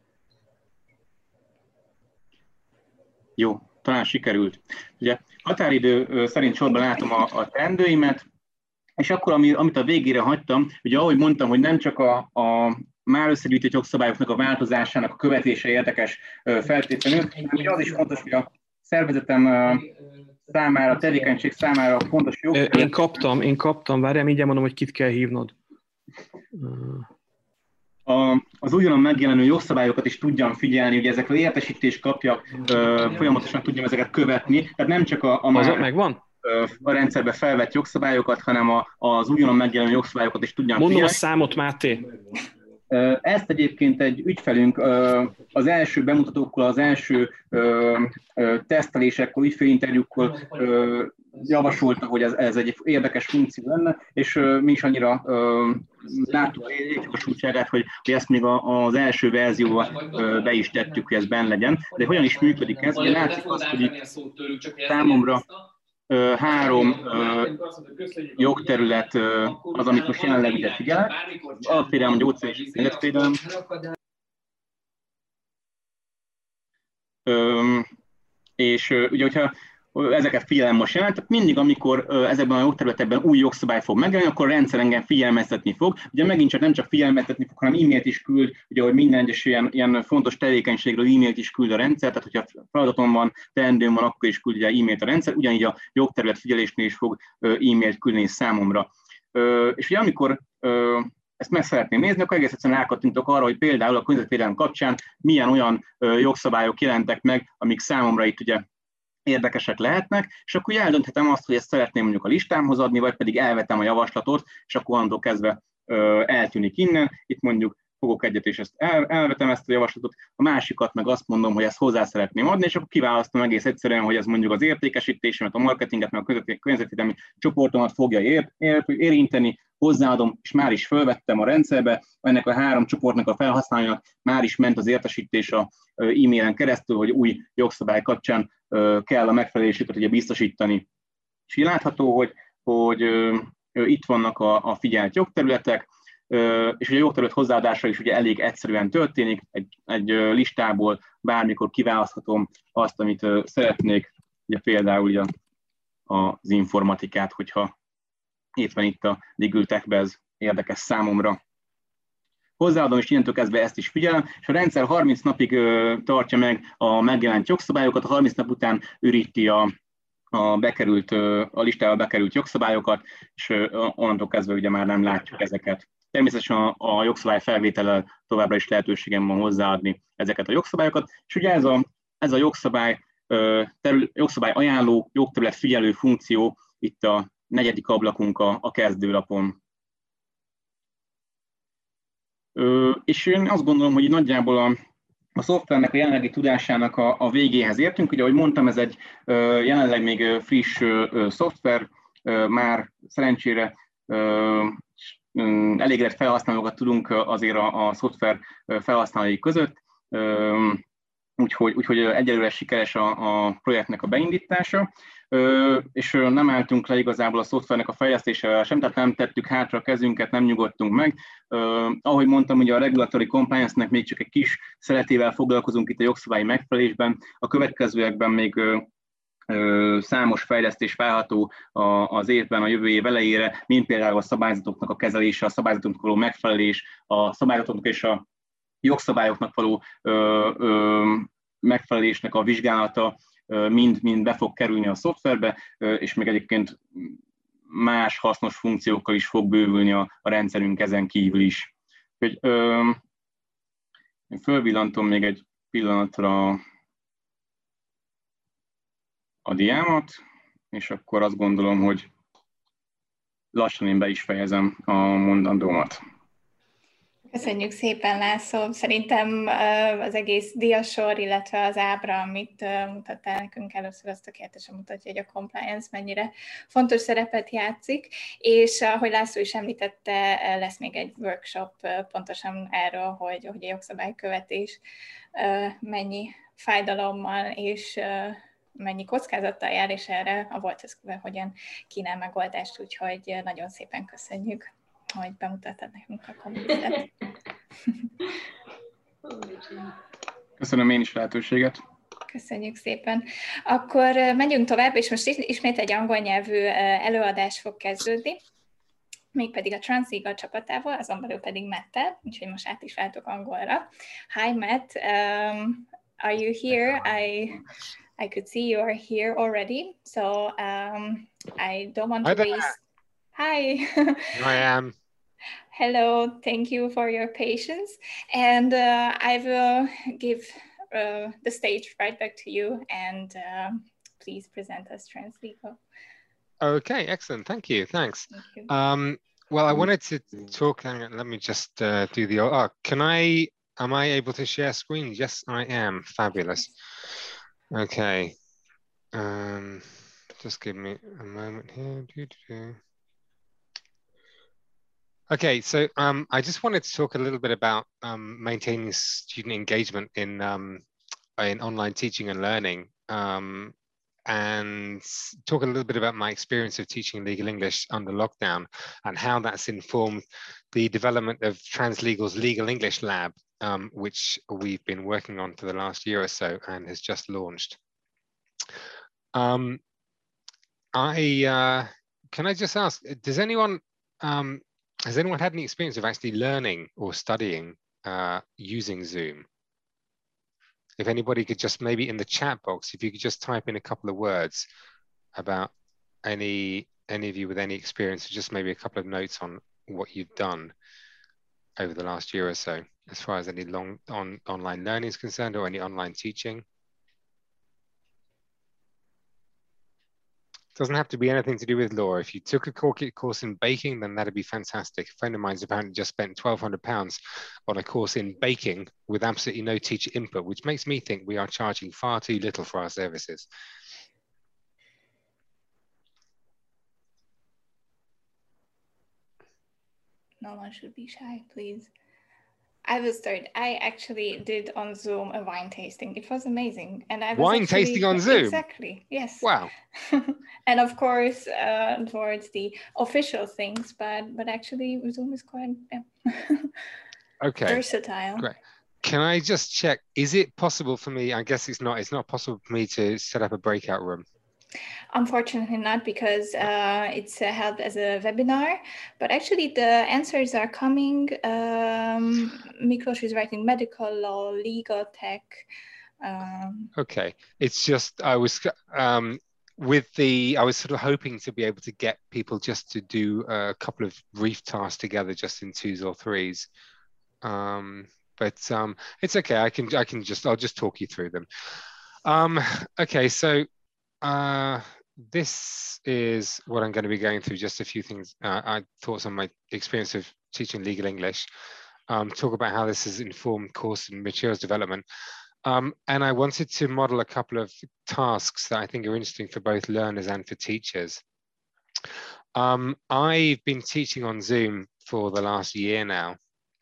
Jó, talán sikerült. Ugye határidő szerint sorban látom a teendőimet, és akkor, amit a végére hagytam, ugye ahogy mondtam, hogy nem csak a már összegyűjtött jogszabályoknak a változásának a követése érdekes feltétlenül, hanem az is fontos, hogy a szervezetem számára, a tevékenység számára fontos jogszabály. Én kaptam, várjál, így mondom, hogy kit kell hívnod. Az újonnan megjelenő jogszabályokat is tudjam figyelni, hogy ezekről értesítést kapjak, folyamatosan tudjam ezeket követni, tehát nem csak a megvan? A rendszerbe felvett jogszabályokat, hanem az újonnan megjelenő jogszabályokat is tudjam figyelni. Mondom a számot, Máté. Ezt egyébként egy ügyfelünk az első bemutatókkal, az első tesztelésekkor, ügyfélinterjúkkal javasolta, hogy ez egy érdekes funkció lenne, és mi is annyira láttuk a létjogosultságát, hogy ezt még az első verzióban be is tettük, hogy ez benne legyen. De hogyan is működik ez? Ugye látszik azt, hogy számomra 3 jogterület az, amit most jelenleg ugye figyelek. Alapvédelem, gyógyszer és életvédelem. És ugye, hogyha ezeket figyelem most jelent, tehát mindig, amikor ezekben a jogterületekben új jogszabály fog megjelenni, akkor a rendszer engem figyelmeztetni fog. Ugye megint csak nem csak figyelmeztetni fog, hanem e-mailt is küld, ugye, hogy minden egyes ilyen fontos tevékenységről e-mailt is küld a rendszer, tehát hogyha feladatom van, teendőm van, akkor is küld ugye e-mailt a rendszer, ugyanígy a jogterület figyelésnél is fog e-mailt küldeni számomra. És ugye amikor ezt meg szeretném nézni, akkor egész egyszerűen rákattintok arra, hogy például a környezetvédelem kapcsán milyen olyan jogszabályok jelentek meg, amik számomra itt ugye érdekesek lehetnek, és akkor eldönthetem azt, hogy ezt szeretném mondjuk a listámhoz adni, vagy pedig elvetem a javaslatot, és akkor onnantól kezdve eltűnik innen. Itt mondjuk fogok egyet, és elvetem ezt a javaslatot, a másikat meg azt mondom, hogy ezt hozzá szeretném adni, és akkor kiválasztom egész egyszerűen, hogy ez mondjuk az értékesítésemet, a marketinget, meg a környezetvédelmi csoportomat fogja érinteni, hozzáadom, és már is fölvettem a rendszerbe, ennek a 3 csoportnak a felhasználójának már is ment az értesítés a e-mailen keresztül, hogy új jogszabály kapcsán kell a megfelelésüket ugye biztosítani. És így látható, hogy itt vannak a figyelt jogterületek, és a jogterület hozzáadása is ugye elég egyszerűen történik, egy listából bármikor kiválaszthatom azt, amit szeretnék, ugye például ugye az informatikát, hogyha éppen itt a Legal Tech-be ez érdekes számomra. Hozzáadom, és innentől kezdve ezt is figyelem, és a rendszer 30 napig tartja meg a megjelent jogszabályokat, a 30 nap után üríti a listába bekerült jogszabályokat, és onnantól kezdve ugye már nem látjuk ezeket. Természetesen a jogszabály felvétellel továbbra is lehetőségem van hozzáadni ezeket a jogszabályokat, és ugye ez a jogszabály ajánló, jogterület figyelő funkció itt a 4. ablakunk a kezdőlapon. És én azt gondolom, hogy nagyjából a szoftvernek a jelenlegi tudásának a végéhez értünk. Ugye, ahogy mondtam, ez egy jelenleg még friss szoftver, már szerencsére elégedett felhasználókat tudunk azért a szoftver felhasználói között, úgyhogy egyelőre sikeres a projektnek a beindítása, és nem álltunk le igazából a szoftvernek a fejlesztésével sem, tehát nem tettük hátra a kezünket, nem nyugodtunk meg. Ahogy mondtam, ugye a regulatory compliance-nek még csak egy kis szeletével foglalkozunk itt a jogszabályi megfelelésben, a következőekben még számos fejlesztés várható az évben, a jövő év elejére, mint például a szabályzatoknak a kezelése, a szabályzatoknak való megfelelés, a szabályzatoknak és a jogszabályoknak való megfelelésnek a vizsgálata mind be fog kerülni a szoftverbe, és még egyébként más hasznos funkciókkal is fog bővülni a rendszerünk ezen kívül is. Úgyhogy én fölvillantom még egy pillanatra a diámat, és akkor azt gondolom, hogy lassan én be is fejezem a mondandómat. Köszönjük szépen, László. Szerintem az egész diasor, illetve az ábra, amit mutattál nekünk először, azt tökéletesen mutatja, hogy a compliance mennyire fontos szerepet játszik, és ahogy László is említette, lesz még egy workshop pontosan erről, hogy a jogszabálykövetés mennyi fájdalommal és mennyi kockázattal jár, és erre a Wolters Kluwer hogyan kínál megoldást, úgyhogy nagyon szépen köszönjük, hogy bemutattad nekünk a kommunitet. Köszönöm én is lehetőséget. Köszönjük szépen. Akkor megyünk tovább, és most ismét egy angol nyelvű előadás fog kezdődni, mégpedig a Translegal csapatával, azon belül pedig Matt-tel, úgyhogy most át is váltok angolra. Hi Matt, are you here? I could see you are here already, so I don't want to waste... Hi. Here I am. Hello, thank you for your patience. And I will give the stage right back to you, and please present us Translegal. Okay, excellent. Thank you. Thanks. Thank you. Well, I wanted to talk, let me just do the, am I able to share screen? Yes, I am. Fabulous. Okay. Just give me a moment here. Okay, so I just wanted to talk a little bit about maintaining student engagement in online teaching and learning, and talk a little bit about my experience of teaching legal English under lockdown and how that's informed the development of Translegal's Legal English Lab, which we've been working on for the last year or so and has just launched. Can I just ask, has anyone had any experience of actually learning or studying using Zoom? If anybody could just maybe in the chat box, if you could just type in a couple of words about any of you with any experience, or just maybe a couple of notes on what you've done over the last year or so, as far as any online learning is concerned or any online teaching. Doesn't have to be anything to do with law. If you took a course in baking, then that'd be fantastic. A friend of mine's apparently just spent £1,200 on a course in baking with absolutely no teacher input, which makes me think we are charging far too little for our services. No one should be shy, please. I will start. I actually did on Zoom a wine tasting. It was amazing. And I was wine tasting on Zoom? Exactly, yes. Wow. And of course, towards the official things, but actually Zoom is quite okay. versatile. Great. Can I just check, is it possible for me, I guess it's not possible for me to set up a breakout room? Unfortunately not, because it's held as a webinar, but actually the answers are coming. Miklos is writing medical law, legal tech. Okay, it's just, I was sort of hoping to be able to get people just to do a couple of brief tasks together just in 2s or 3s. But it's okay, I'll just talk you through them. Okay, so this is what I'm going to be going through, just a few things, thoughts on my experience of teaching legal English. talk about how this has informed course and materials development. And I wanted to model a couple of tasks that I think are interesting for both learners and for teachers. I've been teaching on Zoom for the last year now,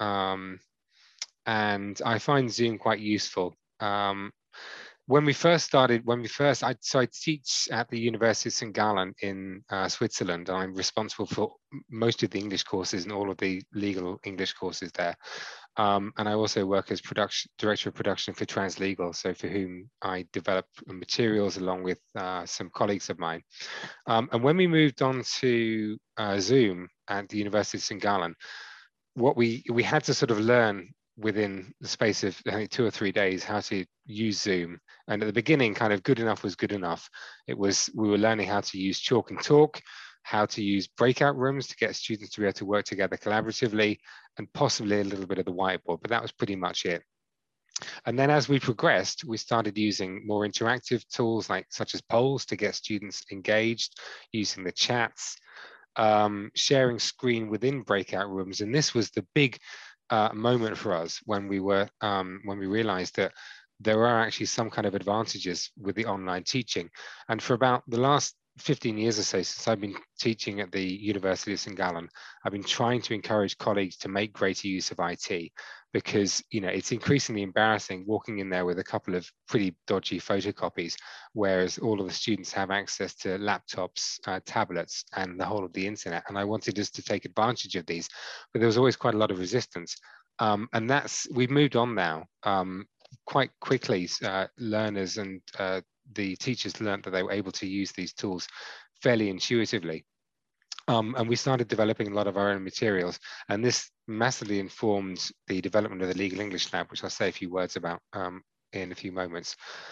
and I find Zoom quite useful. When we first started, I teach at the University of St. Gallen in Switzerland. I'm responsible for most of the English courses and all of the legal English courses there. And I also work as director of production for Translegal, so for whom I develop materials along with some colleagues of mine. And when we moved on to Zoom at the University of St. Gallen, what we had to sort of learn within the space of I think 2 or 3 days how to use Zoom. And at the beginning, kind of good enough was good enough. We were learning how to use Chalk and Talk, how to use breakout rooms to get students to be able to work together collaboratively, and possibly a little bit of the whiteboard, but that was pretty much it. And then as we progressed, we started using more interactive tools such as polls to get students engaged, using the chats, sharing screen within breakout rooms. And this was the big moment for us when we realized that there are actually some kind of advantages with the online teaching. And for about the last 15 years or so, since I've been teaching at the University of St. Gallen, I've been trying to encourage colleagues to make greater use of IT, because it's increasingly embarrassing walking in there with a couple of pretty dodgy photocopies, whereas all of the students have access to laptops, tablets, and the whole of the internet. And I wanted us to take advantage of these, but there was always quite a lot of resistance. And we've moved on now. Quite quickly, learners and the teachers learned that they were able to use these tools fairly intuitively. And we started developing a lot of our own materials. And this massively informed the development of the Legal English Lab, which I'll say a few words about in a few moments.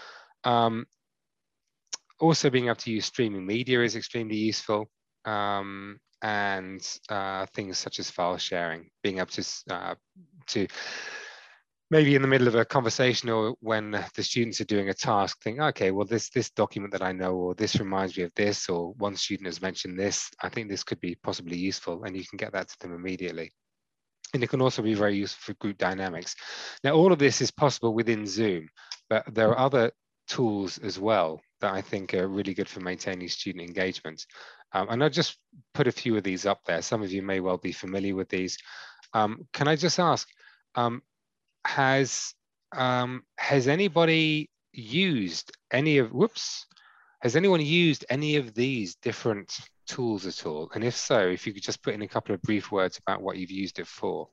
Also being able to use streaming media is extremely useful. And things such as file sharing, being able to maybe in the middle of a conversation or when the students are doing a task, think, okay, well, this document that I know, or this reminds me of this, or one student has mentioned this, I think this could be possibly useful, and you can get that to them immediately. And it can also be very useful for group dynamics. Now, all of this is possible within Zoom, but there are other tools as well that I think are really good for maintaining student engagement. And I'll just put a few of these up there. Some of you may well be familiar with these. Can I just ask, has anybody used any of, has anyone used any of these different tools at all? And if so, if you could just put in a couple of brief words about what you've used it for.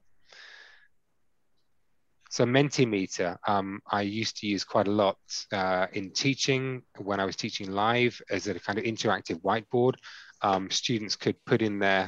So Mentimeter, I used to use quite a lot in teaching when I was teaching live as a kind of interactive whiteboard. Students could put in their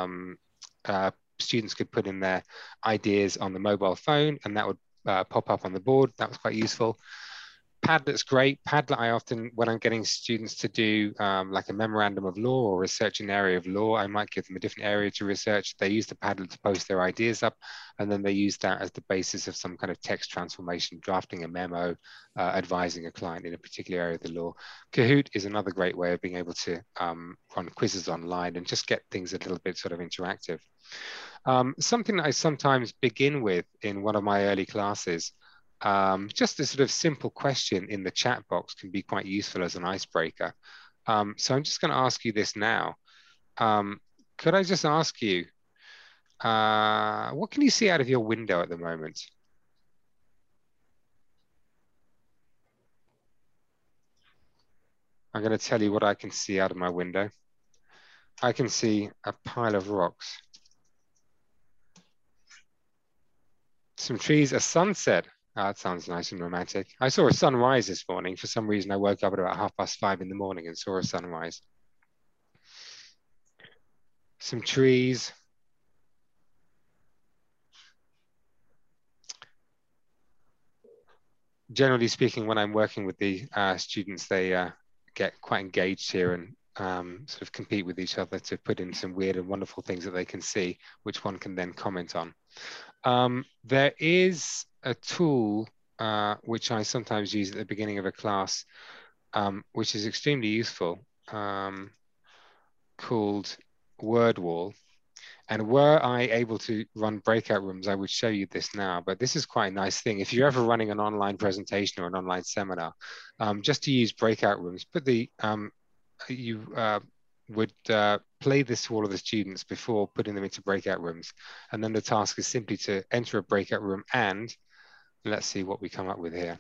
ideas on the mobile phone, and that would pop up on the board. That was quite useful. Padlet's great. Padlet, I often, when I'm getting students to do like a memorandum of law or research an area of law, I might give them a different area to research. They use the Padlet to post their ideas up, and then they use that as the basis of some kind of text transformation, drafting a memo, advising a client in a particular area of the law. Kahoot is another great way of being able to run quizzes online and just get things a little bit sort of interactive. Something that I sometimes begin with in one of my early classes, just a sort of simple question in the chat box can be quite useful as an icebreaker. So I'm just going to ask you this now. Could I just ask you, what can you see out of your window at the moment? I'm going to tell you what I can see out of my window. I can see a pile of rocks, some trees, a sunset. That sounds nice and romantic. I saw a sunrise this morning. For some reason, I woke up at about 5:30 in the morning and saw a sunrise. Some trees. Generally speaking, when I'm working with the students, they get quite engaged here and sort of compete with each other to put in some weird and wonderful things that they can see, which one can then comment on. There is a tool which I sometimes use at the beginning of a class, which is extremely useful, called WordWall. And were I able to run breakout rooms, I would show you this now, but this is quite a nice thing. If you're ever running an online presentation or an online seminar, just to use breakout rooms, put the, you would play this to all of the students before putting them into breakout rooms. And then the task is simply to enter a breakout room, and let's see what we come up with here.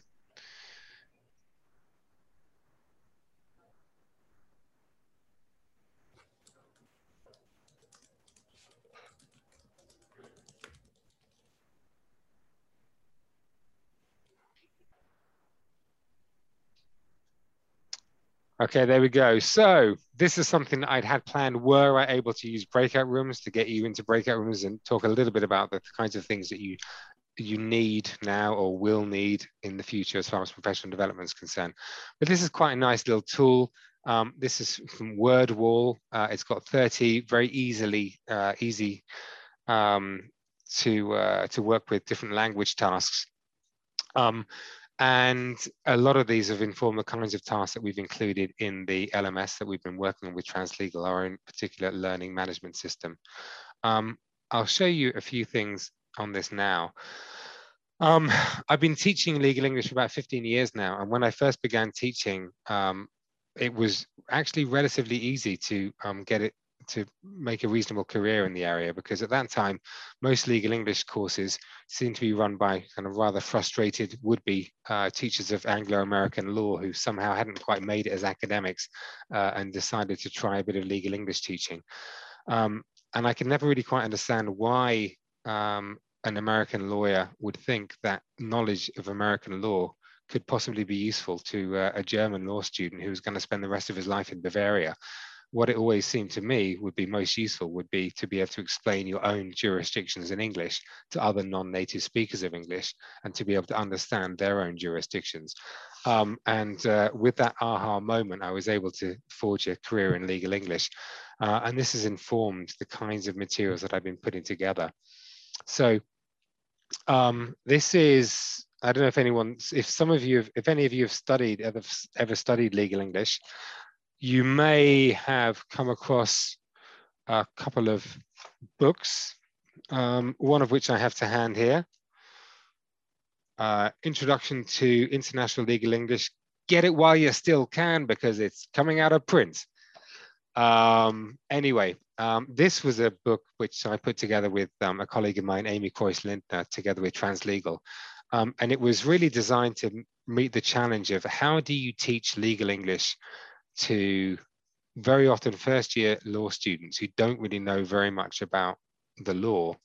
Okay, there we go. So this is something that I'd had planned were I able to use breakout rooms to get you into breakout rooms and talk a little bit about the kinds of things that you need now or will need in the future as far as professional development is concerned. But this is quite a nice little tool. This is from WordWall. It's got 30 very easy to work with different language tasks. And a lot of these have informed the kinds of tasks that we've included in the LMS that we've been working on with Translegal, our own particular learning management system. I'll show you a few things on this now. I've been teaching legal English for about 15 years now. And when I first began teaching, it was actually relatively easy to to make a reasonable career in the area, because at that time, most legal English courses seemed to be run by kind of rather frustrated would-be teachers of Anglo-American law who somehow hadn't quite made it as academics and decided to try a bit of legal English teaching. And I could never really quite understand why an American lawyer would think that knowledge of American law could possibly be useful to a German law student who was going to spend the rest of his life in Bavaria. What it always seemed to me would be most useful would be to be able to explain your own jurisdictions in English to other non-native speakers of English and to be able to understand their own jurisdictions. With that aha moment, I was able to forge a career in legal English. And this has informed the kinds of materials that I've been putting together. So this is, I don't know if if any of you have ever studied legal English, you may have come across a couple of books, one of which I have to hand here. Introduction to International Legal English. Get it while you still can, because it's coming out of print. Anyway, this was a book which I put together with a colleague of mine, Amy Croyce-Lintner, together with Translegal. And it was really designed to meet the challenge of how do you teach legal English to very often first-year law students who don't really know very much about the law,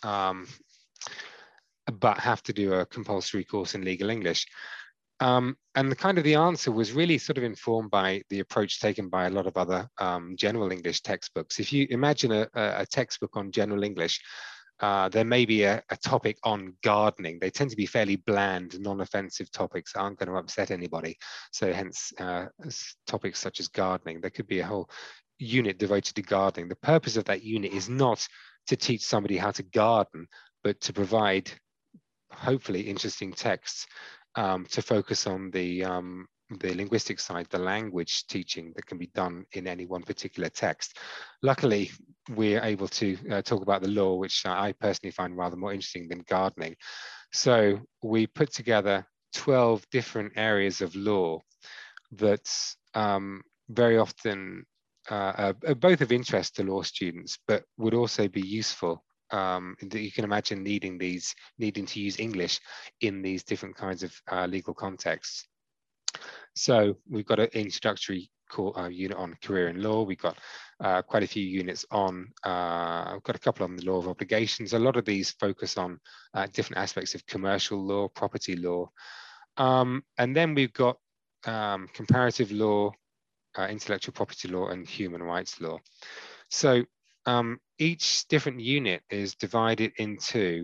but have to do a compulsory course in legal English. And the answer was really sort of informed by the approach taken by a lot of other general English textbooks. If you imagine a textbook on general English, there may be a topic on gardening. They tend to be fairly bland, non-offensive topics, aren't going to upset anybody. So hence topics such as gardening. There could be a whole unit devoted to gardening. The purpose of that unit is not to teach somebody how to garden, but to provide hopefully interesting texts to focus on the linguistic side, the language teaching that can be done in any one particular text. Luckily, we're able to talk about the law, which I personally find rather more interesting than gardening. So we put together 12 different areas of law that very often are both of interest to law students, but would also be useful. You can imagine needing to use English in these different kinds of legal contexts. So we've got an introductory unit on career in law. We've got quite a few units on, I've got a couple on the law of obligations. A lot of these focus on different aspects of commercial law, property law. And then we've got comparative law, intellectual property law, and human rights law. So each different unit is divided into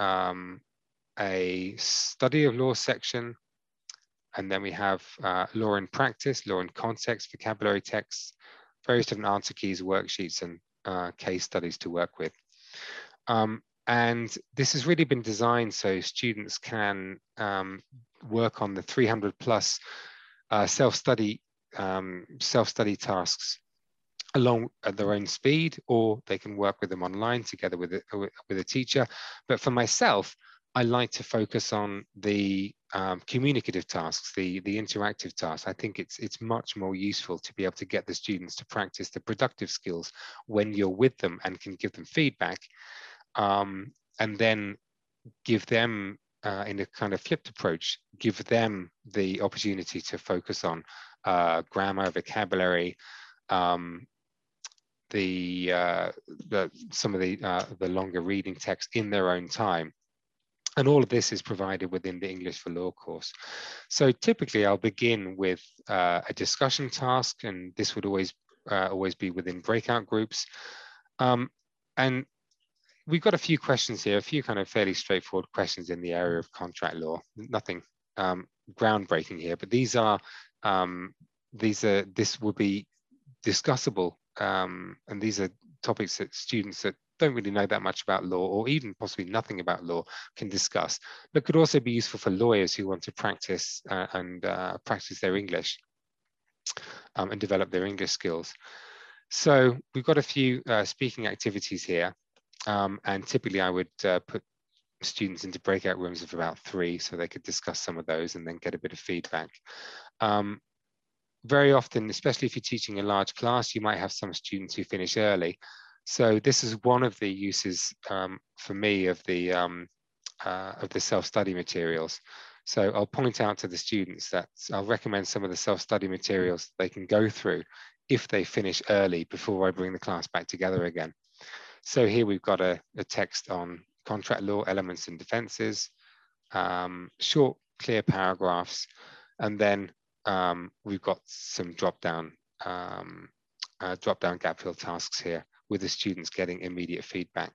a study of law section, and then we have law in practice, law in context, vocabulary texts, various different answer keys, worksheets, and case studies to work with. And this has really been designed so students can work on the 300 plus self-study tasks along at their own speed, or they can work with them online together with a teacher. But for myself, I like to focus on the communicative tasks, the interactive tasks. I think it's much more useful to be able to get the students to practice the productive skills when you're with them and can give them feedback, and then give them, in a kind of flipped approach, give them the opportunity to focus on grammar, vocabulary, some of the longer reading text in their own time. And all of this is provided within the English for Law course. So typically I'll begin with a discussion task, and this would always be within breakout groups. And we've got a few questions here, a few kind of fairly straightforward questions in the area of contract law. Nothing groundbreaking here, but this will be discussable, and these are topics that students that don't really know that much about law, or even possibly nothing about law, can discuss, but could also be useful for lawyers who want to practice practice their English and develop their English skills. So we've got a few speaking activities here, and typically I would put students into breakout rooms of about 3 so they could discuss some of those and then get a bit of feedback. Very often, especially if you're teaching a large class, you might have some students who finish early. So this is one of the uses for me of the self-study materials. So I'll point out to the students that I'll recommend some of the self-study materials they can go through if they finish early before I bring the class back together again. So here we've got a text on contract law elements and defenses, short, clear paragraphs, and then we've got some drop-down gap fill tasks here with the students getting immediate feedback.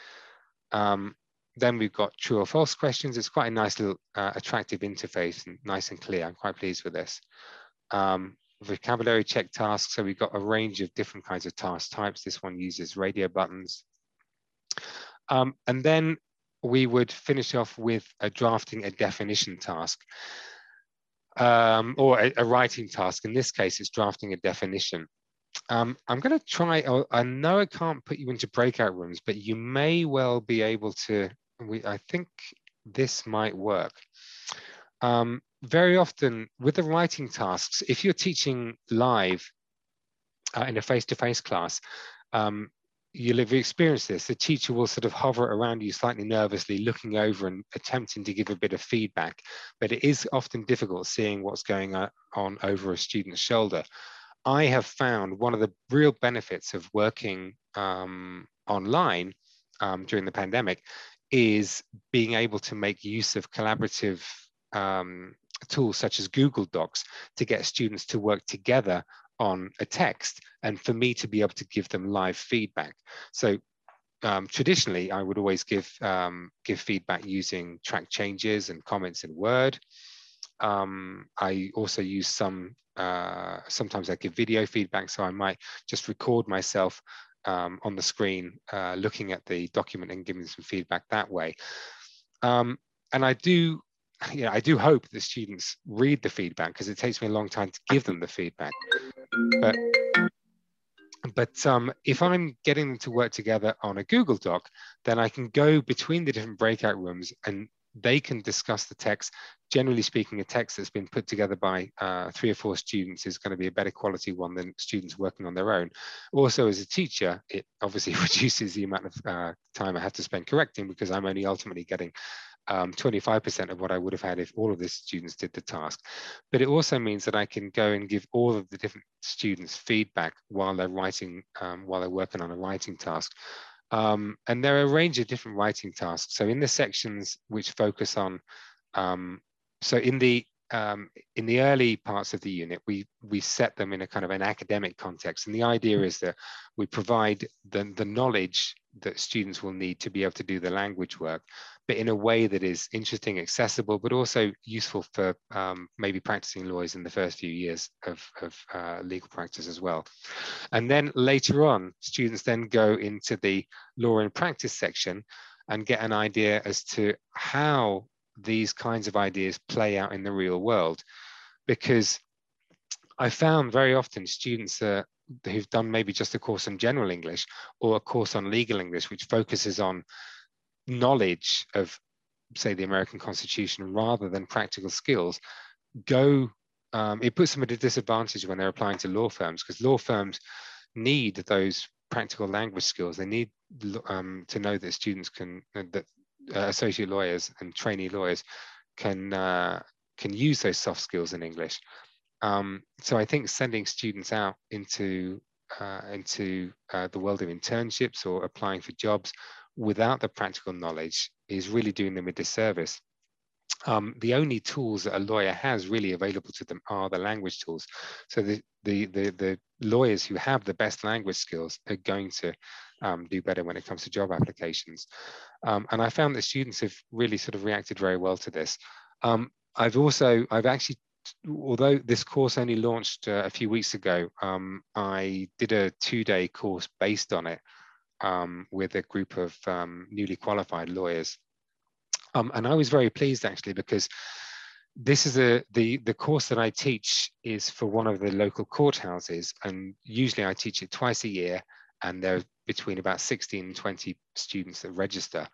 Then we've got true or false questions. It's quite a nice little attractive interface and nice and clear. I'm quite pleased with this. Vocabulary check tasks. So we've got a range of different kinds of task types. This one uses radio buttons. And then we would finish off with drafting a definition task, or a writing task. In this case, it's drafting a definition. I'm going to try, I know I can't put you into breakout rooms, but you may well be able to, I think this might work. Very often with the writing tasks, if you're teaching live in a face-to-face class, you'll have experienced this. The teacher will sort of hover around you slightly nervously, looking over and attempting to give a bit of feedback, but it is often difficult seeing what's going on over a student's shoulder. I have found one of the real benefits of working online during the pandemic is being able to make use of collaborative tools such as Google Docs to get students to work together on a text, and for me to be able to give them live feedback. So traditionally, I would always give feedback using track changes and comments in Word. I also use sometimes I give video feedback, so I might just record myself on the screen looking at the document and giving some feedback that way. And I do hope the students read the feedback, because it takes me a long time to give them the feedback. But if I'm getting them to work together on a Google Doc, then I can go between the different breakout rooms and they can discuss the text. Generally speaking, a text that's been put together by 3 or 4 students is going to be a better quality one than students working on their own. Also, as a teacher, it obviously reduces the amount of time I have to spend correcting, because I'm only ultimately getting 25% of what I would have had if all of the students did the task. But it also means that I can go and give all of the different students feedback while they're writing, while they're working on a writing task. And there are a range of different writing tasks. So in the sections which focus on, so in the early parts of the unit, we set them in a kind of an academic context. And the idea is that we provide the knowledge that students will need to be able to do the language work, but in a way that is interesting, accessible, but also useful for maybe practicing lawyers in the first few years of legal practice as well. And then later on, students then go into the law and practice section and get an idea as to how these kinds of ideas play out in the real world. Because I found very often students are who've done maybe just a course on general English or a course on legal English, which focuses on knowledge of, say, the American Constitution rather than practical skills, it puts them at a disadvantage when they're applying to law firms, because law firms need those practical language skills. They need to know that students that associate lawyers and trainee lawyers can use those soft skills in English. So I think sending students out into the world of internships or applying for jobs without the practical knowledge is really doing them a disservice. The only tools that a lawyer has really available to them are the language tools. So the lawyers who have the best language skills are going to do better when it comes to job applications. And I found that students have really sort of reacted very well to this. I've actually, although this course only launched a few weeks ago, I did a 2-day course based on it with a group of newly qualified lawyers. And I was very pleased actually, because this is the course that I teach is for one of the local courthouses, and usually I teach it twice a year, and there are between about 16 and 20 students that register.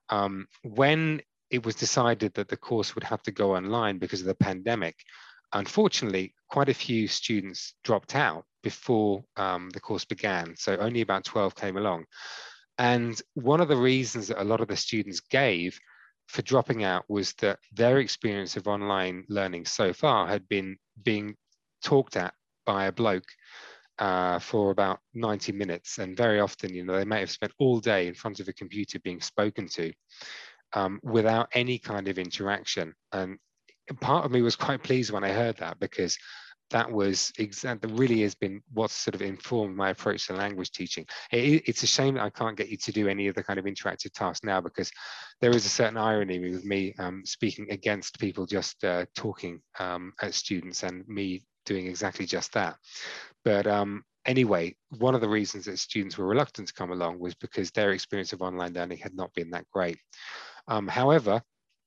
When it was decided that the course would have to go online because of the pandemic, unfortunately, quite a few students dropped out before the course began. So only about 12 came along. And one of the reasons that a lot of the students gave for dropping out was that their experience of online learning so far had been being talked at by a bloke for about 90 minutes. And very often, you know, they may have spent all day in front of a computer being spoken to without any kind of interaction. And part of me was quite pleased when I heard that, because that really has been what's sort of informed my approach to language teaching. It's a shame that I can't get you to do any of the kind of interactive tasks now, because there is a certain irony with me speaking against people just talking at students and me doing exactly just that. But anyway, one of the reasons that students were reluctant to come along was because their experience of online learning had not been that great. However,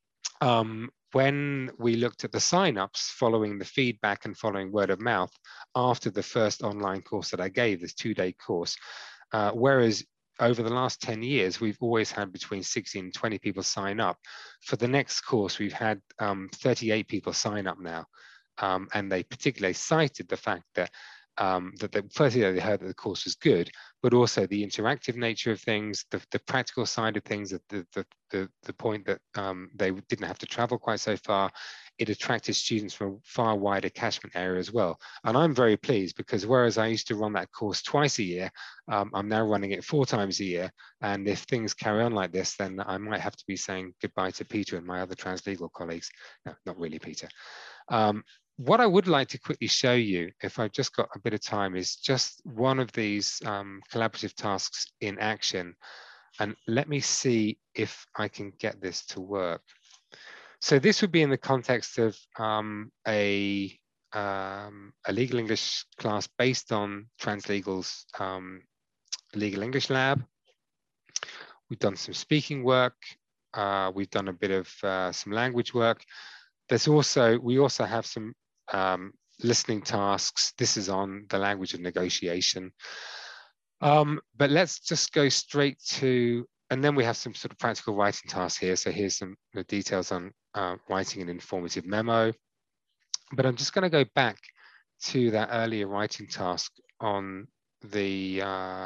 when we looked at the sign-ups following the feedback and following word of mouth after the first online course that I gave, this 2-day course, whereas over the last 10 years, we've always had between 16 and 20 people sign up. For the next course, we've had 38 people sign up now. And they particularly cited the fact that firstly, they heard that the course was good, but also the interactive nature of things, the practical side of things, the point that they didn't have to travel quite so far. It attracted students from a far wider catchment area as well. And I'm very pleased, because whereas I used to run that course twice a year, I'm now running it 4 times a year. And if things carry on like this, then I might have to be saying goodbye to Peter and my other translegal colleagues. No, not really Peter. What I would like to quickly show you, if I've just got a bit of time, is just one of these collaborative tasks in action. And let me see if I can get this to work. So this would be in the context of a legal English class based on Translegal's Legal English Lab. We've done some speaking work. We've done a bit of some language work. We also have some listening tasks. This is on the language of negotiation. But let's just go straight to, and then we have some sort of practical writing tasks here. So here's some details on writing an informative memo. But I'm just going to go back to that earlier writing task on the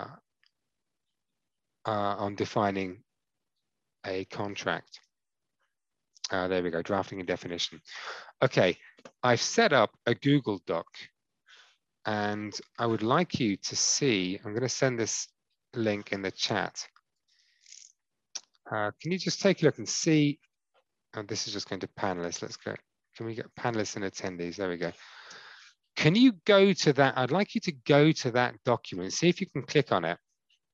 on defining a contract. There we go, drafting a definition. Okay, I've set up a Google Doc, and I would like you to see, I'm going to send this link in the chat. Can you just take a look and see, this is just going to panelists, let's go. Can we get panelists and attendees? There we go. Can you go to that? I'd like you to go to that document, see if you can click on it.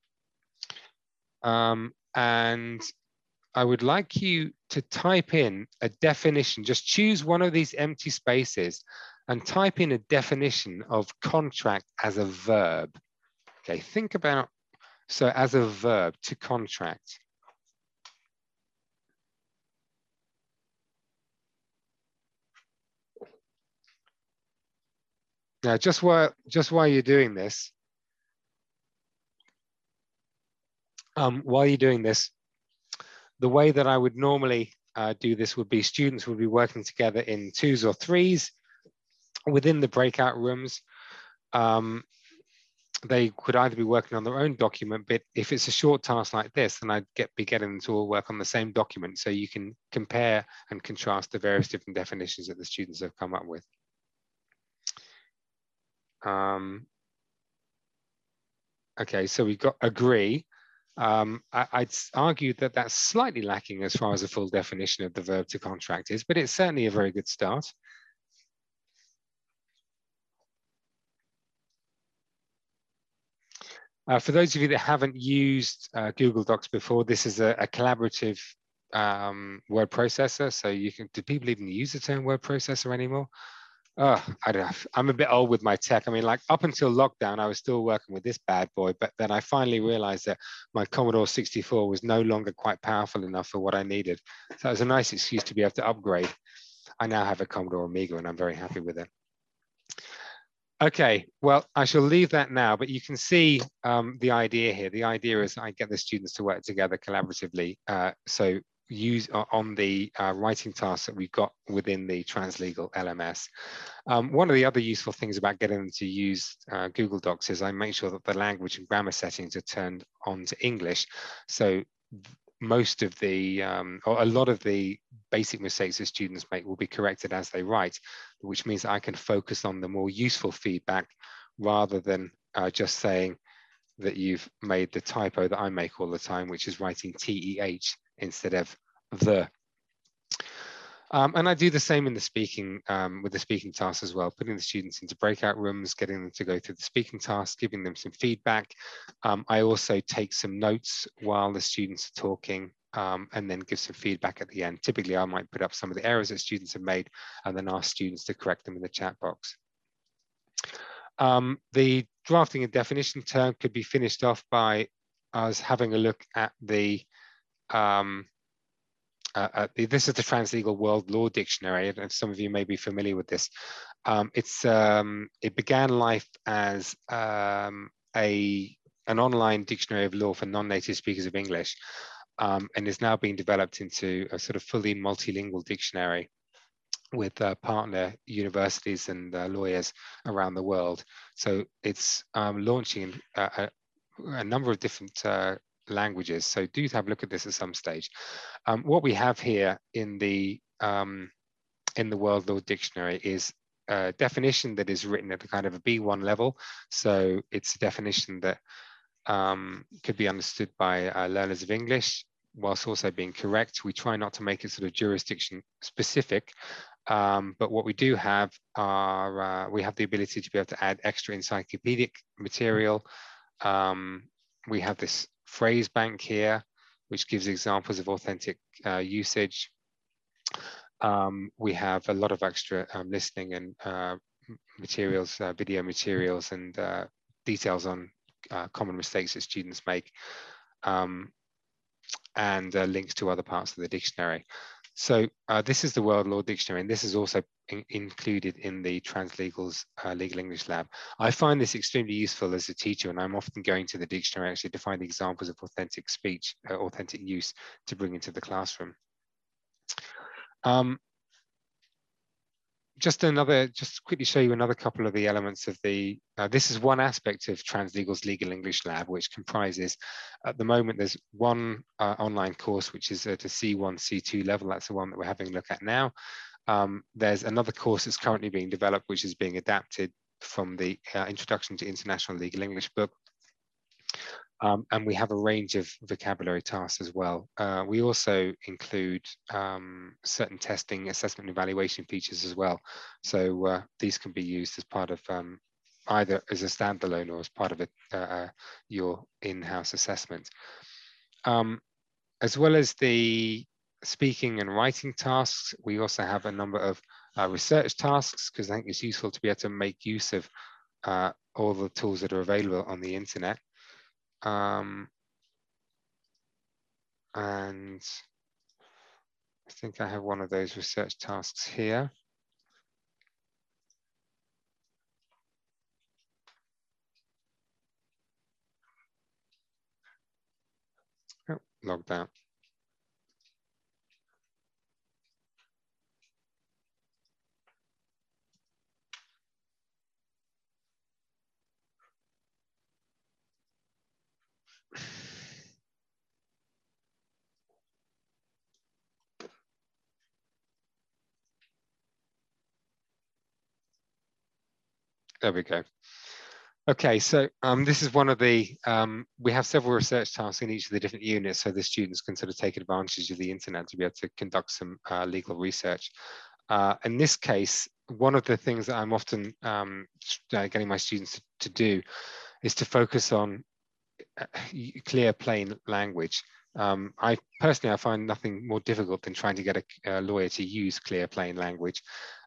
And I would like you to type in a definition. Just choose one of these empty spaces and type in a definition of contract as a verb. Okay, think about, so as a verb, to contract. Now, just while you're doing this, the way that I would normally do this would be students would be working together in 2s or 3s within the breakout rooms. They could either be working on their own document, but if it's a short task like this, then I'd be getting them to all work on the same document, so you can compare and contrast the various different definitions that the students have come up with. Okay, so we've got agree. I'd argue that that's slightly lacking as far as a full definition of the verb to contract is, but it's certainly a very good start. For those of you that haven't used Google Docs before, this is a collaborative word processor. So you can, do people even use the term word processor anymore? Oh, I don't know. I'm a bit old with my tech. I mean, like up until lockdown, I was still working with this bad boy, but then I finally realized that my Commodore 64 was no longer quite powerful enough for what I needed. So it was a nice excuse to be able to upgrade. I now have a Commodore Amiga and I'm very happy with it. Okay, well, I shall leave that now, but you can see the idea here. The idea is I get the students to work together collaboratively. So use on the writing tasks that we've got within the Translegal LMS. One of the other useful things about getting them to use Google Docs is I make sure that the language and grammar settings are turned on to English. So most of the, or a lot of the basic mistakes that students make will be corrected as they write, which means I can focus on the more useful feedback rather than just saying that you've made the typo that I make all the time, which is writing TEH instead of the. And I do the same in the speaking, with the speaking tasks as well, putting the students into breakout rooms, getting them to go through the speaking tasks, giving them some feedback. I also take some notes while the students are talking and then give some feedback at the end. Typically, I might put up some of the errors that students have made and then ask students to correct them in the chat box. The drafting a definition term could be finished off by us having a look at the this is the Translegal World Law Dictionary, and some of you may be familiar with this. It began life as an online dictionary of law for non-native speakers of English, and is now being developed into a sort of fully multilingual dictionary with partner universities and lawyers around the world. So it's launching a number of different languages. So do have a look at this at some stage. What we have here in the World Law Dictionary is a definition that is written at a kind of a B1 level. So it's a definition that could be understood by learners of English, whilst also being correct. We try not to make it sort of jurisdiction specific, but what we do have are, we have the ability to be able to add extra encyclopedic material. We have this phrase bank here, which gives examples of authentic usage. We have a lot of extra listening and materials, video materials, and details on common mistakes that students make, and links to other parts of the dictionary. So this is the World Law Dictionary, and this is also included in the Translegal's Legal English Lab. I find this extremely useful as a teacher, and I'm often going to the dictionary actually to find examples of authentic speech, authentic use to bring into the classroom. Just quickly show you another couple of the elements of the, this is one aspect of Translegal's Legal English Lab, which comprises, at the moment, there's one online course, which is at a C1, C2 level. That's the one that we're having a look at now. There's another course that's currently being developed, which is being adapted from the Introduction to International Legal English book. And we have a range of vocabulary tasks as well. We also include certain testing, assessment, and evaluation features as well. So these can be used as part of either as a standalone or as part of your in-house assessment. As well as the speaking and writing tasks, we also have a number of research tasks, because I think it's useful to be able to make use of all the tools that are available on the internet. And I think I have one of those research tasks here. logged out. There we go. Okay, so this is one of the, we have several research tasks in each of the different units, so the students can sort of take advantage of the internet to be able to conduct some legal research. In this case, one of the things that I'm often getting my students to do is to focus on clear, plain language. I personally find nothing more difficult than trying to get a lawyer to use clear, plain language.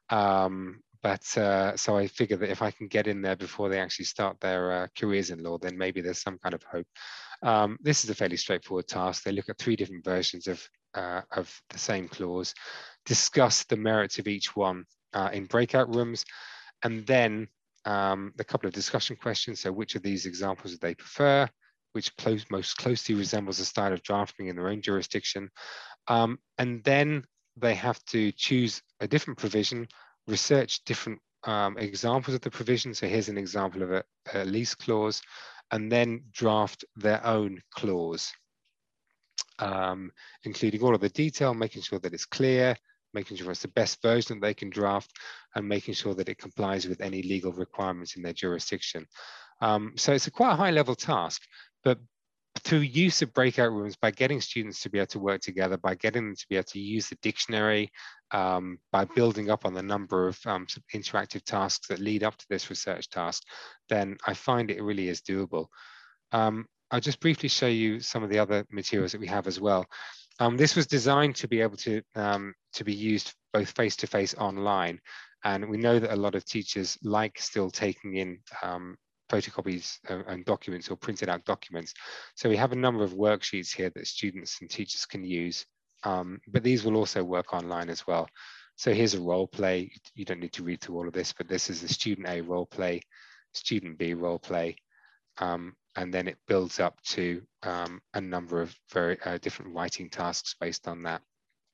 So I figure that if I can get in there before they actually start their careers in law, then maybe there's some kind of hope. This is a fairly straightforward task. They look at 3 different versions of the same clause, discuss the merits of each one in breakout rooms, and then a couple of discussion questions. So which of these examples do they prefer? Which most closely resembles the style of drafting in their own jurisdiction? And then they have to choose a different provision, research different examples of the provision. So here's an example of a lease clause, and then draft their own clause, including all of the detail, making sure that it's clear, making sure it's the best version that they can draft, and making sure that it complies with any legal requirements in their jurisdiction. So it's a quite a high level task, but through use of breakout rooms, by getting students to be able to work together, by getting them to be able to use the dictionary, by building up on the number of interactive tasks that lead up to this research task, then I find it really is doable. I'll just briefly show you some of the other materials that we have as well. This was designed to be able to be used both face-to-face online. And we know that a lot of teachers like still taking in photocopies and documents or printed out documents. So we have a number of worksheets here that students and teachers can use, but these will also work online as well. So here's a role play. You don't need to read through all of this, but this is the student A role play, student B role play, and then it builds up to a number of very different writing tasks based on that.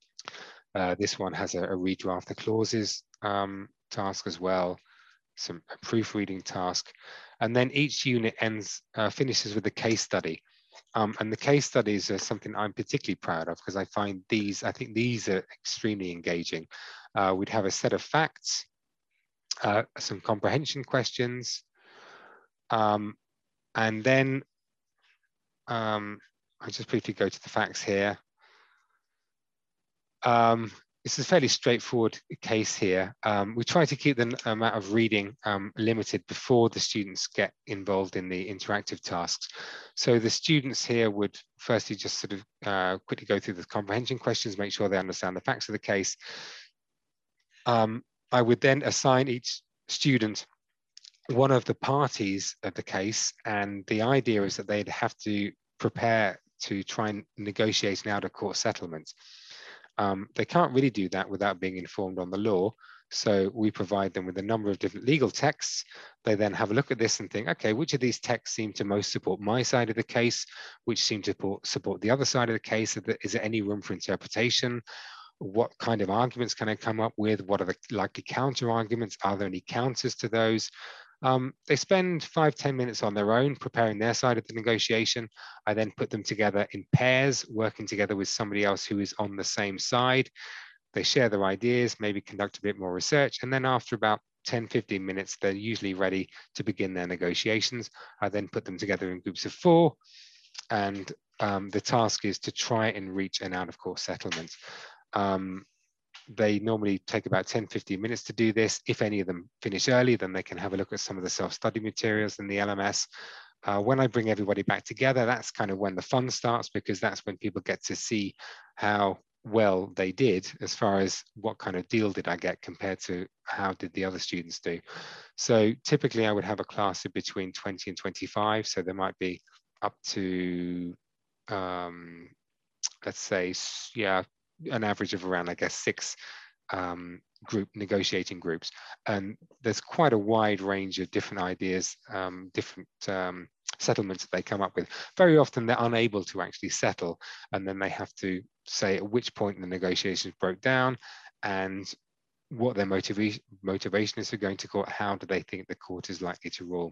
This one has a redraft the clauses task as well, a proofreading task, and then each unit finishes with a case study. And the case studies are something I'm particularly proud of because I think these are extremely engaging. We'd have a set of facts, some comprehension questions, and then I'll just briefly go to the facts here. This is a fairly straightforward case here. We try to keep the amount of reading limited before the students get involved in the interactive tasks. So the students here would firstly just sort of quickly go through the comprehension questions, make sure they understand the facts of the case. I would then assign each student one of the parties of the case, and the idea is that they'd have to prepare to try and negotiate an out-of-court settlement. They can't really do that without being informed on the law. So we provide them with a number of different legal texts. They then have a look at this and think, okay, which of these texts seem to most support my side of the case? Which seem to support the other side of the case? Is there any room for interpretation? What kind of arguments can I come up with? What are the likely counter arguments? Are there any counters to those? They spend 5-10 minutes on their own preparing their side of the negotiation. I then put them together in pairs, working together with somebody else who is on the same side. They share their ideas, maybe conduct a bit more research, and then after about 10-15 minutes, they're usually ready to begin their negotiations. I then put them together in groups of 4, and the task is to try and reach an out-of-court settlement. They normally take about 10-15 minutes to do this. If any of them finish early, then they can have a look at some of the self-study materials in the LMS. When I bring everybody back together, that's kind of when the fun starts, because that's when people get to see how well they did as far as what kind of deal did I get compared to how did the other students do. So typically I would have a class of between 20 and 25. So there might be up to, let's say, yeah, an average of around, I guess, 6 negotiating groups, and there's quite a wide range of different ideas, different settlements that they come up with. Very often they're unable to actually settle, and then they have to say at which point the negotiations broke down and what their motivation is for going to court. How do they think the court is likely to rule?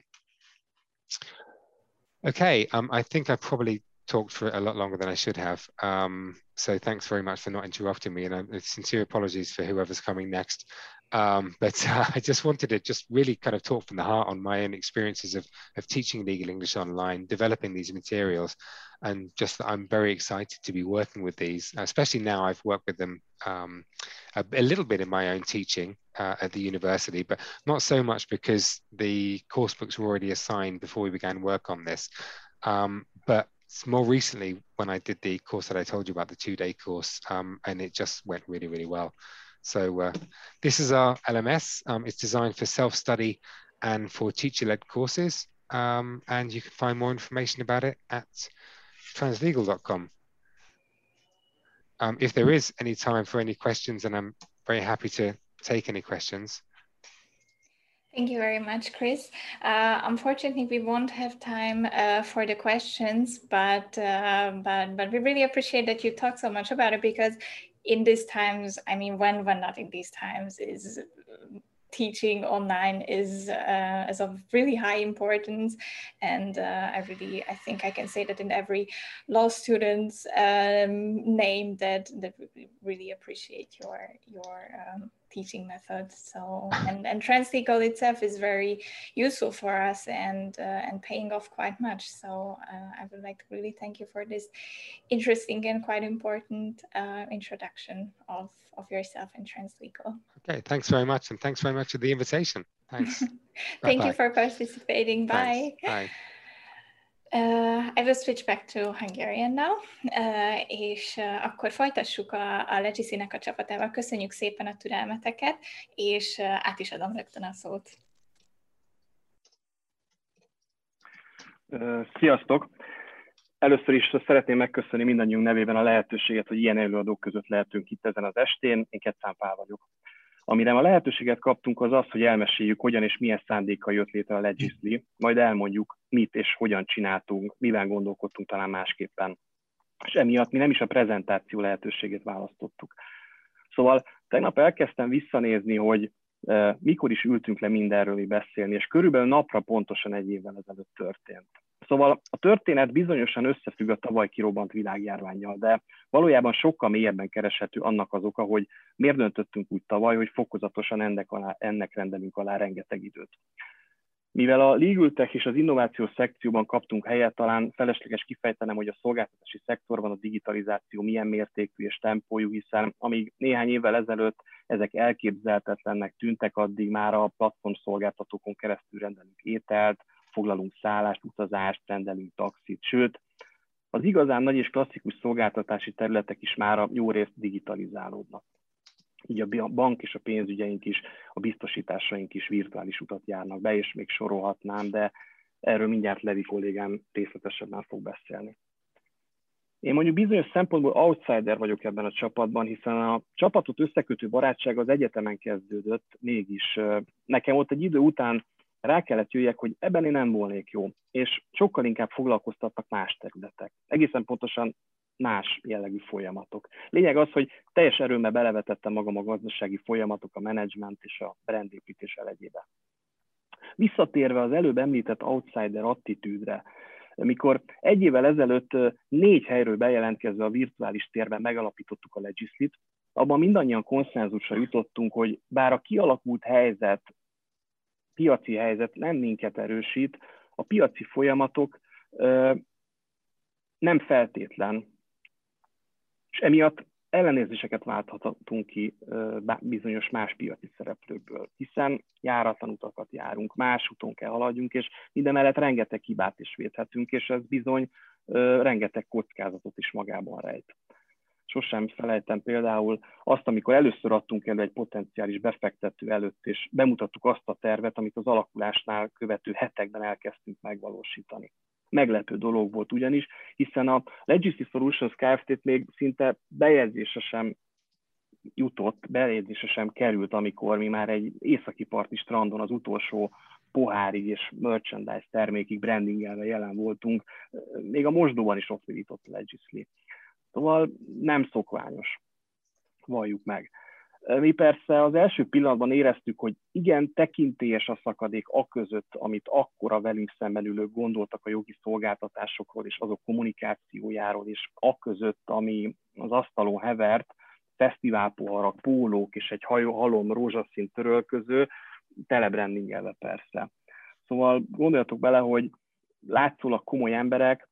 Okay, I think I probably talked for a lot longer than I should have. So thanks very much for not interrupting me, and sincere apologies for whoever's coming next. But I just wanted to just really kind of talk from the heart on my own experiences of teaching legal English online, developing these materials, and just that I'm very excited to be working with these, especially now I've worked with them a little bit in my own teaching at the university, but not so much because the course books were already assigned before we began work on this. But more recently, when I did the course that I told you about, the 2-day course, and it just went really, really well. So this is our LMS. It's designed for self-study and for teacher-led courses. And you can find more information about it at translegal.com. If there is any time for any questions, and I'm very happy to take any questions. Thank you very much, Chris. Unfortunately, we won't have time for the questions, but we really appreciate that you talk so much about it, because in these times, I mean, when not in these times, is teaching online is of really high importance, and I think I can say that in every law student's name that we really appreciate your teaching methods. So and Translegal itself is very useful for us and paying off quite much. So I would like to really thank you for this interesting and quite important introduction of yourself and Translegal. Okay, thanks very much, and thanks very much for the invitation. Thanks. Thank you for participating. Bye. Thanks. Bye. I will switch back to Hungarian now, és akkor folytassuk a Legacy-nek a csapatával. Köszönjük szépen a türelmeteket, és át is adom rögtön a szót. Sziasztok! Először is szeretném megköszönni mindannyiunk nevében a lehetőséget, hogy ilyen előadók között lehetünk itt ezen az estén. Én Kettán Pál vagyok. Amire a lehetőséget kaptunk, az az, hogy elmeséljük, hogyan és milyen szándékkal jött létre a Legisly, majd elmondjuk, mit és hogyan csináltunk, mivel gondolkodtunk talán másképpen. És emiatt mi nem is a prezentáció lehetőségét választottuk. Szóval tegnap elkezdtem visszanézni, hogy mikor is ültünk le mindenről beszélni, és körülbelül napra pontosan 1 évvel ezelőtt történt. Szóval a történet bizonyosan összefügg a tavaly kirobbant világjárvánnyal, de valójában sokkal mélyebben kereshető annak az oka, hogy miért döntöttünk úgy tavaly, hogy fokozatosan ennek rendelünk alá rengeteg időt. Mivel a Legal Tech és az innovációs szekcióban kaptunk helyet, talán felesleges kifejtenem, hogy a szolgáltatási szektorban a digitalizáció milyen mértékű és tempójú, hiszen amíg néhány évvel ezelőtt ezek elképzelhetetlennek tűntek, addig már a platform szolgáltatókon keresztül rendelünk ételt, foglalunk szállást, utazást, rendelünk taxit, sőt, az igazán nagy és klasszikus szolgáltatási területek is már jó részt digitalizálódnak. Így a bank és a pénzügyeink is, a biztosításaink is virtuális utat járnak be, és még sorolhatnám, de erről mindjárt Levi kollégám részletesebben fog beszélni. Én mondjuk bizonyos szempontból outsider vagyok ebben a csapatban, hiszen a csapatot összekötő barátság az egyetemen kezdődött, mégis nekem ott egy idő után rá kellett jöjjek, hogy ebben én nem volnék jó, és sokkal inkább foglalkoztattak más területek. Egészen pontosan más jellegű folyamatok. Lényeg az, hogy teljes erőmmel belevetettem magam a gazdasági folyamatok, a menedzsment és a brandépítés elegyébe. Visszatérve az előbb említett outsider attitűdre, mikor 1 évvel ezelőtt 4 helyről bejelentkezve a virtuális térben megalapítottuk a Legislyt, abban mindannyian konszenzusra jutottunk, hogy bár a kialakult piaci helyzet nem minket erősít, a piaci folyamatok nem feltétlen, és emiatt ellenérzéseket válthatunk ki bizonyos más piaci szereplőkből, hiszen járatlan utakat járunk, más úton kell haladjunk, és mindemellett rengeteg hibát is védhetünk, és ez bizony rengeteg kockázatot is magában rejt. Sosem felejtem például azt, amikor először adtunk elő egy potenciális befektető előtt, és bemutattuk azt a tervet, amit az alakulásnál követő hetekben elkezdtünk megvalósítani. Meglepő dolog volt ugyanis, hiszen a Legisly Solutions Kft-t még szinte bejegyzése sem jutott, belédésre sem került, amikor mi már egy északi parti strandon az utolsó pohárig és merchandise termékig brandingelve jelen voltunk, még a mosdóban is ott virított a Legisly. Szóval nem szokványos, valljuk meg. Mi persze az első pillanatban éreztük, hogy igen, tekintélyes a szakadék aközött, amit akkor a velünk szemben ülők gondoltak a jogi szolgáltatásokról és azok kommunikációjáról, és aközött, ami az asztalon hevert, fesztiválpoharak, pólók és egy halom rózsaszín törölköző, telebrandingelve persze. Szóval gondoljatok bele, hogy látszólag komoly emberek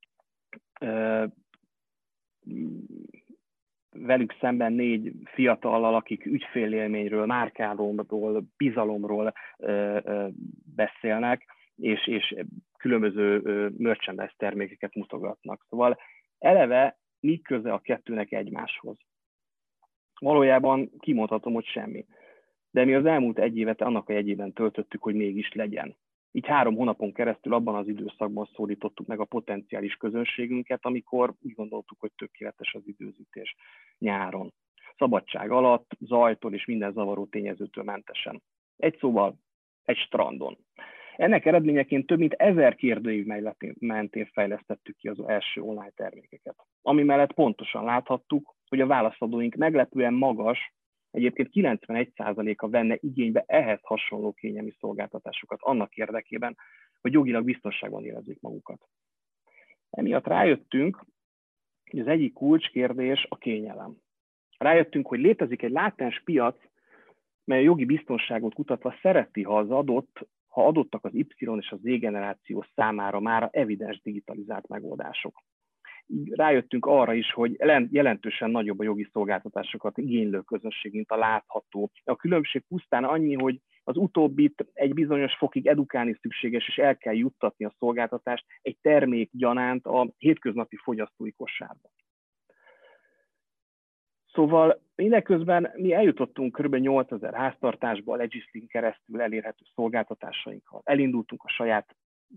velük szemben 4 fiatallal, akik ügyfélélményről, márkálomról, bizalomról beszélnek, és különböző merchandise termékeket mutogatnak. Szóval eleve mi köze a kettőnek egymáshoz? Valójában kimondhatom, hogy semmi. De mi az elmúlt 1 évet annak a jegyében töltöttük, hogy mégis legyen. Így 3 hónapon keresztül abban az időszakban szólítottuk meg a potenciális közönségünket, amikor úgy gondoltuk, hogy tökéletes az időzítés nyáron. Szabadság alatt, zajtól és minden zavaró tényezőtől mentesen. Egy szóval, egy strandon. Ennek eredményeként több mint 1000 kérdőív mentén fejlesztettük ki az első online termékeket. Ami mellett pontosan láthattuk, hogy a válaszadóink meglepően magas, egyébként 91%-a venne igénybe ehhez hasonló kényelmi szolgáltatásokat annak érdekében, hogy jogilag biztonságban érezzék magukat. Emiatt rájöttünk, hogy az egyik kulcskérdés a kényelem. Rájöttünk, hogy létezik egy látens piac, mely a jogi biztonságot kutatva szereti, ha adottak az Y és az Z generáció számára már evidens digitalizált megoldások. Így rájöttünk arra is, hogy jelentősen nagyobb a jogi szolgáltatásokat igénylő közönség, mint a látható. A különbség pusztán annyi, hogy az utóbbit egy bizonyos fokig edukálni szükséges, és el kell juttatni a szolgáltatást egy termék gyanánt a hétköznapi fogyasztói kosárba. Szóval mindeközben mi eljutottunk kb. 8000 háztartásba a Legislyn keresztül elérhető szolgáltatásainkkal. Elindultunk a saját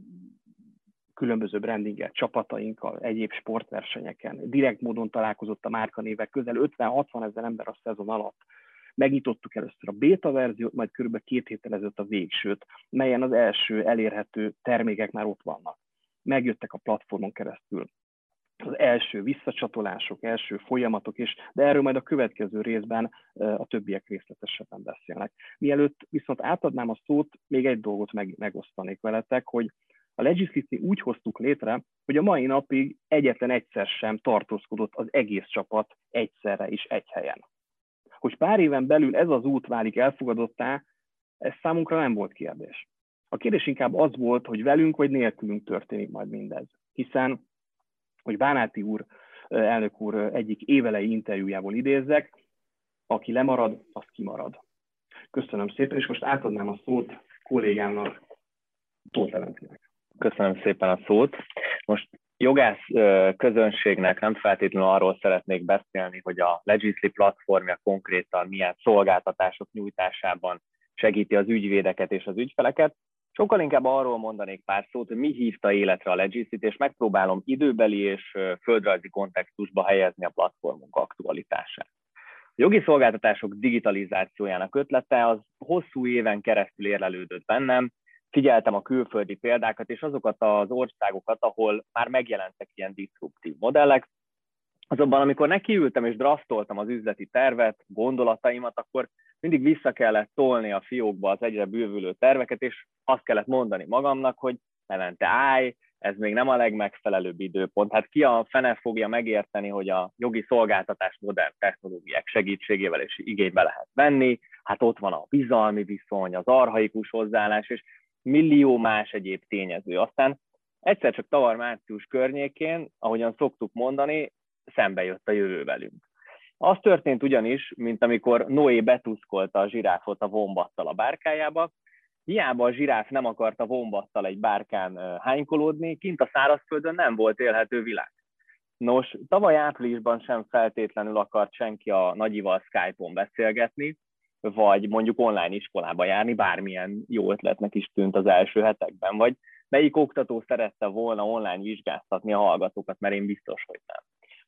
különböző brandinget csapatainkkal, egyéb sportversenyeken. Direkt módon találkozott a márkanévek közel 50-60 ezer ember a szezon alatt. Megnyitottuk először a beta verziót, majd kb. 2 héttel ezelőtt a végsőt, melyen az első elérhető termékek már ott vannak. Megjöttek a platformon keresztül az első visszacsatolások, első folyamatok, de erről majd a következő részben a többiek részletesebben beszélnek. Mielőtt viszont átadnám a szót, még egy dolgot megosztanék veletek, hogy a Legisly-t úgy hoztuk létre, hogy a mai napig egyetlen egyszer sem tartózkodott az egész csapat egyszerre is egy helyen. Hogy pár éven belül ez az út válik elfogadottá, ez számunkra nem volt kérdés. A kérdés inkább az volt, hogy velünk vagy nélkülünk történik majd mindez. Hiszen, hogy Bánáti úr, elnök úr egyik évelei interjújából idézzek, aki lemarad, az kimarad. Köszönöm szépen, és most átadnám a szót kollégámnak, Tóth Leventinek. Köszönöm szépen a szót. Most jogász közönségnek nem feltétlenül arról szeretnék beszélni, hogy a Legisly platformja konkrétan milyen szolgáltatások nyújtásában segíti az ügyvédeket és az ügyfeleket. Sokkal inkább arról mondanék pár szót, hogy mi hívta életre a Legislyt, és megpróbálom időbeli és földrajzi kontextusba helyezni a platformunk aktualitását. A jogi szolgáltatások digitalizációjának ötlete az hosszú éven keresztül érlelődött bennem, figyeltem a külföldi példákat és azokat az országokat, ahol már megjelentek ilyen diszruptív modellek. Azonban amikor nekiültem és draftoltam az üzleti tervet, gondolataimat, akkor mindig vissza kellett tolni a fiókba az egyre bővülő terveket, és azt kellett mondani magamnak, hogy Levente, állj, ez még nem a legmegfelelőbb időpont. Hát ki a fene fogja megérteni, hogy a jogi szolgáltatás modern technológiák segítségével is igénybe lehet venni, hát ott van a bizalmi viszony, az archaikus hozzáállás, és millió más egyéb tényező. Aztán egyszer csak tavaly március környékén, ahogyan szoktuk mondani, szembe jött a jövő velünk. Az történt ugyanis, mint amikor Noé betuszkolta a zsiráfot a vombattal a bárkájába, hiába a zsiráf nem akart a vombattal egy bárkán hánykolódni, kint a szárazföldön nem volt élhető világ. Nos, tavaly áprilisban sem feltétlenül akart senki a nagyival Skype-on beszélgetni, vagy mondjuk online iskolába járni, bármilyen jó ötletnek is tűnt az első hetekben, vagy melyik oktató szerette volna online vizsgáztatni a hallgatókat, mert én biztos, hogy nem.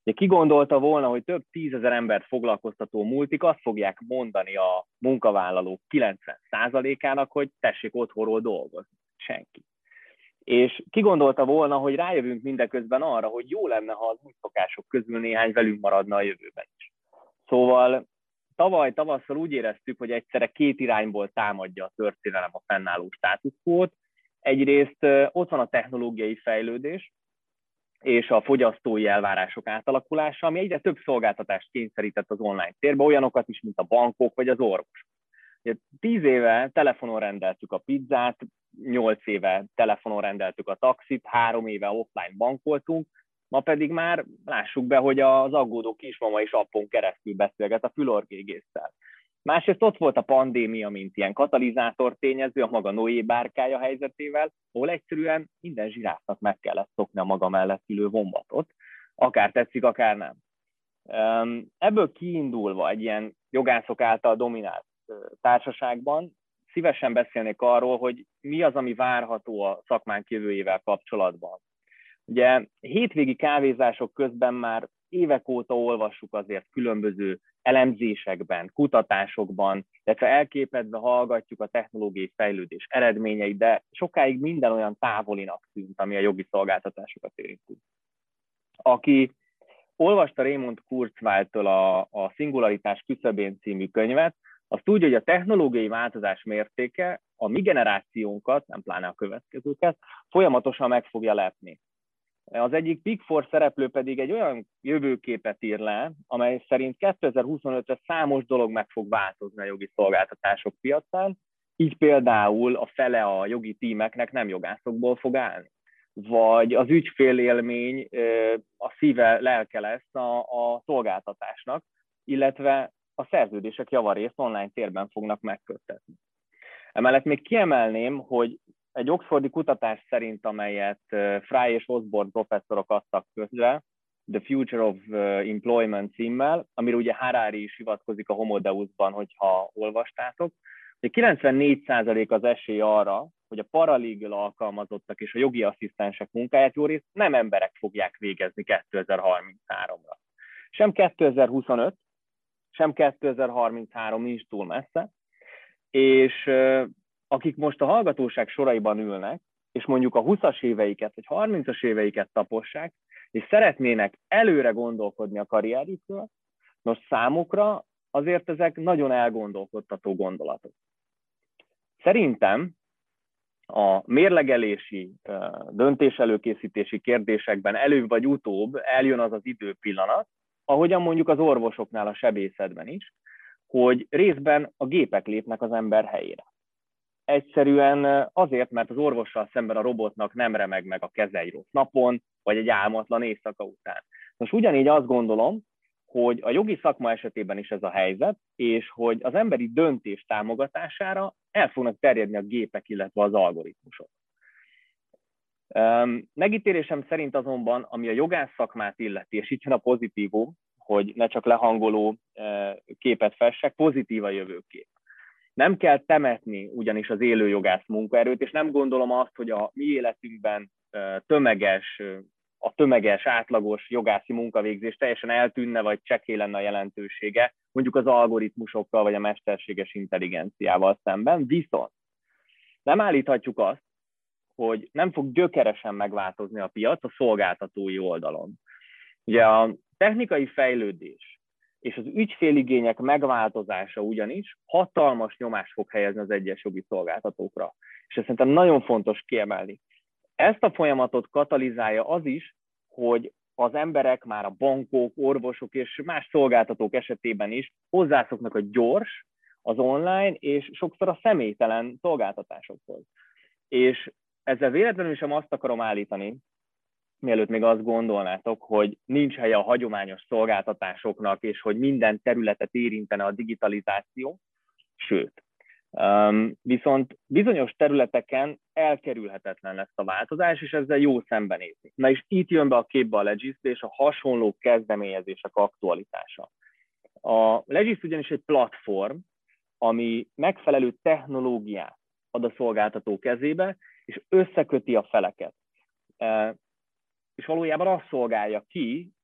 Ugye ki gondolta volna, hogy több 10 000 embert foglalkoztató multik azt fogják mondani a munkavállalók 90%-ának, hogy tessék otthonról dolgozni. Senki. És ki gondolta volna, hogy rájövünk mindeközben arra, hogy jó lenne, ha az új szokások közül néhány velünk maradna a jövőben is. Szóval tavaly tavasszal úgy éreztük, hogy egyszerre két irányból támadja a történelem a fennálló status quót. Egyrészt ott van a technológiai fejlődés és a fogyasztói elvárások átalakulása, ami egyre több szolgáltatást kényszerített az online térbe, olyanokat is, mint a bankok vagy az orvosok. 10 éve telefonon rendeltük a pizzát, 8 éve telefonon rendeltük a taxit, 3 éve offline bankoltunk, ma pedig már lássuk be, hogy az aggódó kismama is appon keresztül beszélget a fülorgégésszel. Másrészt ott volt a pandémia, mint ilyen katalizátor tényező a maga Noé bárkája helyzetével, ahol egyszerűen minden zsiráfnak meg kellett szokni a maga mellett ülő vombatot, akár tetszik, akár nem. Ebből kiindulva egy ilyen jogászok által dominált társaságban szívesen beszélnék arról, hogy mi az, ami várható a szakmánk jövőjével kapcsolatban. Ugye hétvégi kávézások közben már évek óta olvassuk azért különböző elemzésekben, kutatásokban, illetve elképedve hallgatjuk a technológiai fejlődés eredményeit, de sokáig minden olyan távolinak tűnt, ami a jogi szolgáltatásokat érinti. Aki olvasta Raymond Kurzweil-től a Szingularitás küszöbén című könyvet, az tudja, hogy a technológiai változás mértéke a mi generációnkat, nem pláne a következőket, folyamatosan meg fogja lepni. Az egyik Big Four szereplő pedig egy olyan jövőképet ír le, amely szerint 2025-re számos dolog meg fog változni a jogi szolgáltatások piacán, így például a fele a jogi tímeknek nem jogászokból fog állni. Vagy az ügyfélélmény a szíve, lelke lesz a szolgáltatásnak, illetve a szerződések javarészt online térben fognak megköttetni. Emellett még kiemelném, hogy egy oxfordi kutatás szerint, amelyet Fry és Osborne professzorok adtak közre, The Future of Employment címmel, amire ugye Harari is hivatkozik a Homo Deusban, hogyha olvastátok, hogy 94% az esély arra, hogy a paralegal alkalmazottak és a jogi asszisztensek munkáját jó részt nem emberek fogják végezni 2033-ra. Sem 2025, sem 2033 nincs túl messze, és akik most a hallgatóság soraiban ülnek, és mondjuk a 20-as éveiket, vagy 30-as éveiket tapossák, és szeretnének előre gondolkodni a karrierjükről, most számukra azért ezek nagyon elgondolkodtató gondolatok. Szerintem a mérlegelési, döntéselőkészítési kérdésekben előbb vagy utóbb eljön az az időpillanat, ahogyan mondjuk az orvosoknál a sebészetben is, hogy részben a gépek lépnek az ember helyére. Egyszerűen azért, mert az orvossal szemben a robotnak nem remeg meg a keze egy rossz napon, vagy egy álmatlan éjszaka után. Most ugyanígy azt gondolom, hogy a jogi szakma esetében is ez a helyzet, és hogy az emberi döntés támogatására el fognak terjedni a gépek, illetve az algoritmusok. Megítélésem szerint azonban, ami a jogász szakmát illeti, és itt jön a pozitívum, hogy ne csak lehangoló képet fessek, pozitív a jövőkép. Nem kell temetni ugyanis az élő jogász munkaerőt, és nem gondolom azt, hogy a mi életünkben a tömeges, átlagos jogászi munkavégzés teljesen eltűnne, vagy csekély lenne a jelentősége, mondjuk az algoritmusokkal, vagy a mesterséges intelligenciával szemben. Viszont nem állíthatjuk azt, hogy nem fog gyökeresen megváltozni a piac a szolgáltatói oldalon. Ugye a technikai fejlődés és az ügyféligények megváltozása ugyanis hatalmas nyomást fog helyezni az egyes jogi szolgáltatókra. És ezt szerintem nagyon fontos kiemelni. Ezt a folyamatot katalizálja az is, hogy az emberek már a bankok, orvosok és más szolgáltatók esetében is hozzászoknak a gyors, az online és sokszor a személytelen szolgáltatásokhoz. És ezzel véletlenül sem azt akarom állítani, mielőtt még azt gondolnátok, hogy nincs helye a hagyományos szolgáltatásoknak, és hogy minden területet érintene a digitalizáció, sőt. Viszont bizonyos területeken elkerülhetetlen lesz a változás, és ezzel jó szembenézni. Na és itt jön be a képbe a Legis és a hasonló kezdeményezések aktualitása. A Legis ugyanis egy platform, ami megfelelő technológiát ad a szolgáltató kezébe, és összeköti a feleket. És valójában azt szolgálja ki,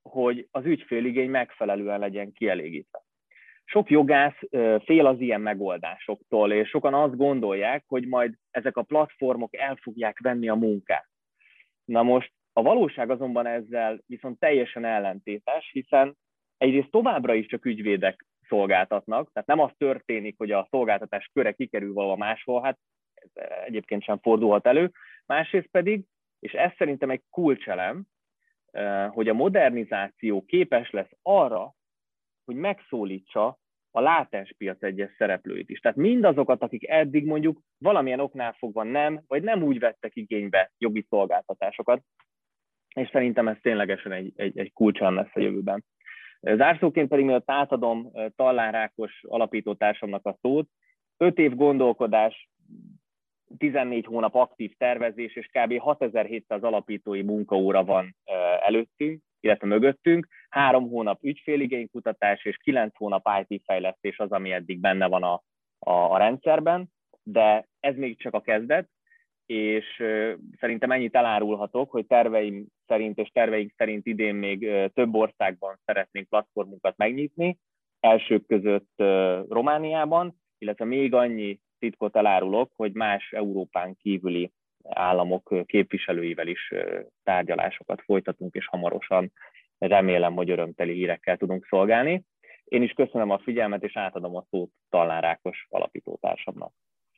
hogy az ügyféligény megfelelően legyen kielégítve. Sok jogász fél az ilyen megoldásoktól, és sokan azt gondolják, hogy majd ezek a platformok el fogják venni a munkát. Na most a valóság azonban ezzel viszont teljesen ellentétes, hiszen egyrészt továbbra is csak ügyvédek szolgáltatnak, tehát nem az történik, hogy a szolgáltatás köre kikerül valahol máshol, hát ez egyébként sem fordulhat elő. Másrészt pedig, és ez szerintem egy kulcselem, hogy a modernizáció képes lesz arra, hogy megszólítsa a látens piac egyes szereplőit is. Tehát mindazokat, akik eddig mondjuk valamilyen oknál fogva nem, vagy nem úgy vettek igénybe jogi szolgáltatásokat, és szerintem ez ténylegesen egy kulcselem lesz a jövőben. Zárszóként pedig, mielőtt átadom Tallár Ákos alapítótársamnak a szót, 5 év gondolkodás, 14 hónap aktív tervezés, és kb. 6700 alapítói munkaóra van előttünk, illetve mögöttünk, 3 hónap ügyféligénykutatás és 9 hónap IT fejlesztés az, ami eddig benne van a rendszerben, de ez még csak a kezdet, és szerintem ennyit elárulhatok, hogy terveim szerint és terveink szerint idén még több országban szeretnénk platformunkat megnyitni, elsők között Romániában, illetve még annyi titkot elárulok, hogy más Európán kívüli államok képviselőivel is tárgyalásokat folytatunk, és hamarosan remélem, hogy örömteli hírekkel tudunk szolgálni. Én is köszönöm a figyelmet, és átadom a szót Tallár Ákos alapítótársamnak.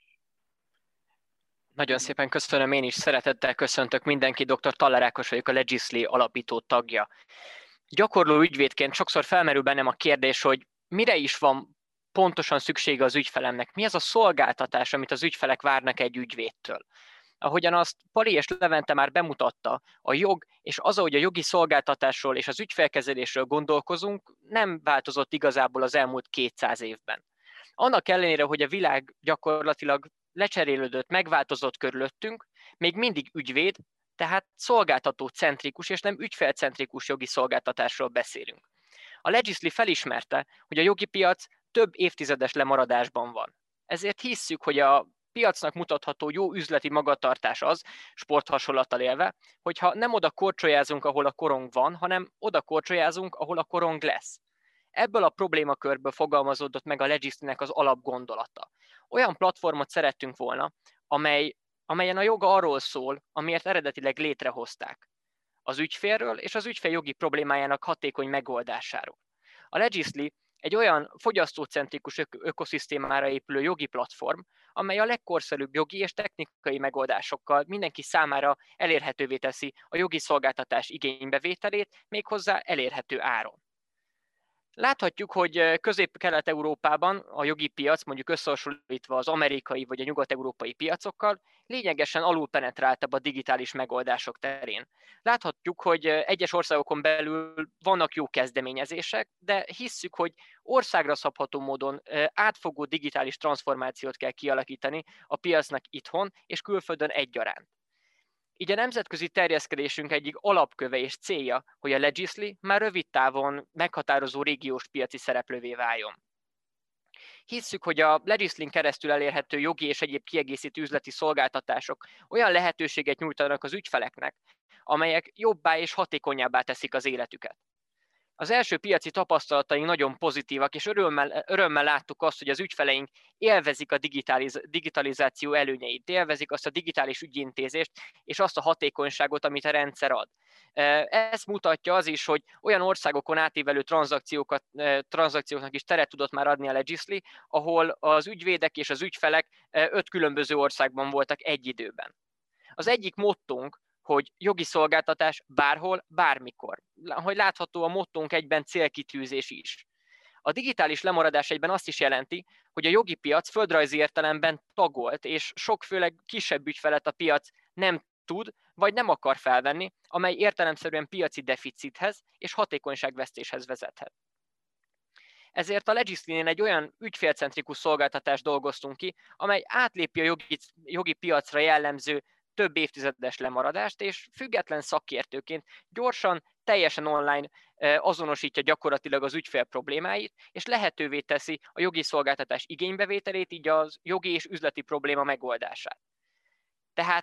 Nagyon szépen köszönöm, én is szeretettel köszöntök mindenki, dr. Tallár Ákos vagyok, a Legisly alapító tagja. Gyakorló ügyvédként sokszor felmerül bennem a kérdés, hogy mire is van pontosan szüksége az ügyfelemnek, mi az a szolgáltatás, amit az ügyfelek várnak egy ügyvédtől. Ahogyan azt Pali és Levente már bemutatta, a jog és az, ahogy a jogi szolgáltatásról és az ügyfélkezelésről gondolkozunk, nem változott igazából az elmúlt 200 évben. Annak ellenére, hogy a világ gyakorlatilag lecserélődött, megváltozott körülöttünk, még mindig ügyvéd, tehát szolgáltató-centrikus és nem ügyfélcentrikus jogi szolgáltatásról beszélünk. A Legisly felismerte, hogy a jogi piac több évtizedes lemaradásban van. Ezért hisszük, hogy a piacnak mutatható jó üzleti magatartás az, sporthasonlattal élve, hogyha nem oda korcsolyázunk, ahol a korong van, hanem oda korcsolyázunk, ahol a korong lesz. Ebből a problémakörből fogalmazódott meg a Legislynek az alapgondolata. Olyan platformot szerettünk volna, amelyen a joga arról szól, amiért eredetileg létrehozták. Az ügyfélről és az ügyfél jogi problémájának hatékony megoldásáról. A Legisly egy olyan fogyasztócentrikus ökoszisztémára épülő jogi platform, amely a legkorszerűbb jogi és technikai megoldásokkal mindenki számára elérhetővé teszi a jogi szolgáltatás igénybevételét, méghozzá elérhető áron. Láthatjuk, hogy Közép-Kelet-Európában a jogi piac, mondjuk összehasonlítva az amerikai vagy a nyugat-európai piacokkal, lényegesen alulpenetráltabb a digitális megoldások terén. Láthatjuk, hogy egyes országokon belül vannak jó kezdeményezések, de hisszük, hogy országra szabható módon átfogó digitális transformációt kell kialakítani a piacnak itthon és külföldön egyaránt. Így a nemzetközi terjeszkedésünk egyik alapköve és célja, hogy a Legisly már rövid távon meghatározó régiós piaci szereplővé váljon. Hisszük, hogy a Legislyn keresztül elérhető jogi és egyéb kiegészítő üzleti szolgáltatások olyan lehetőséget nyújtanak az ügyfeleknek, amelyek jobbá és hatékonyabbá teszik az életüket. Az első piaci tapasztalataink nagyon pozitívak, és örömmel láttuk azt, hogy az ügyfeleink élvezik a digitalizáció előnyeit, élvezik azt a digitális ügyintézést, és azt a hatékonyságot, amit a rendszer ad. Ezt mutatja az is, hogy olyan országokon átívelő tranzakcióknak is teret tudott már adni a Legisly, ahol az ügyvédek és az ügyfelek 5 különböző országban voltak egy időben. Az egyik mottónk, hogy jogi szolgáltatás bárhol, bármikor. Hogy látható, a mottónk egyben célkitűzés is. A digitális lemaradás egyben azt is jelenti, hogy a jogi piac földrajzi értelemben tagolt, és sok főleg kisebb ügyfelet a piac nem tud, vagy nem akar felvenni, amely értelemszerűen piaci deficithez és hatékonyságvesztéshez vezethet. Ezért a Legislynél egy olyan ügyfélcentrikus szolgáltatást dolgoztunk ki, amely átlépi a jogi piacra jellemző több évtizedes lemaradást, és független szakértőként gyorsan, teljesen online azonosítja gyakorlatilag az ügyfél problémáit, és lehetővé teszi a jogi szolgáltatás igénybevételét, így az jogi és üzleti probléma megoldását. Tehát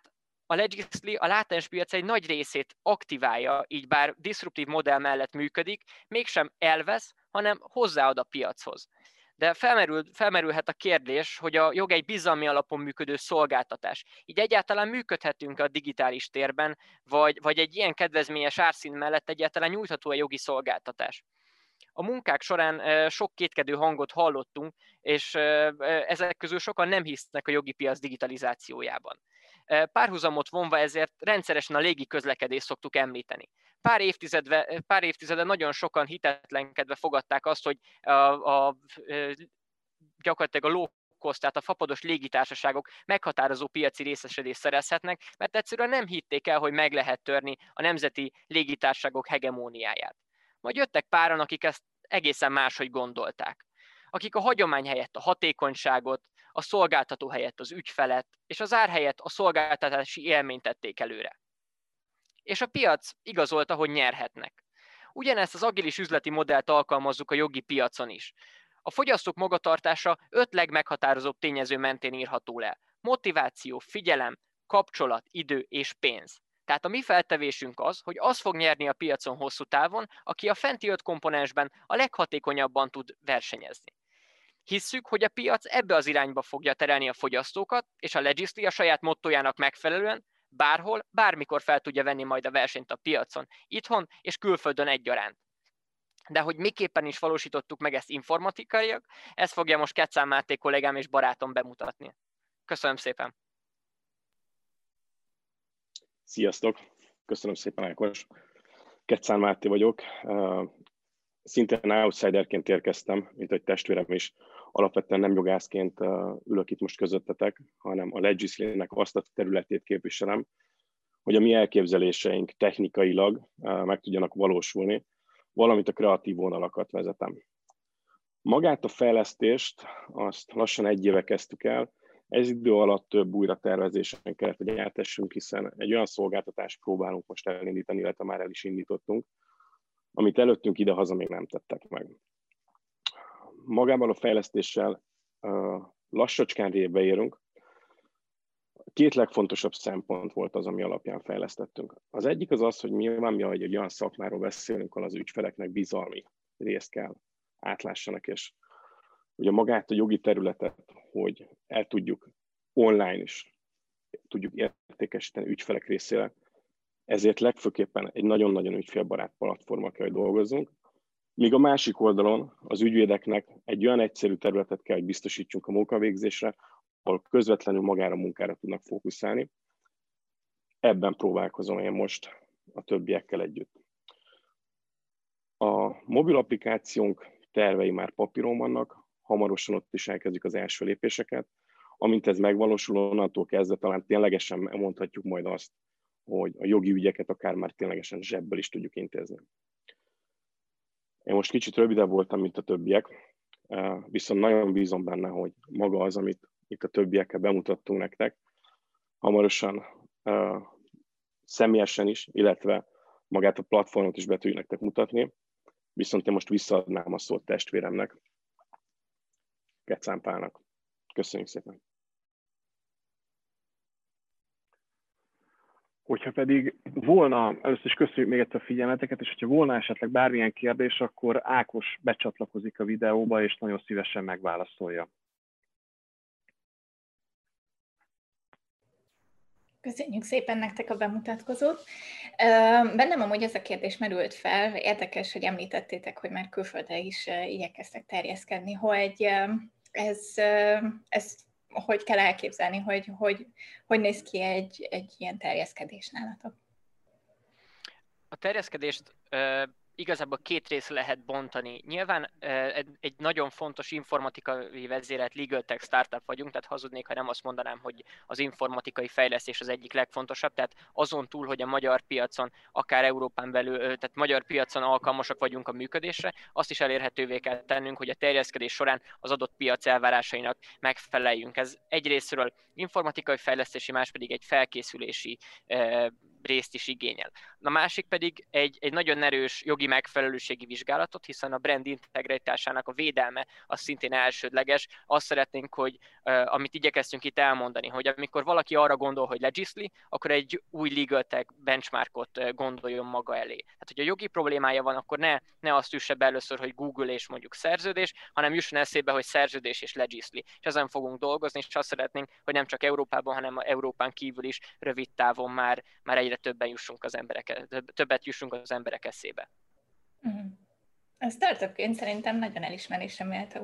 a Legisly a látens piac egy nagy részét aktiválja, így bár disruptív modell mellett működik, mégsem elvesz, hanem hozzáad a piachoz. De felmerülhet a kérdés, hogy a jog egy bizalmi alapon működő szolgáltatás. Így egyáltalán működhetünk a digitális térben, vagy egy ilyen kedvezményes árszín mellett egyáltalán nyújtható a jogi szolgáltatás. A munkák során sok kétkedő hangot hallottunk, és ezek közül sokan nem hisznek a jogi piac digitalizációjában. Párhuzamot vonva ezért rendszeresen a légi közlekedést szoktuk említeni. Pár évtizede nagyon sokan hitetlenkedve fogadták azt, hogy gyakorlatilag a low cost, tehát a fapados légitársaságok meghatározó piaci részesedést szerezhetnek, mert egyszerűen nem hitték el, hogy meg lehet törni a nemzeti légitársaságok hegemóniáját. Majd jöttek páran, akik ezt egészen máshogy gondolták. Akik a hagyomány helyett a hatékonyságot, a szolgáltató helyett az ügyfelet, és az ár helyett a szolgáltatási élményt tették előre. És a piac igazolta, hogy nyerhetnek. Ugyanezt az agilis üzleti modellt alkalmazzuk a jogi piacon is. A fogyasztók magatartása 5 legmeghatározóbb tényező mentén írható le. Motiváció, figyelem, kapcsolat, idő és pénz. Tehát a mi feltevésünk az, hogy az fog nyerni a piacon hosszú távon, aki a fenti 5 komponensben a leghatékonyabban tud versenyezni. Hisszük, hogy a piac ebbe az irányba fogja terelni a fogyasztókat, és a Legisly a saját mottójának megfelelően bárhol, bármikor fel tudja venni majd a versenyt a piacon, itthon és külföldön egyaránt. De hogy miképpen is valósítottuk meg ezt informatikaiak, ezt fogja most Keccán Máté kollégám és barátom bemutatni. Köszönöm szépen! Sziasztok! Köszönöm szépen, Ákos! Keccán Máté vagyok. Szintén outsiderként érkeztem, mint egy testvérem is. Alapvetően nem jogászként ülök itt most közöttetek, hanem a Legisly-nek azt a területét képviselem, hogy a mi elképzeléseink technikailag meg tudjanak valósulni, valamint a kreatív vonalakat vezetem. Magát a fejlesztést azt lassan 1 éve kezdtük el, ez idő alatt több újratervezésen kellett, hogy eltessünk, hiszen egy olyan szolgáltatást próbálunk most elindítani, illetve már el is indítottunk, amit előttünk ide-haza még nem tettek meg. Magában a fejlesztéssel lassacskán révbe érünk. 2 legfontosabb szempont volt az, ami alapján fejlesztettünk. Az egyik az az, hogy nyilván mi, hogy egy olyan szakmáról beszélünk, ahol az ügyfeleknek bizalmi részt kell átlássanak, és ugye magát a jogi területet, hogy el tudjuk online is tudjuk értékesíteni ügyfelek részére, ezért legfőképpen egy nagyon-nagyon ügyfélbarát platformon kell, hogy dolgozzunk, míg a másik oldalon az ügyvédeknek egy olyan egyszerű területet kell, hogy biztosítsunk a munkavégzésre, ahol közvetlenül magára a munkára tudnak fókuszálni. Ebben próbálkozom én most a többiekkel együtt. A mobil applikációnk tervei már papíron vannak, hamarosan ott is elkezdjük az első lépéseket. Amint ez megvalósul, onnantól kezdve talán ténylegesen mondhatjuk majd azt, hogy a jogi ügyeket akár már ténylegesen zsebből is tudjuk intézni. Én most kicsit rövidebb voltam, mint a többiek, viszont nagyon bízom benne, hogy maga az, amit itt a többiekkel bemutattunk nektek, hamarosan személyesen is, illetve magát a platformot is be tudjuk nektek mutatni, viszont én most visszaadnám a szót testvéremnek, Keccán Pálnak. Köszönjük szépen! Hogyha pedig volna, először is köszönjük még egyszer a figyelmeteket, és hogyha volna esetleg bármilyen kérdés, akkor Ákos becsatlakozik a videóba, és nagyon szívesen megválaszolja. Köszönjük szépen nektek a bemutatkozót. Bennem amúgy ez a kérdés merült fel, érdekes, hogy említettétek, hogy már külföldre is igyekeztek terjeszkedni, hogy ez hogy kell elképzelni, hogy néz ki egy ilyen terjeszkedés nálatok? A terjeszkedést igazából 2 részre lehet bontani. Nyilván egy nagyon fontos informatikai vezérelt legal tech startup vagyunk, tehát hazudnék, ha nem azt mondanám, hogy az informatikai fejlesztés az egyik legfontosabb, tehát azon túl, hogy a magyar piacon, akár Európán belül, tehát magyar piacon alkalmasak vagyunk a működésre, azt is elérhetővé kell tennünk, hogy a terjeszkedés során az adott piac elvárásainak megfeleljünk. Ez egyrészről informatikai fejlesztési, más pedig egy felkészülési részt is igényel. A másik pedig egy nagyon erős jogi megfelelőségi vizsgálatot, hiszen a brand integritásának a védelme az szintén elsődleges. Azt szeretnénk, hogy amit igyekeztünk itt elmondani, hogy amikor valaki arra gondol, hogy Legisly, akkor egy új legal tech benchmarkot gondoljon maga elé. Tehát, hogy a jogi problémája van, akkor ne azt üsse be először, hogy Google és mondjuk szerződés, hanem jusson eszébe, hogy szerződés és Legisly. És ezen fogunk dolgozni, és azt szeretnénk, hogy nem csak Európában, hanem Európán kívül is rövid távon már egyre többet jussunk az emberek eszébe. A startupként szerintem nagyon elismerésre méltó,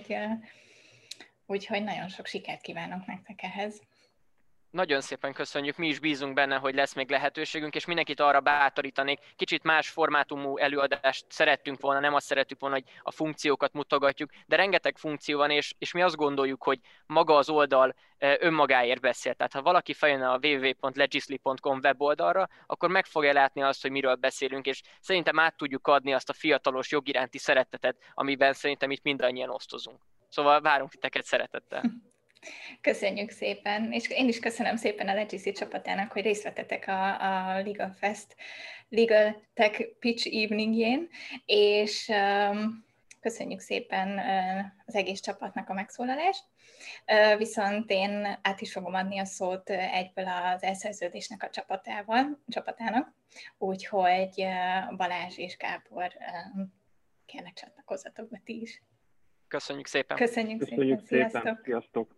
úgyhogy nagyon sok sikert kívánok nektek ehhez. Nagyon szépen köszönjük, mi is bízunk benne, hogy lesz még lehetőségünk, és mindenkit arra bátorítanék, kicsit más formátumú előadást szerettünk volna, nem azt szerettük volna, hogy a funkciókat mutogatjuk, de rengeteg funkció van, és mi azt gondoljuk, hogy maga az oldal önmagáért beszél. Tehát ha valaki feljön a www.legisly.com weboldalra, akkor meg fogja látni azt, hogy miről beszélünk, és szerintem át tudjuk adni azt a fiatalos jogiránti szeretetet, amiben szerintem itt mindannyian osztozunk. Szóval várunk titeket szeretettel. Köszönjük szépen, és én is köszönöm szépen a Legisly csapatának, hogy részt vettetek a Legal Fest Legal Tech Pitch Eveningjén, és köszönjük szépen az egész csapatnak a megszólalást. Viszont én át is fogom adni a szót egyből az elszerződésnek a csapatának, úgyhogy Balázs és Gábor, kérlek csatlakozzatok be ti is. Köszönjük szépen. Köszönjük szépen. Sziasztok. Sziasztok.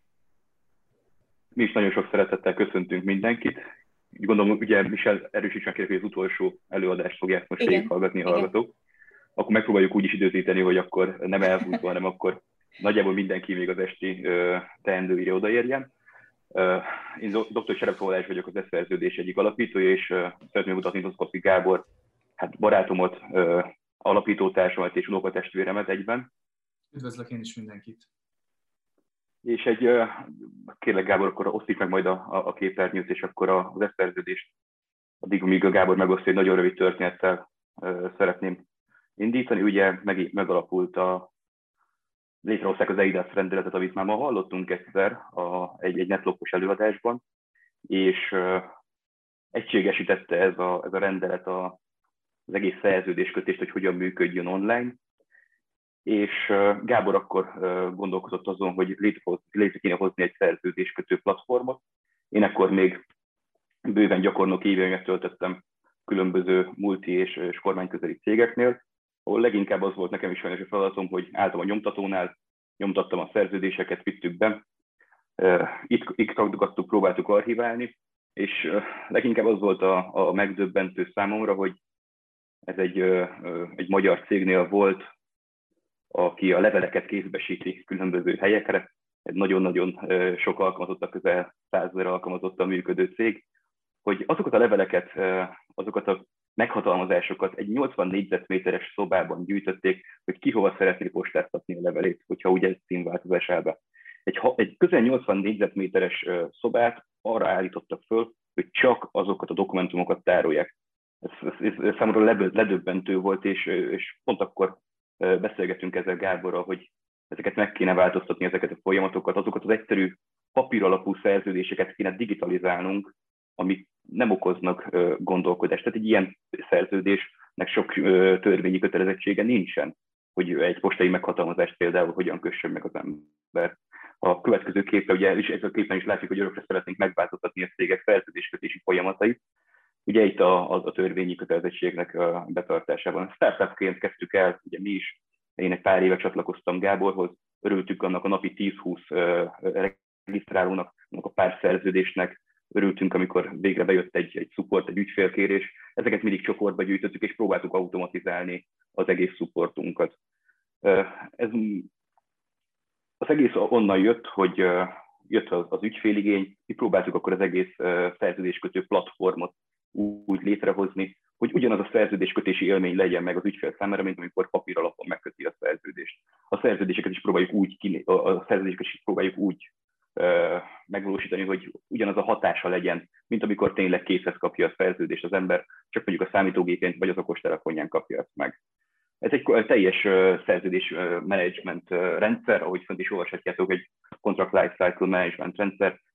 Mi is nagyon sok szeretettel köszöntünk mindenkit. Úgy gondolom, ugye Michel erősítsen kérlek, hogy az utolsó előadást fogják most végighallgatni a hallgatók. Akkor megpróbáljuk úgy is időzíteni, hogy akkor nem elhúzva, hanem akkor nagyjából mindenki még az esti teendőire odaérjen. Én dr. Serep Balázs vagyok, az e-szerződés egyik alapítója, és szeretném mutatni Doszkowski Gábor, hát barátomat, alapítótársamat és unokatestvéremet egyben. Üdvözlök én is mindenkit. És kérlek Gábor, akkor osztik meg majd a képernyőt, és akkor az e-szerződést, addig, míg a Gábor megosztja, egy nagyon rövid történettel szeretném indítani. Ugye megalapult létrehozták az EIDAS rendeletet, amit már ma hallottunk egyszer egy netlopos előadásban, és egységesítette ez a rendelet az egész szerződéskötést, hogy hogyan működjön online. És Gábor akkor gondolkozott azon, hogy létre kéne hozni egy szerződéskötő platformot. Én akkor még bőven gyakornoki éveimet töltöttem különböző multi és kormányközeli cégeknél, ahol leginkább az volt nekem is sajnos a feladatom, hogy álltam a nyomtatónál, nyomtattam a szerződéseket, vittük be, itt ragdogattuk, próbáltuk archiválni, és leginkább az volt a megdöbbentő számomra, hogy ez egy magyar cégnél volt, aki a leveleket kézbesíti különböző helyekre. Egy nagyon-nagyon sok alkalmazottak, közel 100 000 alkalmazottan működő cég, hogy azokat a leveleket, azokat a meghatalmazásokat egy 80 négyzetméteres szobában gyűjtötték, hogy ki hova szeretné postáztatni a levelét, hogyha ugye ez címváltozásába. Egy közel 80 négyzetméteres szobát arra állítottak föl, hogy csak azokat a dokumentumokat tárolják. Ez számomra ledöbbentő volt, és pont akkor beszélgetünk ezzel Gáborral, hogy ezeket meg kéne változtatni, ezeket a folyamatokat, azokat az egyszerű papíralapú szerződéseket kéne digitalizálnunk, amik nem okoznak gondolkodást. Tehát egy ilyen szerződésnek sok törvényi kötelezettsége nincsen, hogy egy postai meghatalmazást például hogyan kössön meg az ember. A következő képen, ugye ez a képen is látjuk, hogy örökre szeretnénk megváltoztatni a cégek szerződéskötési folyamatait. Ugye itt a törvényi kötelezettségnek a betartásában. Startupként kezdtük el, ugye mi is, én egy pár éve csatlakoztam Gáborhoz, örültük annak a napi 10-20 regisztrálónak, a pár szerződésnek, örültünk, amikor végre bejött egy support, egy ügyfélkérés. Ezeket mindig csoportba gyűjtöttük, és próbáltuk automatizálni az egész supportunkat. Az egész onnan jött, hogy jött az ügyféligény, mi próbáltuk akkor az egész szerződéskötő platformot úgy létrehozni, hogy ugyanaz a szerződéskötési élmény legyen meg az ügyfél számára, mint amikor papír alapon megköti a szerződést. A szerződéseket is próbáljuk úgy megvalósítani, hogy ugyanaz a hatása legyen, mint amikor tényleg készhez kapja a szerződést az ember, csak mondjuk a számítógépén vagy az okostelefonján kapja ezt meg. Ez egy teljes szerződés management rendszer, ahogy fönt is olvashatjátok, egy Contract Lifecycle Management rendszer,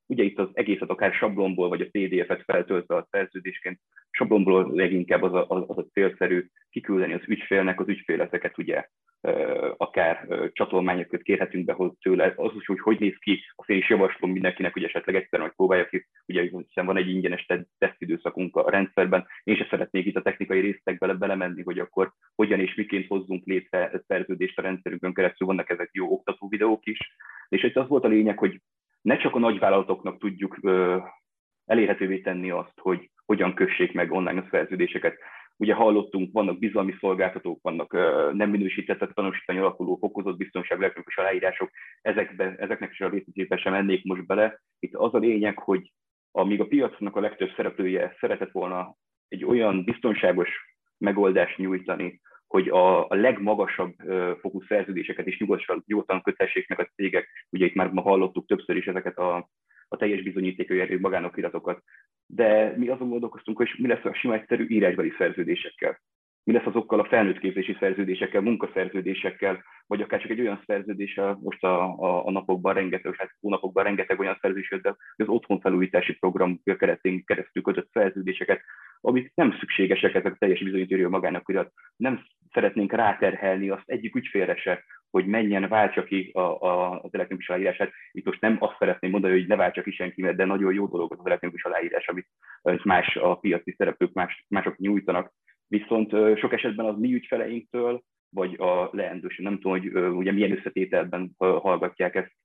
ugye itt az egészet akár sablonból, vagy a PDF-et feltöltve a szerződésként, sablonból leginkább az a célszerű kiküldeni az ügyfélnek, az ügyfél ezeket ugye akár csatolmányokat kérhetünk be tőle, az is, hogy néz ki, azt én is javaslom mindenkinek, hogy esetleg egyszer majd próbálja ki, ugye hiszen van egy ingyenes tesztidőszakunk a rendszerben, én sem szeretnék itt a technikai részletekbe belemenni, hogy akkor hogyan és miként hozzunk létre szerződést a rendszerünkön keresztül, vannak ezek jó oktató videók is, és itt az volt a lényeg, hogy ne csak a nagyvállalatoknak tudjuk elérhetővé tenni azt, hogy hogyan kössék meg online a szerződéseket. Ugye hallottunk, vannak bizalmi szolgáltatók, vannak nem minősített tanúsítvány alakuló fokozott biztonságú elektronikus aláírások, ezeknek is a részletébe sem mennék most bele. Itt az a lényeg, hogy amíg a piacnak a legtöbb szereplője szeretett volna egy olyan biztonságos megoldást nyújtani, hogy a legmagasabb fokú szerződéseket is nyugodtan kötessék meg a cégek, ugye itt már ma hallottuk többször is ezeket a teljes bizonyítékű erő magánokiratokat, de mi azon gondolkoztunk, hogy mi lesz a sima egyszerű írásbeli szerződésekkel. Mi lesz azokkal a felnőttképzési szerződésekkel, munkaszerződésekkel, vagy akár csak egy olyan szerződéssel, most a napokban rengeteg, hónapokban rengeteg olyan szerződés jött, de az otthonfelújítási program keretén keresztül kötött szerződéseket, amik nem szükségesek, ezek a teljes bizonyítói magánokirat. Nem szeretnénk ráterhelni azt egyik ügyfélre se, hogy menjen, váltsa ki az elektronikus aláírását. Itt most nem azt szeretném mondani, hogy ne váltsa ki senki, de nagyon jó dolog az elektronikus aláírás, amit más a piaci szereplők mások nyújtanak. Viszont sok esetben az mi ügyfeleinktől, vagy a leendős, nem tudom, hogy ugye milyen összetételben hallgatják ezt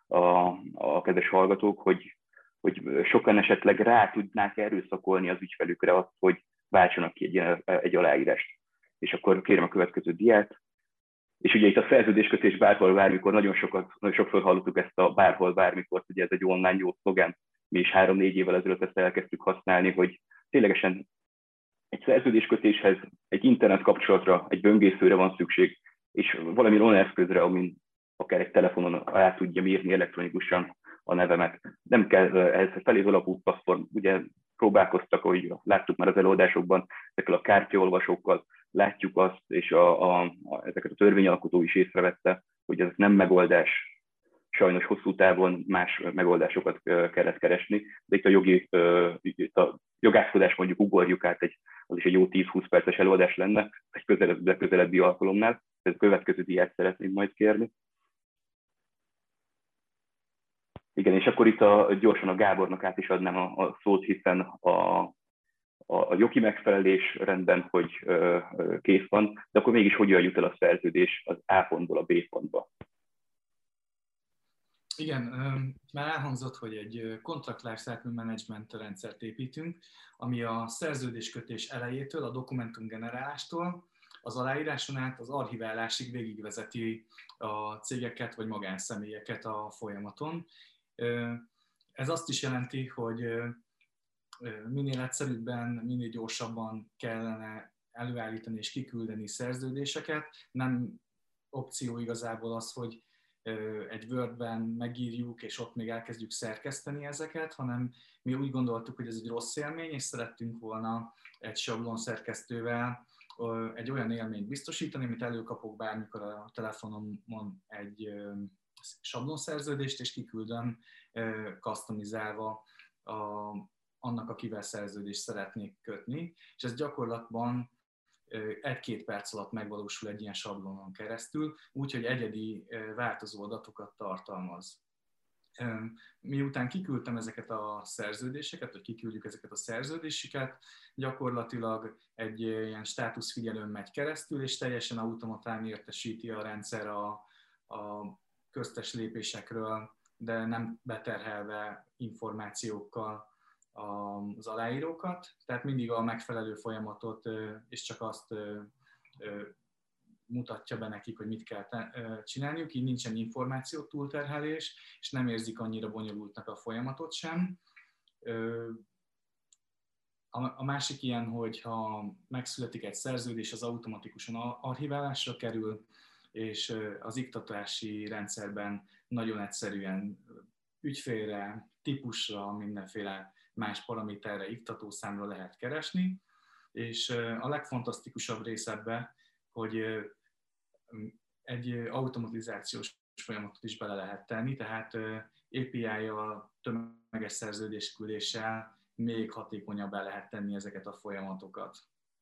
a kedves hallgatók, hogy sokan esetleg rá tudnák erőszakolni az ügyfelükre azt, hogy váltsanak ki egy aláírást. És akkor kérem a következő diát. És ugye itt a szerződéskötés bárhol, bármikor, nagyon sokszor hallottuk ezt a bárhol, bármikor, ugye ez egy online jó szlogán, mi is 3-4 évvel ezelőtt ezt elkezdtük használni, hogy ténylegesen egy szerződéskötéshez, egy internet kapcsolatra, egy böngészőre van szükség, és valami online eszközre, amin akár egy telefonon át tudja írni elektronikusan a nevemet. Nem kell ehhez feléz alapú platform, ugye próbálkoztak, ahogy láttuk már az előadásokban, ezekkel a kártyaolvasókkal, látjuk azt, és ezeket a törvényalkotó is észrevette, hogy ez nem megoldás. Sajnos hosszú távon más megoldásokat kellett keresni, de itt a jogászkodás mondjuk ugorjuk át, az is egy jó 10-20 perces előadás lenne, egy közelebbi alkalomnál. Ez a következő diát szeretném majd kérni. Igen, és akkor itt gyorsan a Gábornak át is adnám a szót, hiszen a jogi megfelelés rendben, hogy kész van, de akkor mégis hogyan jut el a szerződés az A pontból a B pontba? Igen, már elhangzott, hogy egy Contract Lifecycle Management rendszert építünk, ami a szerződéskötés elejétől, a dokumentumgenerálástól, az aláíráson át az archiválásig végigvezeti a cégeket vagy magánszemélyeket a folyamaton. Ez azt is jelenti, hogy minél egyszerűbben, minél gyorsabban kellene előállítani és kiküldeni szerződéseket. Nem opció igazából az, hogy egy Wordben megírjuk, és ott még elkezdjük szerkeszteni ezeket, hanem mi úgy gondoltuk, hogy ez egy rossz élmény, és szerettünk volna egy sablon szerkesztővel egy olyan élményt biztosítani, amit előkapok bármikor a telefonomon egy sablonszerződést, és kiküldöm customizálva annak, akivel szerződést szeretnék kötni, és ez gyakorlatban 1-2 perc alatt megvalósul egy ilyen sablonon keresztül, úgyhogy egyedi változó adatokat tartalmaz. Miután kiküldtem ezeket a szerződéseket, vagy kiküldjük ezeket a szerződéseket, gyakorlatilag egy ilyen státuszfigyelőn megy keresztül, és teljesen automatán értesíti a rendszer a köztes lépésekről, de nem beterhelve információkkal az aláírókat, tehát mindig a megfelelő folyamatot, és csak azt mutatja be nekik, hogy mit kell csinálniuk, így nincsen információ túlterhelés, és nem érzik annyira bonyolultnak a folyamatot sem. A másik ilyen, hogy ha megszületik egy szerződés, az automatikusan archiválásra kerül, és az iktatási rendszerben nagyon egyszerűen ügyfélre, típusra, mindenféle más paraméterre, iktatószámra lehet keresni, és a legfantasztikusabb rész ebben, hogy egy automatizációs folyamatot is bele lehet tenni, tehát API-jal, tömeges szerződésküldéssel még hatékonyabbá lehet tenni ezeket a folyamatokat.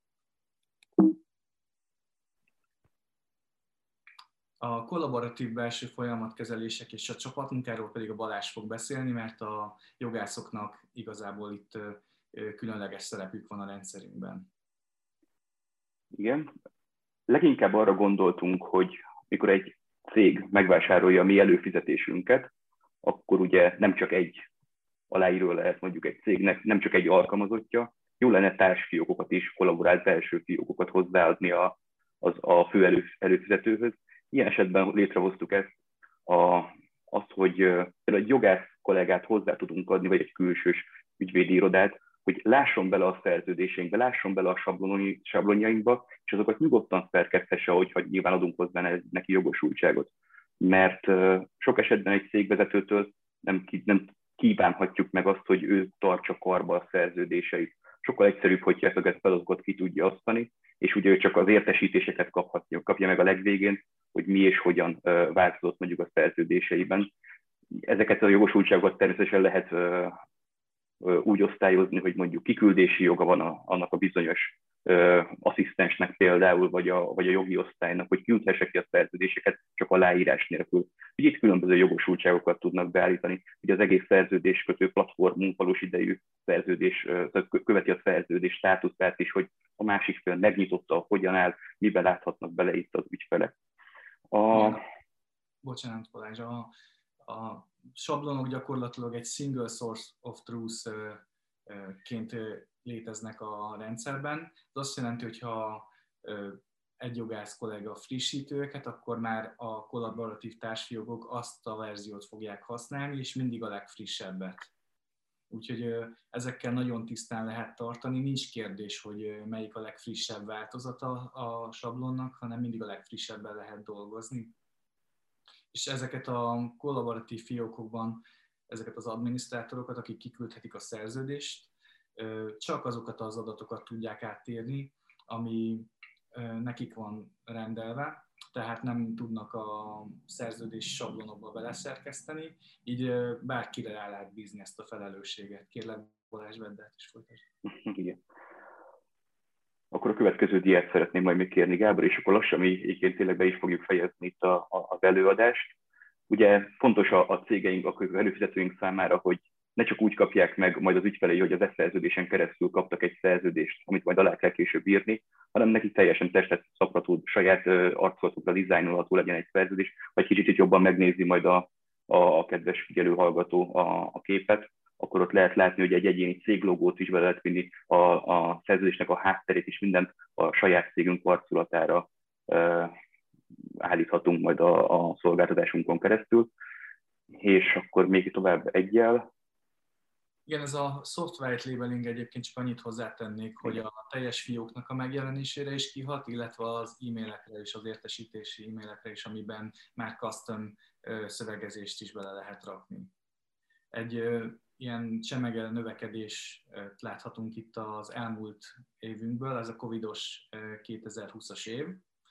A kollaboratív belső folyamatkezelések és a csapatmunkáról pedig a Balázs fog beszélni, mert a jogászoknak igazából itt különleges szerepük van a rendszerünkben. Igen. Leginkább arra gondoltunk, hogy mikor egy cég megvásárolja a mi előfizetésünket, akkor ugye nem csak egy aláíró lehet mondjuk egy cégnek, nem csak egy alkalmazottja, jó lenne társfiókokat is, kollaborált belső fiókokat hozzáadni a fő előfizetőhöz. Ilyen esetben létrehoztuk azt, hogy egy jogász kollégát hozzá tudunk adni, vagy egy külsős ügyvédi irodát, hogy lásson bele a szerződéseinkbe, lásson bele a sablonjainkba, és azokat nyugodtan szerkeszthesse, hogyha nyilván adunk hozzá neki jogosultságot. Mert sok esetben egy cégvezetőtől nem kívánhatjuk meg azt, hogy ő tartsa karba a szerződéseit. Sokkal egyszerűbb, hogyha ezeket feladatot ki tudja osztani, és ugye ő csak az értesítéseket kapja meg a legvégén, hogy mi és hogyan változott mondjuk a szerződéseiben. Ezeket a jogosultságokat természetesen lehet úgy osztályozni, hogy mondjuk kiküldési joga van annak a bizonyos asszisztensnek például, vagy a jogi osztálynak, hogy küldhesse ki a szerződéseket csak aláírás nélkül. Így itt különböző jogosultságokat tudnak beállítani, hogy az egész szerződéskötő platformunk valós idejű szerződés, követi a szerződés státuszát is, hogy a másik fél megnyitotta, hogyan áll, miben láthatnak bele itt az ügyfelek. Bocsánat, Balázs, a sablonok gyakorlatilag egy single source of truth-ként léteznek a rendszerben. Ez azt jelenti, hogy ha egy jogász kollega frissíti őket, akkor már a kollaboratív társjogok azt a verziót fogják használni, és mindig a legfrissebbet. Úgyhogy ezekkel nagyon tisztán lehet tartani. Nincs kérdés, hogy melyik a legfrissebb változata a sablonnak, hanem mindig a legfrissebben lehet dolgozni. És ezeket a kollaboratív fiókokban, ezeket az adminisztrátorokat, akik kiküldhetik a szerződést, csak azokat az adatokat tudják áttérni, ami nekik van rendelve, tehát nem tudnak a szerződés sablonokba beleszerkeszteni, így bárkire rá lehet bízni ezt a felelősséget. Kérlek, Balázs, vedd át és folytasd. Igen. Akkor a következő diát szeretném majd még kérni, Gábor, és akkor lassan mi egyébként tényleg be is fogjuk fejezni itt az előadást. Ugye fontos a cégeink, a előfizetőink számára, hogy ne csak úgy kapják meg majd az ügyfelei, hogy az e-szerződésen keresztül kaptak egy szerződést, amit majd alá kell később írni, hanem nekik teljesen testet szabható, saját arculatukra dizájnolható legyen egy szerződés, vagy kicsit jobban megnézi majd a kedves figyelő hallgató a képet, akkor ott lehet látni, hogy egy egyéni céglogót is be lehet vinni, a szerződésnek a hátterét is, mindent a saját cégünk arculatára állíthatunk majd a szolgáltatásunkon keresztül. És akkor még tovább egyel. Igen, ez a soft white labeling egyébként csak annyit hozzátennék, hogy a teljes fióknak a megjelenésére is kihat, illetve az e-mailekre és az értesítési e-mailekre is, amiben már custom szövegezést is bele lehet rakni. Egy ilyen csemege növekedést láthatunk itt az elmúlt évünkből, ez a covidos 2020-as év.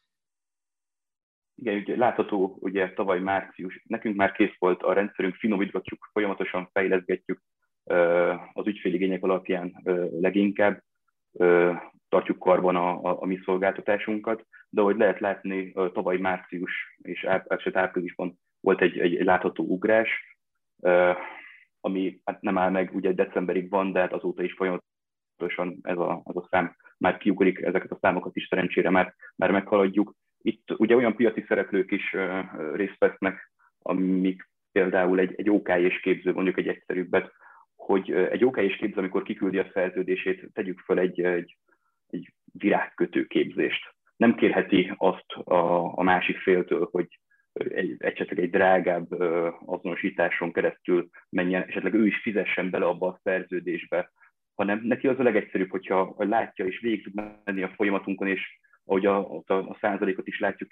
Igen, ugye látható, ugye tavaly március, nekünk már kész volt a rendszerünk, finomítgatjuk, folyamatosan fejleszgetjük az ügyféligények alapján leginkább, tartjuk karban a mi szolgáltatásunkat, de ahogy lehet látni, tavaly március és áprilisban volt egy látható ugrás, ami hát nem áll meg, ugye decemberig van, de hát azóta is folyamatosan ez a szám már kiugrik, ezeket a számokat is szerencsére már meghaladjuk. Itt ugye olyan piaci szereplők is részt vesznek, amik például egy OKS képző, mondjuk egy egyszerűbbet, hogy egy OKS képző, amikor kiküldi a szerződését, tegyük fel egy virágkötő képzést. Nem kérheti azt a másik féltől, hogy esetleg egy drágább azonosításon keresztül menjen, esetleg ő is fizessen bele abba a szerződésbe, hanem neki az a legegyszerűbb, hogyha látja és végig tud menni a folyamatunkon, és ahogy a százalékot is látjuk,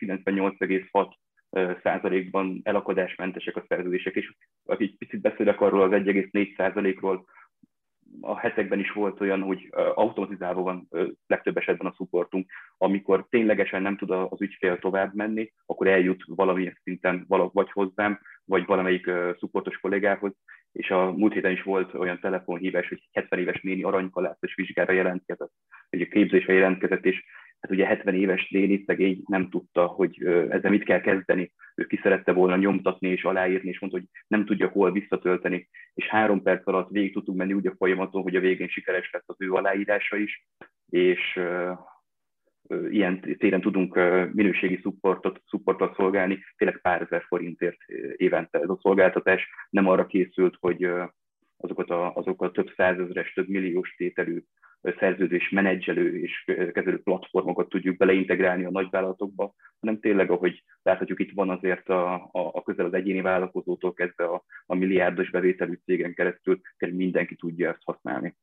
98,6%-ban elakadásmentesek a szerződések, és egy picit beszélek arról az 1,4%-ról, a hetekben is volt olyan, hogy automatizálva van legtöbb esetben a supportunk, amikor ténylegesen nem tud az ügyfél tovább menni, akkor eljut valamilyen szinten vagy hozzám, vagy valamelyik supportos kollégához, és a múlt héten is volt olyan telefonhívás, hogy 70 éves néni aranykalászos vizsgára jelentkezett, vagy a képzésre jelentkezett, és hát ugye 70 éves néni szegény nem tudta, hogy ezzel mit kell kezdeni. Ő ki szerette volna nyomtatni és aláírni, és mondta, hogy nem tudja hol visszatölteni, és 3 perc alatt végig tudtunk menni úgy a folyamaton, hogy a végén sikeres lett az ő aláírása is, és ilyen téren tudunk minőségi supportot szolgálni, tényleg pár ezer forintért évente. Ez a szolgáltatás nem arra készült, hogy azokat a több százezres, több milliós tételű szerződés menedzselő és kezelő platformokat tudjuk beleintegrálni a nagyvállalatokba, hanem tényleg, ahogy láthatjuk, itt van azért a közel az egyéni vállalkozótól kezdve a milliárdos bevételű cégen keresztül, mindenki tudja ezt használni.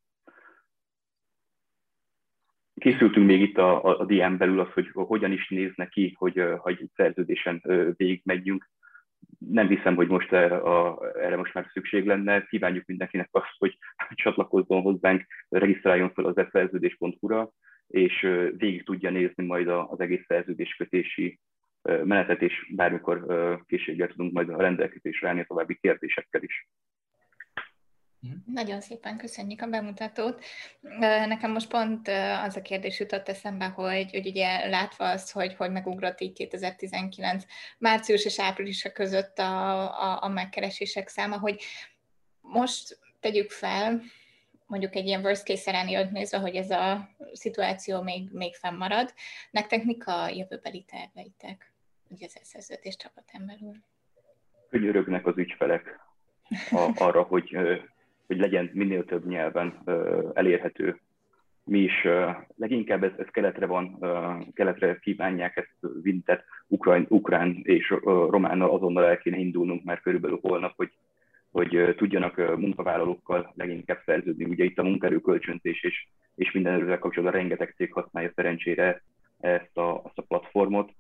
Készültünk még itt a DM belül az, hogy hogyan is nézne ki, hogy egy szerződésen végigmegyünk. Nem hiszem, hogy most erre most már szükség lenne. Kívánjuk mindenkinek azt, hogy csatlakozzon hozzánk, regisztráljon fel az eszerződés.hu-ra, és végig tudja nézni majd az egész szerződéskötési menetet, és bármikor készséggel tudunk majd a rendelkezésre állni a további kérdésekkel is. Nagyon szépen köszönjük a bemutatót. Nekem most pont az a kérdés jutott eszembe, hogy ugye látva azt, hogy megugrott így 2019 március és április között a megkeresések száma, hogy most tegyük fel, mondjuk egy ilyen worst case scenario-t nézve, hogy ez a szituáció még fennmarad. Nektek mik a jövőbeli terveitek, ugye az szerződés csapatán belül? Könyörögnek az ügyfelek arra, hogy legyen minél több nyelven elérhető. Mi is leginkább ez keletre van, keletre kívánják ezt vinni, tehát ukrán és románnal azonnal el kéne indulnunk már körülbelül holnap, hogy tudjanak munkavállalókkal leginkább szerződni. Ugye itt a munkaerő kölcsönzés és minden ezzel kapcsolatban rengeteg cég használja szerencsére ezt a platformot.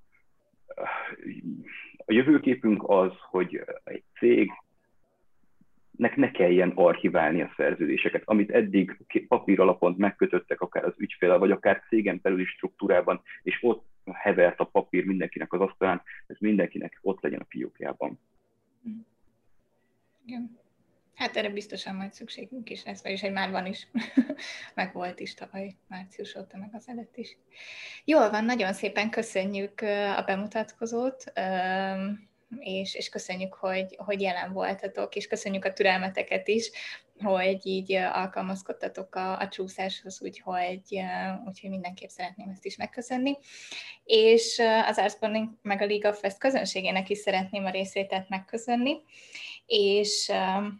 A jövőképünk az, hogy egy cég ne kelljen archiválni a szerződéseket, amit eddig papír alapon megkötöttek akár az ügyféllel, vagy akár cégen belüli struktúrában, és ott hevert a papír mindenkinek az asztalán, ez mindenkinek ott legyen a fiókjában. Igen. Hát erre biztosan majd szükségünk is lesz, vagyis hogy már van is, meg volt is tavaly március óta, meg az előtt is. Jól van, nagyon szépen köszönjük a bemutatkozót, és köszönjük, hogy jelen voltatok, és köszönjük a türelmeteket is, hogy így alkalmazkodtatok a csúszáshoz, úgyhogy mindenképp szeretném ezt is megköszönni. És az Artspawning meg a League of Fest közönségének is szeretném a részvételt megköszönni, és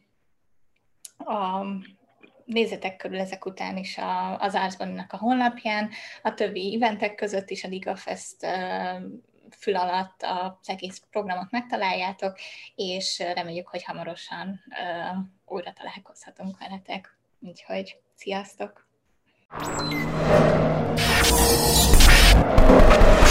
nézzetek körül ezek után is az Artspawning-nak a honlapján, a többi eventek között is a League of Fest fül alatt az egész programot megtaláljátok, és reméljük, hogy hamarosan újra találkozhatunk veletek. Úgyhogy sziasztok!